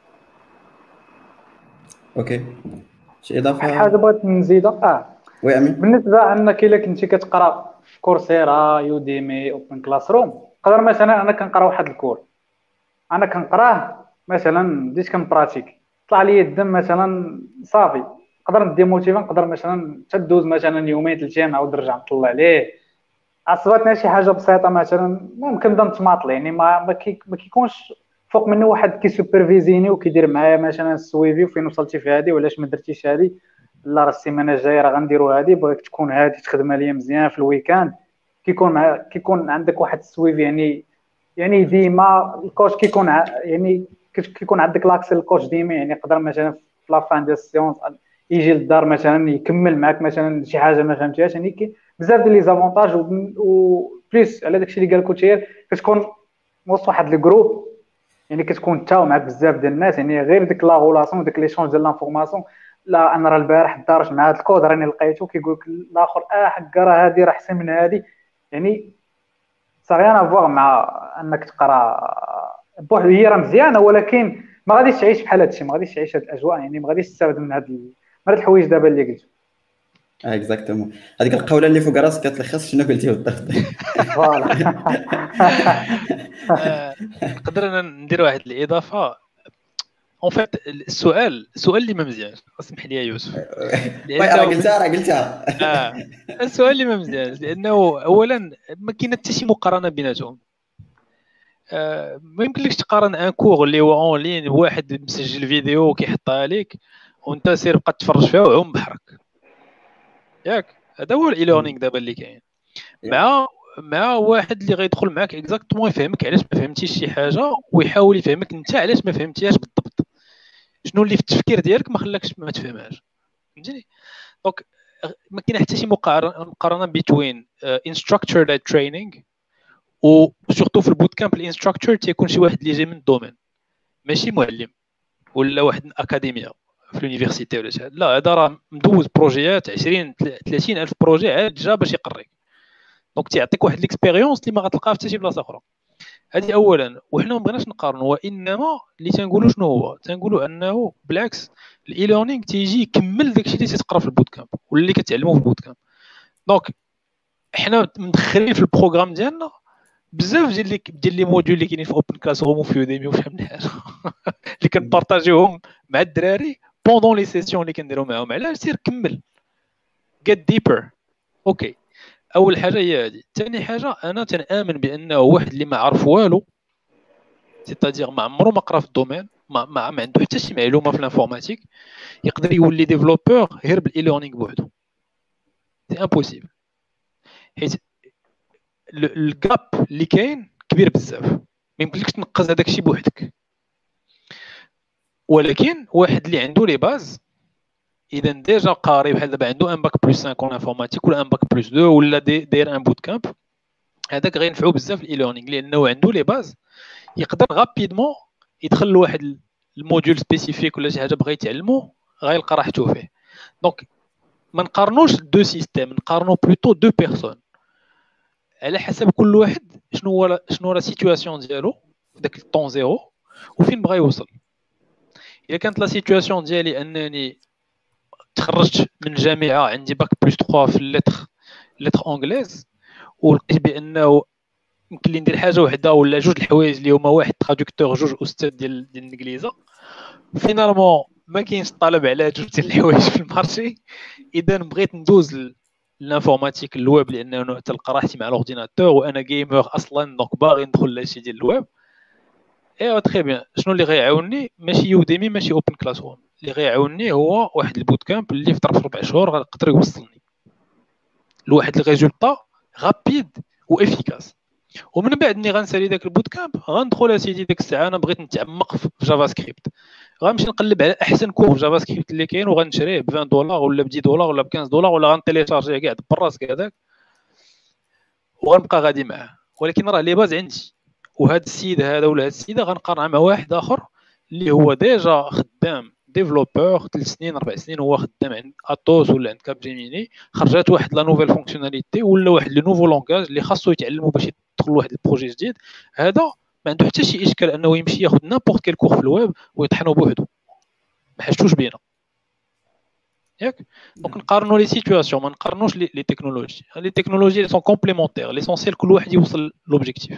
اوكي شي اضافه حاجه بغيت نزيدها اه وي امين. بالنسبه انك الا كنتي كتقرا في كورسيرا يوديمي اوبن كلاس روم، قدر مثلا انا كنقرا واحد الكور انا كنقراه مثلا بديت كنبراتيك طلع لي الدم مثلا صافي، نقدر نديموتيفا نقدر مثلا تدوز مثلا يومين ثلاث ايام نعاود نرجع نطلع عليه. عصبتنا شي حاجه بسيطه مثلا ممكن نبدا نتماطل يعني ما ما, كي ما كيكونش فوق منه واحد كي سوبرفيزيني وكيدير معايا مثلا السويفي وفين وصلتي في هذه وعلاش ما درتيش هذه، لا راه السيمانه الجايه راه غنديروا هذه بغيت تكون هذه تخدم ليا مزيان في الويكاند. كيكون مع كيكون عندك واحد السويفي يعني يعني ديما الكوتش كيكون يعني كيكون عندك لاكس الكوتش ديما يعني يقدر مثلا في لا فان ديال السيونس يجي للدار مثلا يكمل معك مثلا شي حاجه ما فهمتيهاش. يعني بزاف ديال لي زافونتاج و بليس على داكشي اللي قال كوتشير كتكون وسط واحد لي جروب يعني كتكون تا معك بزاف ديال الناس يعني غير ديك لا غولاسيون ديك لي شونج ديال لانفورماسيون. لا انا راه البارح دارت مع هذا الكود راني لقيته كيقول لك الاخر اه حكا راه هذه راه احسن من هذه. يعني صافي انا فواغ مع انك تقرا بوحدك هي راه مزيانه ولكن ما غاديش تعيش بحال هادشي، ما غاديش تعيش هاد الاجواء يعني ما غاديش تستافد من هاد من هاد الحوايج دابا اللي قلت. اه اكزاكتومون هذيك القوله اللي فوق راسك كتلخص شنو قلتي بالضبط. فوالا نقدر انا ندير واحد الاضافه اون فيت. السؤال السؤال اللي ما مزيانش اسمح لي يا يوسف راه قلتها راه قلتها اه السؤال اللي ما مزيانش لانه اولا ما كاين حتى شي مقارنه بيناتهم. آه ما يمكنلكش تقارن ان كور اللي هو اون لين واحد مسجل فيديو وكيحطها لك وانت سير بقى تفرج فيها وعوم بحرك ياك. هذا هو الاي ليرنينغ دابا اللي كاين مع مع واحد اللي غيدخل معك اكزاكتومون يفهمك علاش ما فهمتيش شي حاجه ويحاول يفهمك انت علاش ما فهمتيهاش بالضبط، شنو اللي في التفكير ديالك ما خلاكش ما تفهمهاش. فهمتيني؟ دونك ما كاين حتى شي مقارنه بين انستراكتور ليد تريننغ و سورتو في البوت كامب الانستراكتور تيكون شي واحد اللي جاي من الدومين ماشي معلم ولا واحد من اكاديميه في اليونيفرسيتي ولا شي. لا هذا راه مدوز بروجيات عشرين ثلاثين الف بروجي عاد جا باش يقريك. دونك تيعطيك واحد ليكسبيريونس اللي ما غتلقاها في حتى شي بلاصه اخرى. هذه اولا. وحنا ما بغيناش نقارنوا وانما اللي تنقولوا شنو هو تنقولوا انه بالعكس الاي ليرنينغ تيجي يكمل داكشي اللي تتقرا في البوت كامب ولا اللي كتعلموه في البوت كامب. دونك حنا مدخلين في البروغرام ديالنا بزاف ديال لي ديال لي موديول اللي كاينين في اوبن كلاس روم وفي يوديمي وشحال من حاجه اللي كنبارطاجيوهم مع الدراري بوندون لي سيسيون اللي كنديروا معاهم. علاش سير كمل get deeper. اوكي اول حاجه هي هذه. ثاني حاجه انا تنامن بانه واحد اللي ما عرف والو سيتادير ما عمره ما قرا في الدومين ما ما عنده حتى شي معلومه في الانفورماتيك يقدر يولي ديفلوبور غير بالاي ليرنينغ بوحدو. سي امبوسيبل حيت الجاب اللي كاين كبير بزاف ما يمكنلكش تنقز هذاك الشيء بوحدك. ولكن واحد اللي عنده لي باز اذا ديجا قاري بحال دابا عنده ان باك بلس خمسة اون انفورماتيك ولا ان باك بلس اثنين ولا داير ان بوت كامب هذاك غينفعو بزاف الاي ليرنينغ لانه عنده لي باز يقدر غابيدمون يدخل لواحد الموديول سبيسيفيك ولا شي حاجه بغى يتعلمو غيلقى راحته فيه. دونك ما نقارنوش دو سيستيم نقارنو بلوتو دو بيرسون على حسب كل واحد شنو هو شنو لا سيتوياسيون ديالو في داك الطون زيرو وفين بغى يوصل. الا كانت لا سيتوياسيون ديالي انني تخرجت من الجامعه عندي باك بلس ثلاثة في اللتر لتر انجليز ولقيت بانه يمكن لي ندير حاجه وحده ولا جوج الحوايج اللي هما واحد ترادكتور جوج استاذ ديال ديال الانجليزه فينالمون ما كاينش طلب على جوج ديال الحوايج في المارشي. اذا بغيت ندوز الانفورماتيك الويب لانه تلقى راحتي مع الاورديناتور وانا جيمر اصلا دونك باغي ندخل لهادشي ديال الويب. ايوا تري بيان شنو اللي غيعاونني ماشي يوديمي ماشي اوبن كلاس روم اللي غيعاونني هو واحد البوت كامب اللي في ظرف ربع شهور غيقدر يوصلني لواحد الريزولطا غابيد وافيكاس. ومن بعد ملي غنسالي داك البوت كامب غندخل اسيدي ديك الساعه انا بغيت نتعمق في جافا سكريبت، غنمشي نقلب على احسن كور جافا سكريبت اللي كاين وغنشريه ب عشرين دولار ولا ب عشرة دولار ولا ب خمسة دولار، ولا غنتيليشارجيه كاع بالراس هذاك وغنبقى غادي معاه. ولكن راه لي باز عندي، وهذا السيد هذا ولا هذه السيده غنقارنها مع واحد اخر اللي هو ديجا خدام ديفلوبور ثلاث سنين اربع سنين، هو خدام عند اتوس ولا عند كاب جيميني، خرجات واحد لا نوفيل فونكسيوناليتي ولا واحد لو نوفو لونغاج اللي خاصو يتعلموا باش يدخل واحد البروجي جديد. هذا ما عنده حتى شي اشكال انه يمشي ياخذ نابورت كيل كور في الويب ويطحنوا بوحدو، ما حاجتوش بينا ياك. دونك نقارنوا لي سيتوياسيون، ما نقارنوش لي لي تكنولوجي. لي تكنولوجي سون كومبليمونتير، ليسونسيال كل واحد يوصل لوبجيكتيف.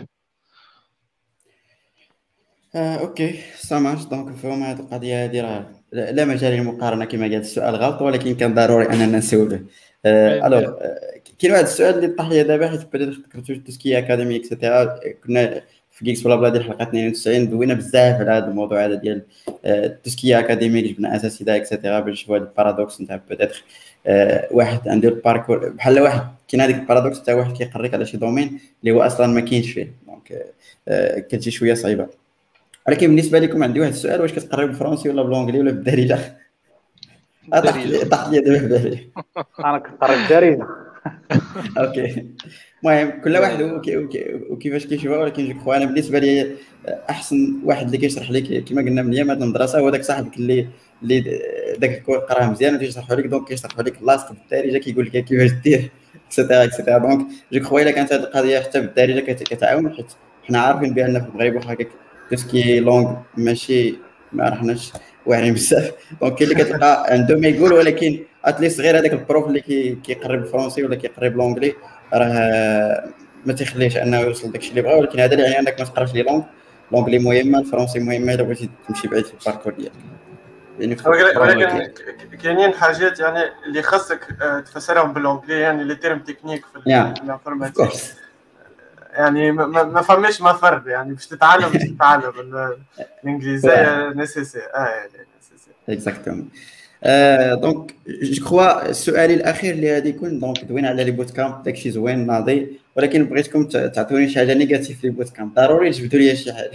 آه، اوكي سامعش. دونك فهم هذه القضيه هذه راه لا لا مجال للمقارنه كما قال السؤال غلط، ولكن كان ضروري اننا نسولوه. آه، الوغ آه، كاين واحد السؤال اللي طاح لي دابا، حيت بديت ذكرتو تسكي اكاديمي اكسيتيرا. كنا في جيكس بلا بلا ديال الحلقه اثنين وتسعين دوينا بزاف على هذا الموضوع هذا ديال التسكيه اكاديمي، جبنا اساسي دا اكسيتيرا باش نشوفوا هذا البارادوكس نتاع بيتيتر واحد عنده الباركور بحال واحد كاين هذيك البارادوكس تاع واحد كيقريك على شي دومين اللي هو اصلا ما كاينش فيه، دونك كتجي شويه صعيبه. ولكن بالنسبه لكم عندي واحد السؤال، واش كتقريو بالفرنسي ولا بالانجلي ولا بالدارجه؟ طاح لي دابا في بالي. انا كنقرا بالدارجه. اوكي المهم كل واحد وكيفاش كيشوفها، ولكن جو كخوا انا بالنسبه لي احسن واحد اللي كيشرح لك كما قلنا من ايام هذه المدرسه هو داك صاحبك اللي اللي داك الكور قراه مزيان وتيشرحوا لك، دونك كيشرحوا لك لاصق بالدارجه كيقول لك كيفاش دير اكسيتيرا اكسيتيرا. دونك جو كخوا الا كانت هذه القضيه حتى بالدارجه كتعاون، حيت حنا عارفين بان في المغرب واخا تسكي لونغ ماشي ما رحناش واعرين بزاف، دونك كاين اللي كتلقى عنده ما يقول، ولكن اتليست غير هذاك البروف اللي كيقري بالفرنسي ولا كيقري بالانجلي راه ما تيخليش انه يوصل داكشي اللي بغا. ولكن هذا اللي يعني انك ما تقراش لي لونغ، لونجلي مهمه، الفرنسي مهمه الا بغيتي تمشي بعيد في الباركور ديالك. يعني ولكن كاينين حاجات يعني اللي خاصك تفسرهم بالانجلي، يعني لي تيرم تكنيك في الانفورماتيك يعني ما ما فهمش ما فرق يعني باش تتعلم باش تتعلم الانجليزيه نيسيسير. اه يعني نيسيسير اكزاكتومون. دونك جو كخوا السؤال الاخير اللي غادي يكون، دونك دوينا على لي بوت كامب داكشي زوين ناضي، ولكن بغيتكم تعطوني شي حاجه نيجاتيف لي بوت كامب، ضروري تجبدوا لي شي حاجه.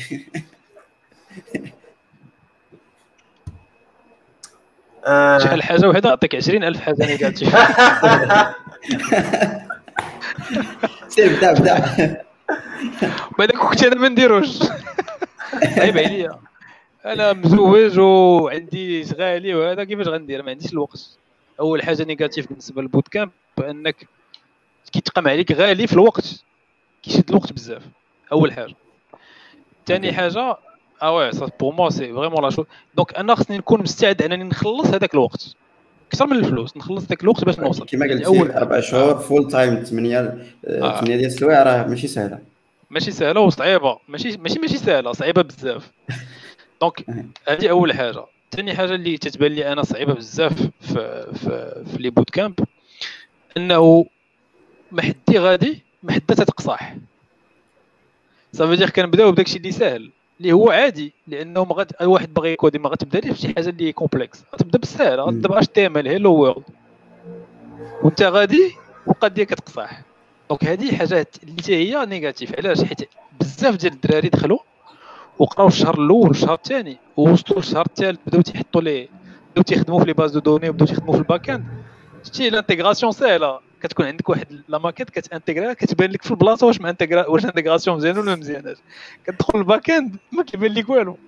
شحال حاجه وحده عطيك عشرين ألف حاجه نيجاتيف. سير بدا بدا بعدا كنت انا ما نديروش. عيب عليا، انا مزوج وعندي شغالي وهذا كيفاش غندير؟ ما عنديش الوقت. اول حاجه نيجاتيف بالنسبه للبوت كامب انك كيتقام عليك غالي في الوقت، كيشد الوقت بزاف اول حاجه. ثاني حاجه اه وي سا بور موا سي فريمون لا شو. دونك انا خصني نكون مستعد انني نخلص هذاك الوقت اكثر من الفلوس، نخلص داك الوقت باش نوصل. كما قلت اول اربع شهور فول تايم ثمانية ثمانية ديال السوايع راه ماشي سهله، ماشي سهله وصعيبه، ماشي ماشي ماشي سهله، صعيبه بزاف. دونك هذه اول حاجه. ثاني حاجه اللي تتبان لي انا صعيبه بزاف في في في لي بوت كامب انه ما حدي غادي ما حدا تتقصاح. صافي دير كنبداو بداكشي اللي ساهل اللي هو عادي، لانه ما غاد واحد باغي يكودي ما غتبدا ليه شي حاجه اللي كومبلكس، غتبدا بالساهل، غتبدا باش تي ام ال هيلو وورلد وانت غادي والقضيه كتقصاح. دونك هذه حاجات اللي هي نيجاتيف. علاش؟ حيت بزاف ديال الدراري دخلوا وقراو الشهر الاول والشهر الثاني ووصلوا للشهر الثالث بداو تيحطوا لي بداو تيخدموا في لي باز دو دوني وبداو تيخدموا في الباك اند. شتي الانتيغراسيون ساهله، كتكون عندك واحد لا ماكيت كتانتيغرا كتبان لك في البلاصه واش مانتيغرا واش انتيغراسيون مزيانه ولا مزياناش. كتدخل الباك اند ما كيبان لك والو.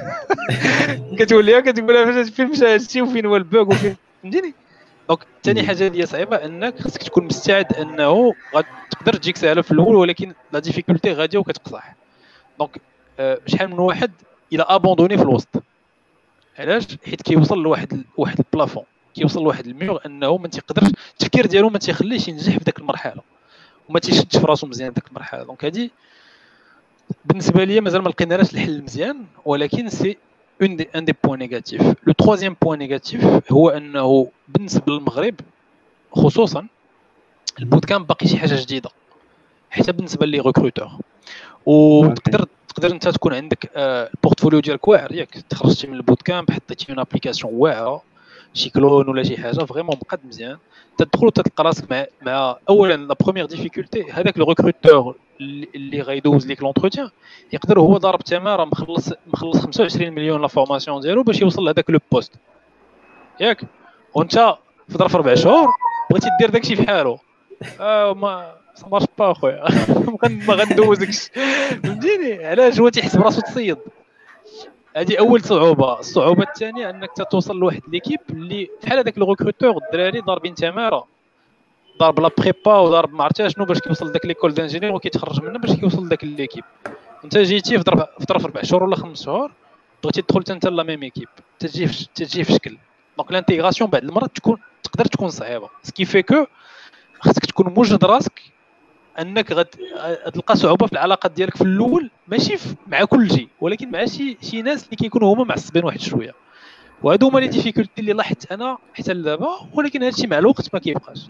كتولي كتقول فاش فين مشى هادشي وفين هو البوغ وفين فهمتيني. دونك ثاني حاجه اللي صعيبه انك خصك تكون مستعد انه غتقدر تجيك سهله في الاول ولكن لا ديفيكولتي غاديه وكتقصح. دونك أه شحال من واحد الى ابوندوني في الوسط. علاش؟ حيت كيوصل لواحد واحد البلافون، كيوصل لواحد الميور انه ما تيقدرش التفكير ديالو ما تيخليش ينجح في داك المرحله وما تيشدش في راسو مزيان داك المرحله. دونك هذه بالنسبه لي مازال ما لقيناش الحل مزيان، ولكن سي اون دي ان دي بوين نيجاتيف. لو ترويزيام بوين نيجاتيف هو انه بالنسبه للمغرب خصوصا البوت كامب باقي شي حاجه جديده حتى بالنسبه لي ريكروتور، وتقدر تقدر انت تكون عندك آه، البورتفوليو ديالك واعر ياك تخرجتي من البوت كامب حطيتي اون ابليكاسيون واعره شي كلون ولا شي حاجه فريمون مقاد مزيان تدخل وتلقى راسك مع مع اولا لا بروميير ديفيكولتي هذاك لو ريكروتور اللي غيدوز ليك لونتروتيان يقدر هو ضارب تماره مخلص مخلص خمسة وعشرين مليون لا فورماسيون ديالو باش يوصل لهذاك لو بوست ياك وانت في ظرف اربع شهور بغيتي دير داكشي بحالو اه ما مارش با خويا ما غندوزكش فهمتيني علاش هو تيحسب راسو تصيد هذه اول صعوبه الصعوبه الثانيه انك توصل لواحد ليكيب اللي بحال هذاك لو ريكروتور الدراري ضاربين تماره ضارب لا بريبا وضارب ما عرفتش شنو باش كيوصل لذاك ليكول دانجينير وكيتخرج منها باش كيوصل لذاك ليكيب انت جيتي في ظرف في ظرف اربع شهور ولا خمس شهور بغيتي تدخل انت لا ميم ايكيب تجي في تجي في شكل دونك لانتيغراسيون بعد المرات تكون تقدر تكون صعيبه سكي في كو خاصك تكون موجد راسك انك غتلقى صعوبه في العلاقات ديالك في الاول ماشي مع كل شيء ولكن مع شي شي ناس اللي كيكونوا هما معصبين واحد شويه وهادو هما لي ديفيكولتي اللي لاحظت انا حتى لدابا ولكن هادشي مع الوقت ما كيبقاش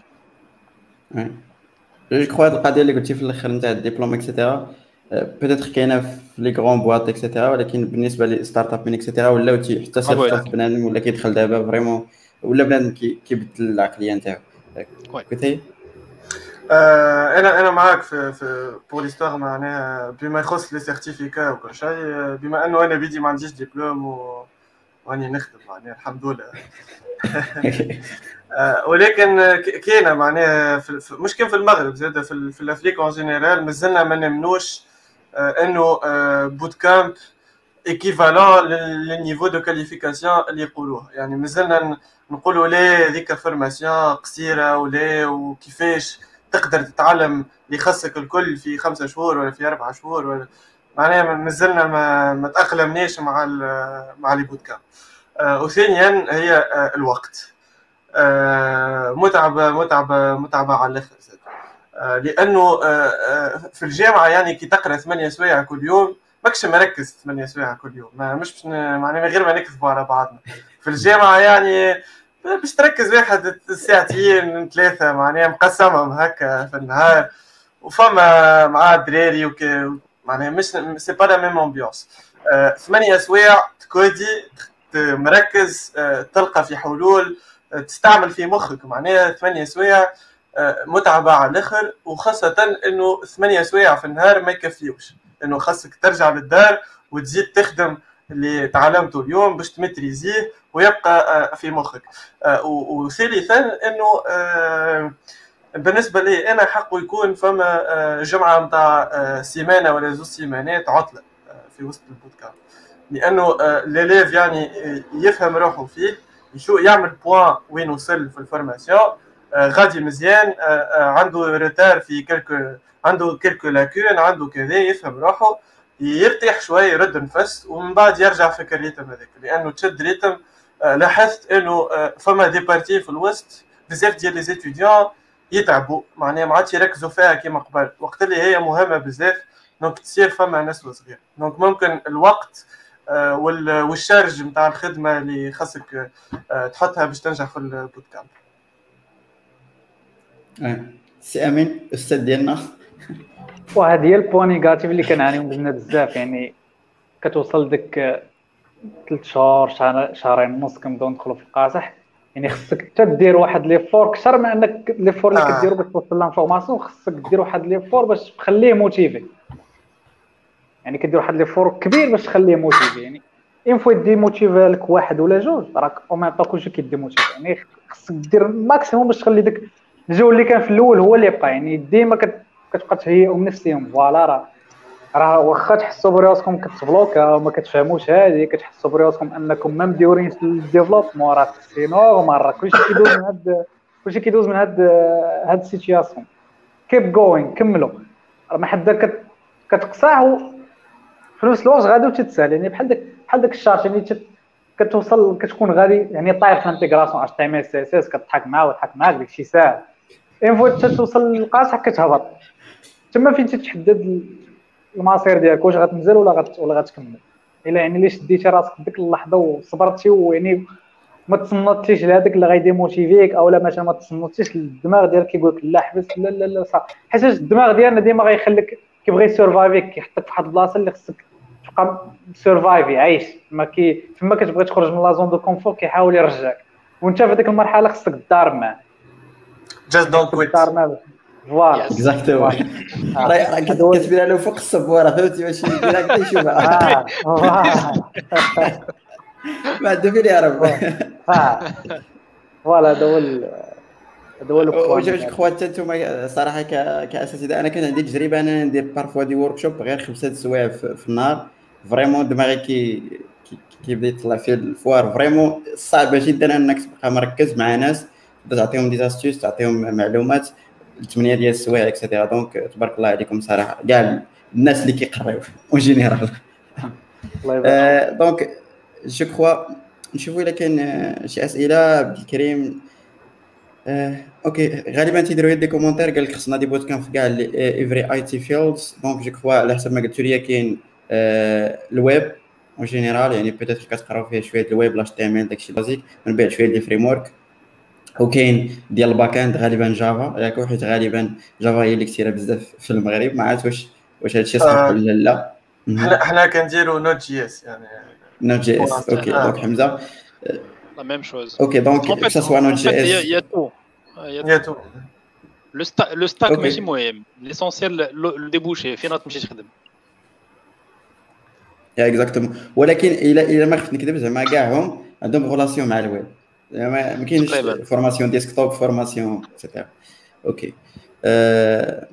جو كخوا هاد القضيه اللي قلتي في الاخر نتاع الدبلوم اكسيتيرا بيتيتر كاينه في لي غران بواط اكسيتيرا ولكن بالنسبه لي ستارت اب من اكسيتيرا ولاو حتى صيفط بنادم ولا كيدخل دابا فريمون ولا بنادم كيبدل العقليه نتاعو كنتي آه انا انا معاك في في بور ليستوار معناها بما يخص لي سيرتيفيكا وكل شيء بما انه انا بيدي ما عنديش دبلوم و واني نخدم معناها الحمد لله آه ولكن كاينه معناها مش كان في المغرب زاد في, في الافريق اون جينيرال مازلنا ما نمنوش آه انه آه بوت كامب ايكيفالون للنيفو دو كاليفيكاسيون اللي يقولوه يعني مازلنا نقولوا لا ذيك فورماسيون قصيره ولا وكيفاش تقدر تتعلم اللي خاصك الكل في خمسة شهور ولا في أربعة شهور ولا معناها مازلنا ما ما تأقلمناش مع مع لي بوت كامب. آه وثانيا هي آه الوقت آه متعبه متعبه متعبه على الاخر آه لانه آه في الجامعه يعني كي تقرا ثمانية سوايع كل يوم ماكش مركز ثمانية سوايع كل يوم ما مش معناها غير ما نكذبوا على بعضنا في الجامعه يعني باش تركز واحد ساعتين ثلاثه معناها مقسمهم هكا في النهار وفما مع الدراري وك معناها مش سي با لا ميم امبيونس ثمانية سوايع تكودي مركز تلقى في حلول تستعمل في مخك معناها ثمانية سوايع متعبه على الاخر وخاصه انه ثمانية سوايع في النهار ما يكفيوش انه خاصك ترجع للدار وتزيد تخدم اللي تعلمته اليوم باش تمتريزيه ويبقى في مخك. وثالثا انه بالنسبه لي انا حقه يكون فما جمعه نتاع سيمانه ولا زوج سيمانات عطله في وسط البوت كامب لانه ليليف يعني يفهم روحه فيه يشو يعمل بوان وين وصل في الفورماسيون غادي مزيان عنده روتار في كلكو عنده كلكو لاكون عنده كذا يفهم روحه يرتاح شوي يرد نفس ومن بعد يرجع في الريتم هذاك لانه تشد ريتم. لاحظت انه فما دي بارتي في الوسط بزاف ديال لي زيتيديون يتعبوا معناها ما عادش يركزوا فيها كيما قبل وقت اللي هي مهمه بزاف دونك تصير فما ناس صغير دونك ممكن الوقت والشارج نتاع الخدمه اللي خاصك تحطها باش تنجح في البوت كامب. سي امين استاذ ديالنا وهذه هي البوان نيجاتيف اللي كنعانيو منها بزاف يعني كتوصل ديك ثلاث شهور شهرين ونص كنبداو ندخلوا في القاصح يعني خصك حتى دير واحد لي فور كثر من انك لي فور اللي كديروا باش توصل لانفورماسيون خصك دير واحد لي فور باش تخليه موتيفي يعني كدير واحد لي فور كبير باش تخليه موتيفي يعني اين فوا دي موتيفي لك واحد ولا جوج راك او ميم طون كلشي كيدي موتيفي يعني خصك دير الماكسيموم باش تخلي داك الجو اللي كان في الاول هو اللي يبقى يعني ديما كتبقى تهيئهم نفسيهم فوالا راه راه واخا تحسوا براسكم كتبلوكا وما كتفهموش هذه كتحسوا براسكم انكم ما مديورين في الديفلوبمون راه سي نورمال راه كلشي كيدوز من هاد كلشي كيدوز من هاد هاد السيتوياسيون كيب جوين كملوا راه ما حدا كتقصاه في نفس الوقت غادي وتتسهل يعني بحال داك بحال داك الشارت يعني كتوصل كتكون غادي يعني طاير في الانتيغراسيون اش تي ام ال سي اس اس كتضحك معاه ويضحك معاك داكشي ساهل اين فوا توصل للقاصح كتهبط تما فين تتحدد المصير ديالك واش غتنزل ولا غت ولا غتكمل الا يعني اللي شديتي راسك ديك اللحظه وصبرتي ويعني ما تصنتيش لهذاك اللي غيديموتيفيك اولا مثلا ما تصنتيش الدماغ ديالك كيقول لك لا حبس لا لا لا صح حيت الدماغ ديالنا ديما غيخليك كيبغي يسورفايفيك كيحطك في واحد البلاصه اللي خصك تبقى سيرفايف يعيش ما كي فما كتبغي تخرج من لا زون دو كونفور كيحاول يرجعك وانت في هذيك المرحله خصك تدار معاه just don't quit. تدار معاه فوالا اكزاكتومون راه راه كتبان له فوق الصبوره فهمتي ماشي ديريكت يشوفها اه فوالا ما عنده فين يعرف اه فوالا هذا هو هذا هو واش واش خوات انتم صراحه كاساتذه انا كان عندي تجربه انا ندير بارفوا دي ورك شوب غير خمسه سوايع في النهار فريمون دماغي كي كيبدا يطلع فيه الفوار فريمون صعبه جدا انك تبقى مركز مع ناس تعطيهم دي زاستيوس تعطيهم معلومات ثمانية ديال السوايع اكسيتيرا دونك تبارك الله عليكم صراحه كاع الناس اللي كيقراو اون جينيرال الله يبارك دونك جو كخوا نشوفوا الا كاين شي اسئله عبد الكريم. آه، اوكي غالبا تيديروا دي كومونتير قال لك خصنا دي بوت كان في كاع ايفري اي تي فيلدز دونك جو كخوا على حسب ما قلت لي كاين آه الويب اون جينيرال يعني بيتيتر كتقراو فيه شويه الويب لاش تي ام ال داكشي بازيك من بعد شويه دي فريم ورك وكاين ديال الباك اند غالبا جافا ياك حيت غالبا جافا هي اللي كثيره بزاف في المغرب ما عرفت واش واش هادشي صح ولا لا. حنا حنا كنديروا نوت جي اس يعني نوت جي اس اوكي دونك حمزه لا ميم شوز اوكي دونك سا سوا نوت جي اس يا تو يا تو لو ستاك لو ستاك ماشي مهم ليسونسيال لو ديبوشي فين تمشي تخدم يا اكزاكتومون ولكن الا الا ما خفت نكذب زعما كاعهم عندهم غولاسيون مع الويب ما ما كاينش فورماسيون ديسكتوب فورماسيون اكسيتيرا اوكي أه...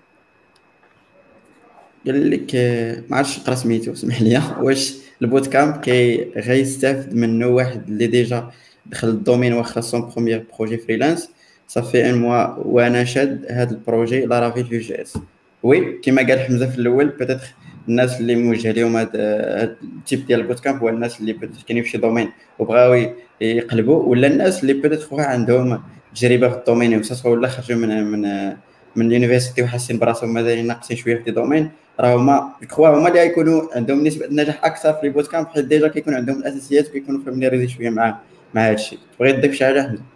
قال لك ما عرفتش نقرا سميتو سمح لي واش البوت كامب كي غيستافد منه واحد اللي ديجا دخل الدومين واخا سون بروميير بروجي فريلانس صافي ان موا وانا شاد هذا البروجي لارافيل في جي اس وي كما قال حمزه في الاول بيتيتر الناس اللي موجه لهم هذا التيب ديال البوت كامب هو الناس اللي بيتيتر كاينين في شي دومين وبغاو يقلبوا ولا الناس اللي بيتيتر عندهم تجربه في الدومين وسا ولا خرجوا من من من اليونيفرسيتي وحاسين براسهم مازال ناقصين شويه في دي دومين راه هما كخوا هما اللي غيكونوا عندهم نسبه نجاح اكثر في البوت كامب حيت ديجا كيكون عندهم الاساسيات وكيكونوا فاميلياريزي شويه مع مع هذا الشيء. بغيت تضيف شي حاجه حمزه؟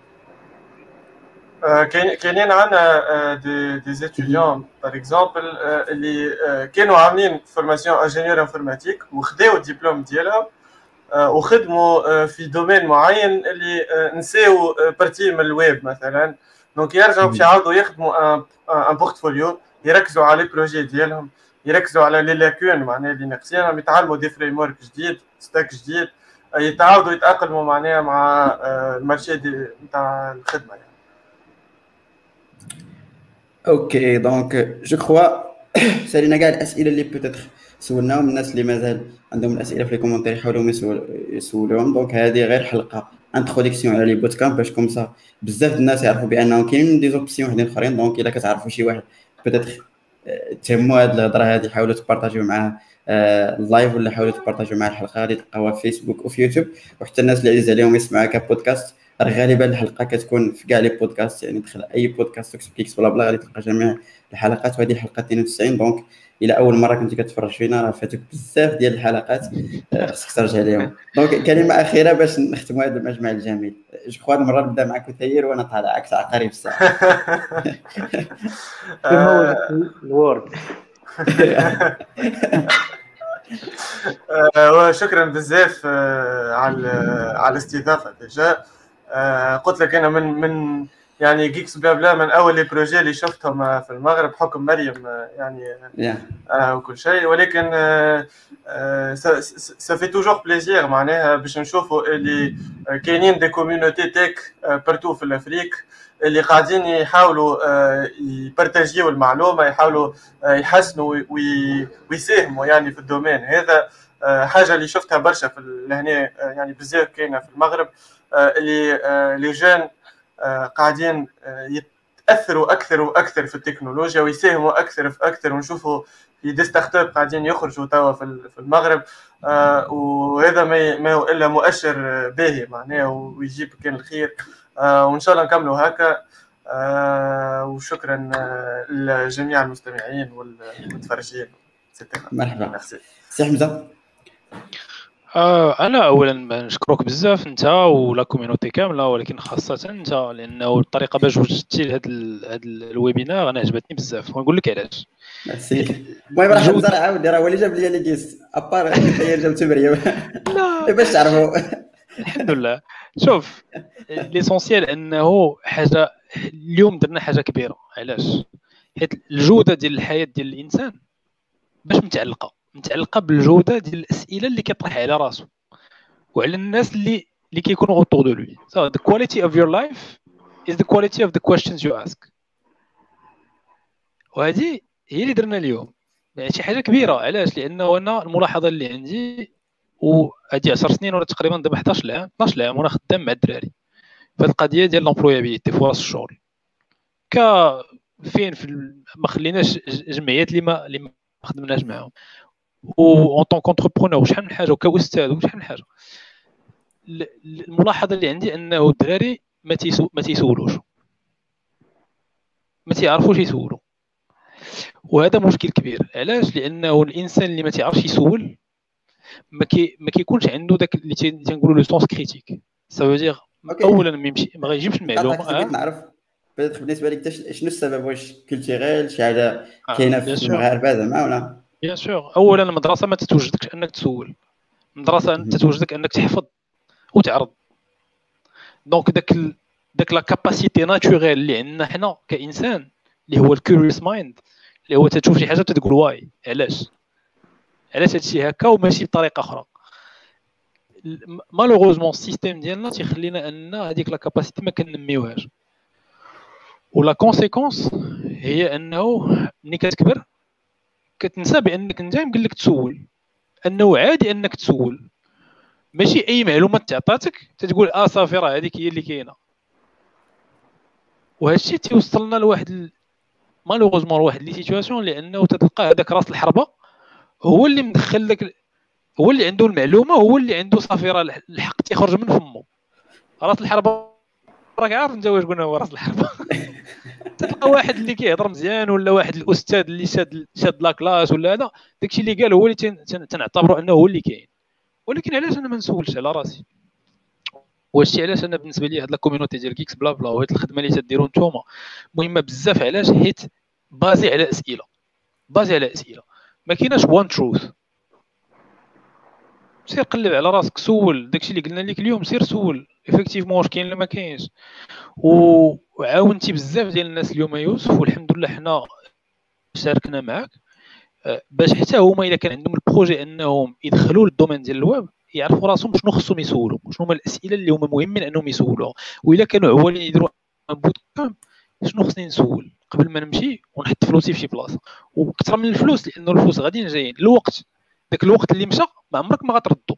كاينين عندنا دي دي ستوديون باغ اكزومبل اللي كانوا عاملين فورماسيون انجينيور انفورماتيك وخداو الدبلوم ديالها وخدموا في دومين معين اللي نساو بارتي من الويب مثلا دونك يرجعوا باش يعاودوا يخدموا ان بورتفوليو يركزوا على لي بروجي ديالهم يركزوا على لي لاكون معناها اللي ناقصين يتعلموا دي فريم ورك جديد ستاك جديد يتعاودوا يتاقلموا معناها مع المارشي نتاع الخدمه يعني. اوكي دونك جو كخوا سالينا كاع الاسئله اللي بوتيتر سولناهم الناس اللي مازال عندهم الاسئله في لي كومونتير يحاولوا يسولوهم دونك هذه غير حلقه انتروداكسيون على لي بوت كامب باش كومسا بزاف الناس يعرفوا بانهم كاينين دي زوبسيون وحدين اخرين دونك الا كتعرفوا شي واحد بوتيتر تهموا هذه الهضره هذه حاولوا تبارطاجيو معاه اللايف ولا حاولوا تبارطاجيو معاه الحلقه اللي تلقاوها في فيسبوك وفي يوتيوب وحتى الناس اللي عزيز عليهم يسمعوها كبودكاست راه غالبا الحلقه كتكون في كاع لي بودكاست يعني دخل اي بودكاست اكسبليكس بلا بلا غادي تلقى جميع الحلقات وهذه الحلقه اثنين وتسعين دونك الى اول مره كنتي كتفرج فينا راه فاتك بزاف ديال الحلقات خصك ترجع ليهم دونك كلمه اخيره باش نختموا هذا المجمع الجميل جو كخوا المره نبدا معك وثير وانا طالع عكس عقارب الساعه كما الوورد وشكرا بزاف على على الاستضافه ديجا قلت لك انا من من يعني جيكس بلا من اول لي بروجي اللي شفتهم في المغرب حكم مريم يعني آه وكل شيء ولكن سا في توجور بليزير معناها باش نشوفوا اللي كاينين دي كوميونيتي تيك بارتو في الافريك اللي قاعدين يحاولوا يبارطاجيو المعلومه يحاولوا يحسنوا ويساهموا يعني في الدومين هذا حاجه اللي شفتها برشا في لهنا يعني بزاف كاينه في المغرب اللي لي جون قاعدين يتاثروا اكثر واكثر في التكنولوجيا ويساهموا اكثر في اكثر ونشوفوا في دي ستارت اب قاعدين يخرجوا توا في المغرب وهذا ما هو الا مؤشر باهي معناه ويجيب كان الخير وان شاء الله نكملوا هكا وشكرا لجميع المستمعين والمتفرجين. مرحبا سي حمزه. آه انا اولا نشكرك بزاف انت ولا كوميونيتي كامله، ولكن خاصه انت، لانه الطريقه باش وجدتي لهذا هذا الويبينار انا عجبتني بزاف، ونقول لك علاش. ميرسي. المهم راه حمزه راه عاود راه هو اللي جاب لي لي كيس ابار كنت هي جابت مريم لا باش تعرفوا. الحمد لله. شوف ليسونسيال انه حاجه اليوم درنا حاجه كبيره. علاش؟ حيت الجوده ديال الحياه ديال الانسان باش متعلقه متعلقه بالجوده ديال الاسئله اللي كيطرح على راسو وعلى الناس اللي اللي كيكونوا autour de lui. So the quality of your life is the quality of the questions you ask. وهذه هي اللي درنا اليوم، يعني شي حاجه كبيره. علاش؟ لانه انا الملاحظه اللي عندي، وهذه عشر سنين ولا تقريبا دابا حداش عام اثناش عام وانا خدام مع الدراري في القضيه ديال لومبلويابيليتي فرص الشغل. ك فين في ما خليناش جمعيات اللي ما اللي ما خدمناش معاهم، و اون طون كونتربرونور شحال من حاجه، وكاستاذ وشحال من حاجه. الملاحظه اللي عندي انه الدراري ما تيسو ما تيسولوش، ما تيعرفوش يسولوا، وهذا مشكل كبير. علاش؟ لانه الانسان اللي ما تيعرفش يسول ما كي ما كيكونش عنده داك اللي تنقولوا لو سونس كريتيك. سا دير اولا ما يمشي ما غيجيبش المعلومه. بغيت نعرف بالنسبه لك شنو السبب؟ واش كولتوريل شي حاجه كاينه في المغاربه زعما ولا؟ بيان سور. اولا المدرسه ما تتوجدكش انك تسول، المدرسه انت تتوجدك انك تحفظ وتعرض. دونك داك ال... داك لا كاباسيتي ناتوريل اللي عندنا حنا كانسان اللي هو الكيوريوس مايند، اللي هو تشوف شي حاجه تقول واي علاش علاش هادشي هكا وماشي بطريقه اخرى. مالوغوزمون السيستيم ديالنا تيخلينا ان هذيك لا كاباسيتي ما كنميوهاش، ولا كونسيكونس هي انه ملي كتكبر كتنسى بانك انت يمكن لك تسول، انه عادي انك تسول، ماشي اي معلومه تعطاتك تتقول اه صافي راه هذيك هي اللي كاينه. وهادشي تيوصلنا لواحد ال... مالوغوزمون لواحد لي سيتوياسيون، لانه تتلقى هذاك راس الحربه هو اللي مدخل لك، هو اللي عنده المعلومه، هو اللي عنده صافي راه الحق تيخرج من فمه. راس الحربه راك عارف انت واش قلنا هو راس الحربه. تلقى واحد اللي كيهضر مزيان، ولا واحد الاستاذ اللي شاد شاد لا كلاس ولا هذا، داكشي اللي قال هو اللي تنعتبروا انه هو اللي كاين. ولكن علاش انا ما نسولش على راسي؟ وهادشي علاش انا بالنسبه لي هاد لا كوميونيتي ديال كيكس بلا بلا وهاد الخدمه اللي تديروا نتوما مهمه بزاف. علاش؟ حيت بازي على اسئله، بازي على اسئله، ما كايناش وان تروث. سير قلب على راسك، سول داكشي اللي قلنا لك اليوم، سير سول افكتيفمون واش كاين ولا ما كاينش. وعاونتي بزاف ديال الناس اليوم يوسف، والحمد لله حنا شاركنا معاك باش حتى هما الا كان عندهم البروجي انهم يدخلوا للدومين ديال الويب يعرفوا راسهم شنو خصهم يسولوا، شنو هما الاسئله اللي هما مهمين انهم يسولوها. والا كانوا عوالين يديروا بوت كامب، شنو خصني نسول قبل ما نمشي ونحط فلوسي في شي بلاصه، وكثر من الفلوس، لانه الفلوس غاديين جايين. الوقت داك الوقت اللي مشى ما عمرك ما غتردو،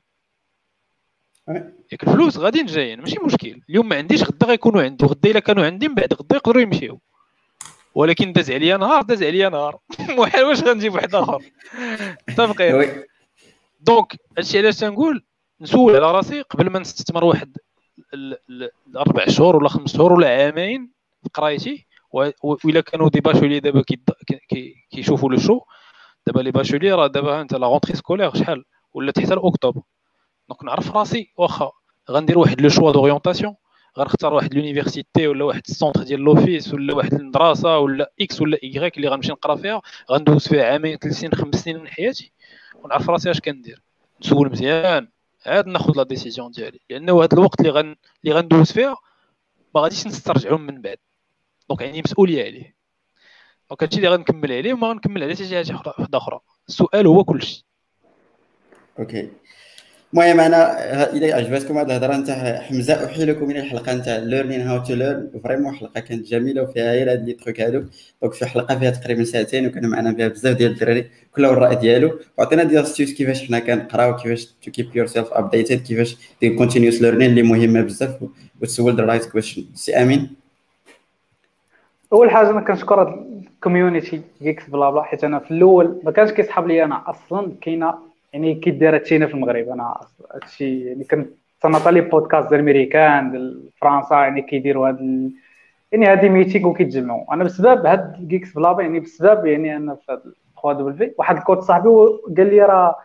ياك الفلوس غاديين جايين ماشي مشكل. اليوم ما عنديش غدا غيكونوا عندي، وغدا الا كانوا عندي من بعد غدا يقدروا يمشيو. ولكن داز عليا نهار داز عليا نهار محال واش غنجيب واحد اخر. متفقين؟ دونك هادشي علاش تنقول نسول على راسي قبل ما نستثمر واحد الاربع شهور ولا خمس شهور ولا عامين في قرايتي. والا كانوا دي باشولي دابا كيشوفوا لو شو دابا لي باشولي راه دابا انت لا غونطري سكولير شحال ولا حتى لاكتوبر. دونك نعرف راسي واخا غندير واحد لو شوا دوريونطاسيون، غنختار واحد لونيفرسيتي ولا واحد السونتر ديال لوفيس ولا واحد المدرسه ولا اكس ولا ايغريك اللي غنمشي نقرا فيها، غندوز فيها عامين ثلاث سنين خمس سنين من حياتي، ونعرف راسي اش كندير. نسول مزيان عاد ناخذ لا ديسيزيون ديالي، لانه هذا الوقت اللي غن اللي غندوز فيها ما غاديش نسترجعو من بعد. دونك عندي مسؤوليه عليه. دونك هادشي اللي غنكمل عليه، وما غنكمل عليه حتى شي حاجه اخرى. السؤال هو كلشي. اوكي. المهم انا اذا عجبتكم هذه الهضره نتاع حمزه، احيلكم من الحلقه نتاع ليرنين هاو تو ليرن. فريمون حلقه كانت جميله وفيها غير هاد لي تروك هادو. دونك في حلقه فيها تقريبا ساعتين، وكانوا معنا فيها بزاف ديال الدراري كل الراي ديالو، وعطينا ديال ستيوس كيفاش حنا كنقراو، كيفاش تو كيب يور سيلف ابديتد، كيفاش دير كونتينيوس ليرنين اللي مهمه بزاف، وتسول ذا رايت كويشن. سي امين، اول حاجه انا كنشكر الكوميونيتي كيكس بلا بلا، حيت انا في الاول ما كانش كيسحب لي انا اصلا كاينه يعني كيدير هادشي هنا في المغرب. انا هادشي يعني كنت تنعطي لي بودكاست ديال الامريكان ديال فرنسا يعني كيديروا هاد ال... يعني هادي ميتينغ وكيتجمعوا. انا بسبب هاد كيكس بلا بلا يعني بسبب يعني انا في هاد ثلاثة دبليو واحد الكوت صاحبي قال لي راه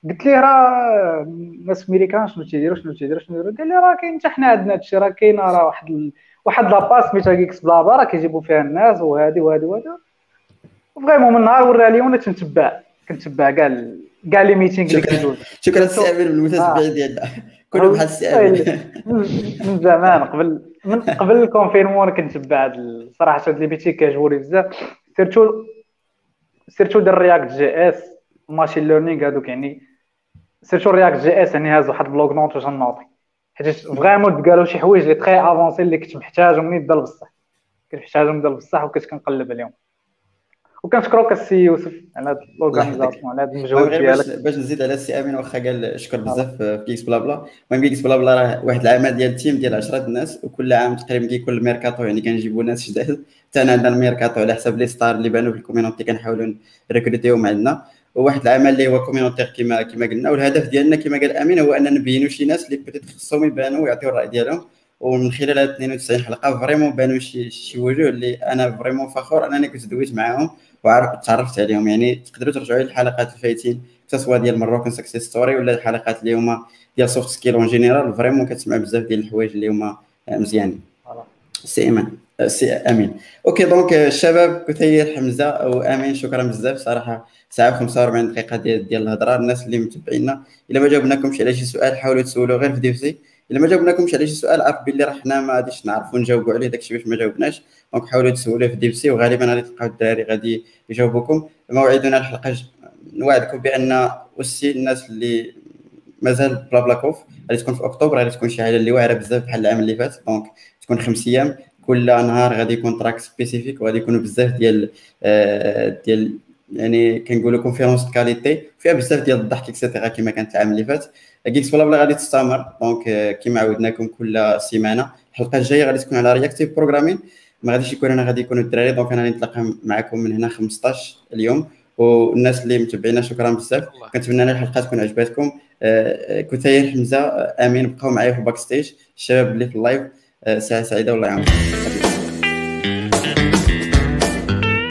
قلت ليه راه الناس ميريكان شنو تيديروا شنو تيديروا شنو تيديروا. قال لي راه كاين حتى حنا عندنا هادشي، راه كاينه راه واحد ال... واحد لاباس سميتها كيكس بلا بلا راه كيجيبوا فيها الناس وهادي وهادي وهادي. وفريمون من نهار ورا لي وانا تنتبع كنتبع كاع ال... كاع لي ميتينغ اللي شكرا كيدوز. شكرا السي امين المتتبعين ديالنا كلهم بحال السي امين. من زمان قبل من قبل الكونفينمون كنتبع هاد ال- صراحه هاد لي ميتينغ كيعجبوني بزاف، سيرتو سيرتو ديال رياكت جي اس ماشين ليرنينغ هادوك. يعني سيرتو رياكت جي اس يعني هاز واحد البلوك نوت واش نوطي، حيت فريمون قالوا شي حوايج اللي تري افونسي اللي كنت محتاجهم نيت ديال بصح، كنت محتاجهم ديال بصح وكنت كنقلب عليهم. وكنشكروك السي يوسف على هاد الله يحفظك. الاورغانيزاسيون على هاد المهم المجهود غير باش ديالك. باش نزيد على السي امين، واخا قال شكر بزاف في كيكس بلا بلا. المهم كيكس بلا بلا راه واحد العمل ديال التيم ديال عشرة الناس، وكل عام تقريبا كيكون الميركاتو يعني كنجيبوا ناس جداد. حتى انا عندنا الميركاتو على حساب لي ستار اللي بانوا في الكوميونيتي كنحاولوا نريكروتيهم عندنا. وواحد العمل اللي هو كوميونيتير كما كما قلنا، والهدف ديالنا كما قال امين هو اننا نبينوا شي ناس اللي بيتيت خصهم يبانوا ويعطيو الراي ديالهم. ومن خلال هاد اثنين وتسعين حلقه فريمون بانوا شي شي وجوه اللي انا فريمون فخور انني كنت دويت معاهم وعرفت تعرفت عليهم. يعني تقدروا ترجعوا للحلقات الفايتين سواء ديال مروكن سكسيس ستوري ولا الحلقات اللي هما ديال سوفت سكيل اون جينيرال، فريمون كتسمع بزاف ديال الحوايج اللي هما مزيانين. سي ايمان سي امين. اوكي دونك الشباب كثير حمزه او امين شكرا بزاف صراحه. ساعه وخمسة وأربعين دقيقه ديال ديال الهضره. الناس اللي متابعينا الا ما جاوبناكمش على شي سؤال حاولوا تسولوا غير في ديفسي. الا ما جاوبناكمش على شي سؤال عرف باللي راه حنا ما غاديش نعرفوا نجاوبوا عليه داكشي باش ما جاوبناش. دونك حاولوا تسولوا في ديفسي وغالبا غادي تلقاو الدراري غادي يجاوبوكم. موعدنا الحلقه ج... نوعدكم بان وسي الناس اللي مازال بلا بلا كوف غادي تكون في اكتوبر، غادي تكون شي حاجه اللي واعره بزاف بحال العام اللي فات. دونك تكون خمس ايام، كل نهار غادي يكون تراك سبيسيفيك وغادي يكونوا بزاف ديال آه ديال يعني كنقولوا كونفيرونس كاليتي فيها بزاف ديال الضحك اكسيتيرا كما كانت العام اللي فات. كيكس بلا بلا غادي تستمر. دونك آه كما عودناكم كل سيمانه. الحلقه الجايه غادي تكون على رياكتيف بروغرامين، ما غاديش يكون انا غادي يكونوا الدراري. دونك انا غادي نتلاقى معكم من هنا خمسطاش اليوم. والناس اللي متابعينا شكرا بزاف. كنتمنى ان الحلقه تكون عجبتكم. آه كثير حمزه امين بقاو معايا في باك ستيج، الشباب اللي في اللايف. ساعه سعيده والله يعاونكم.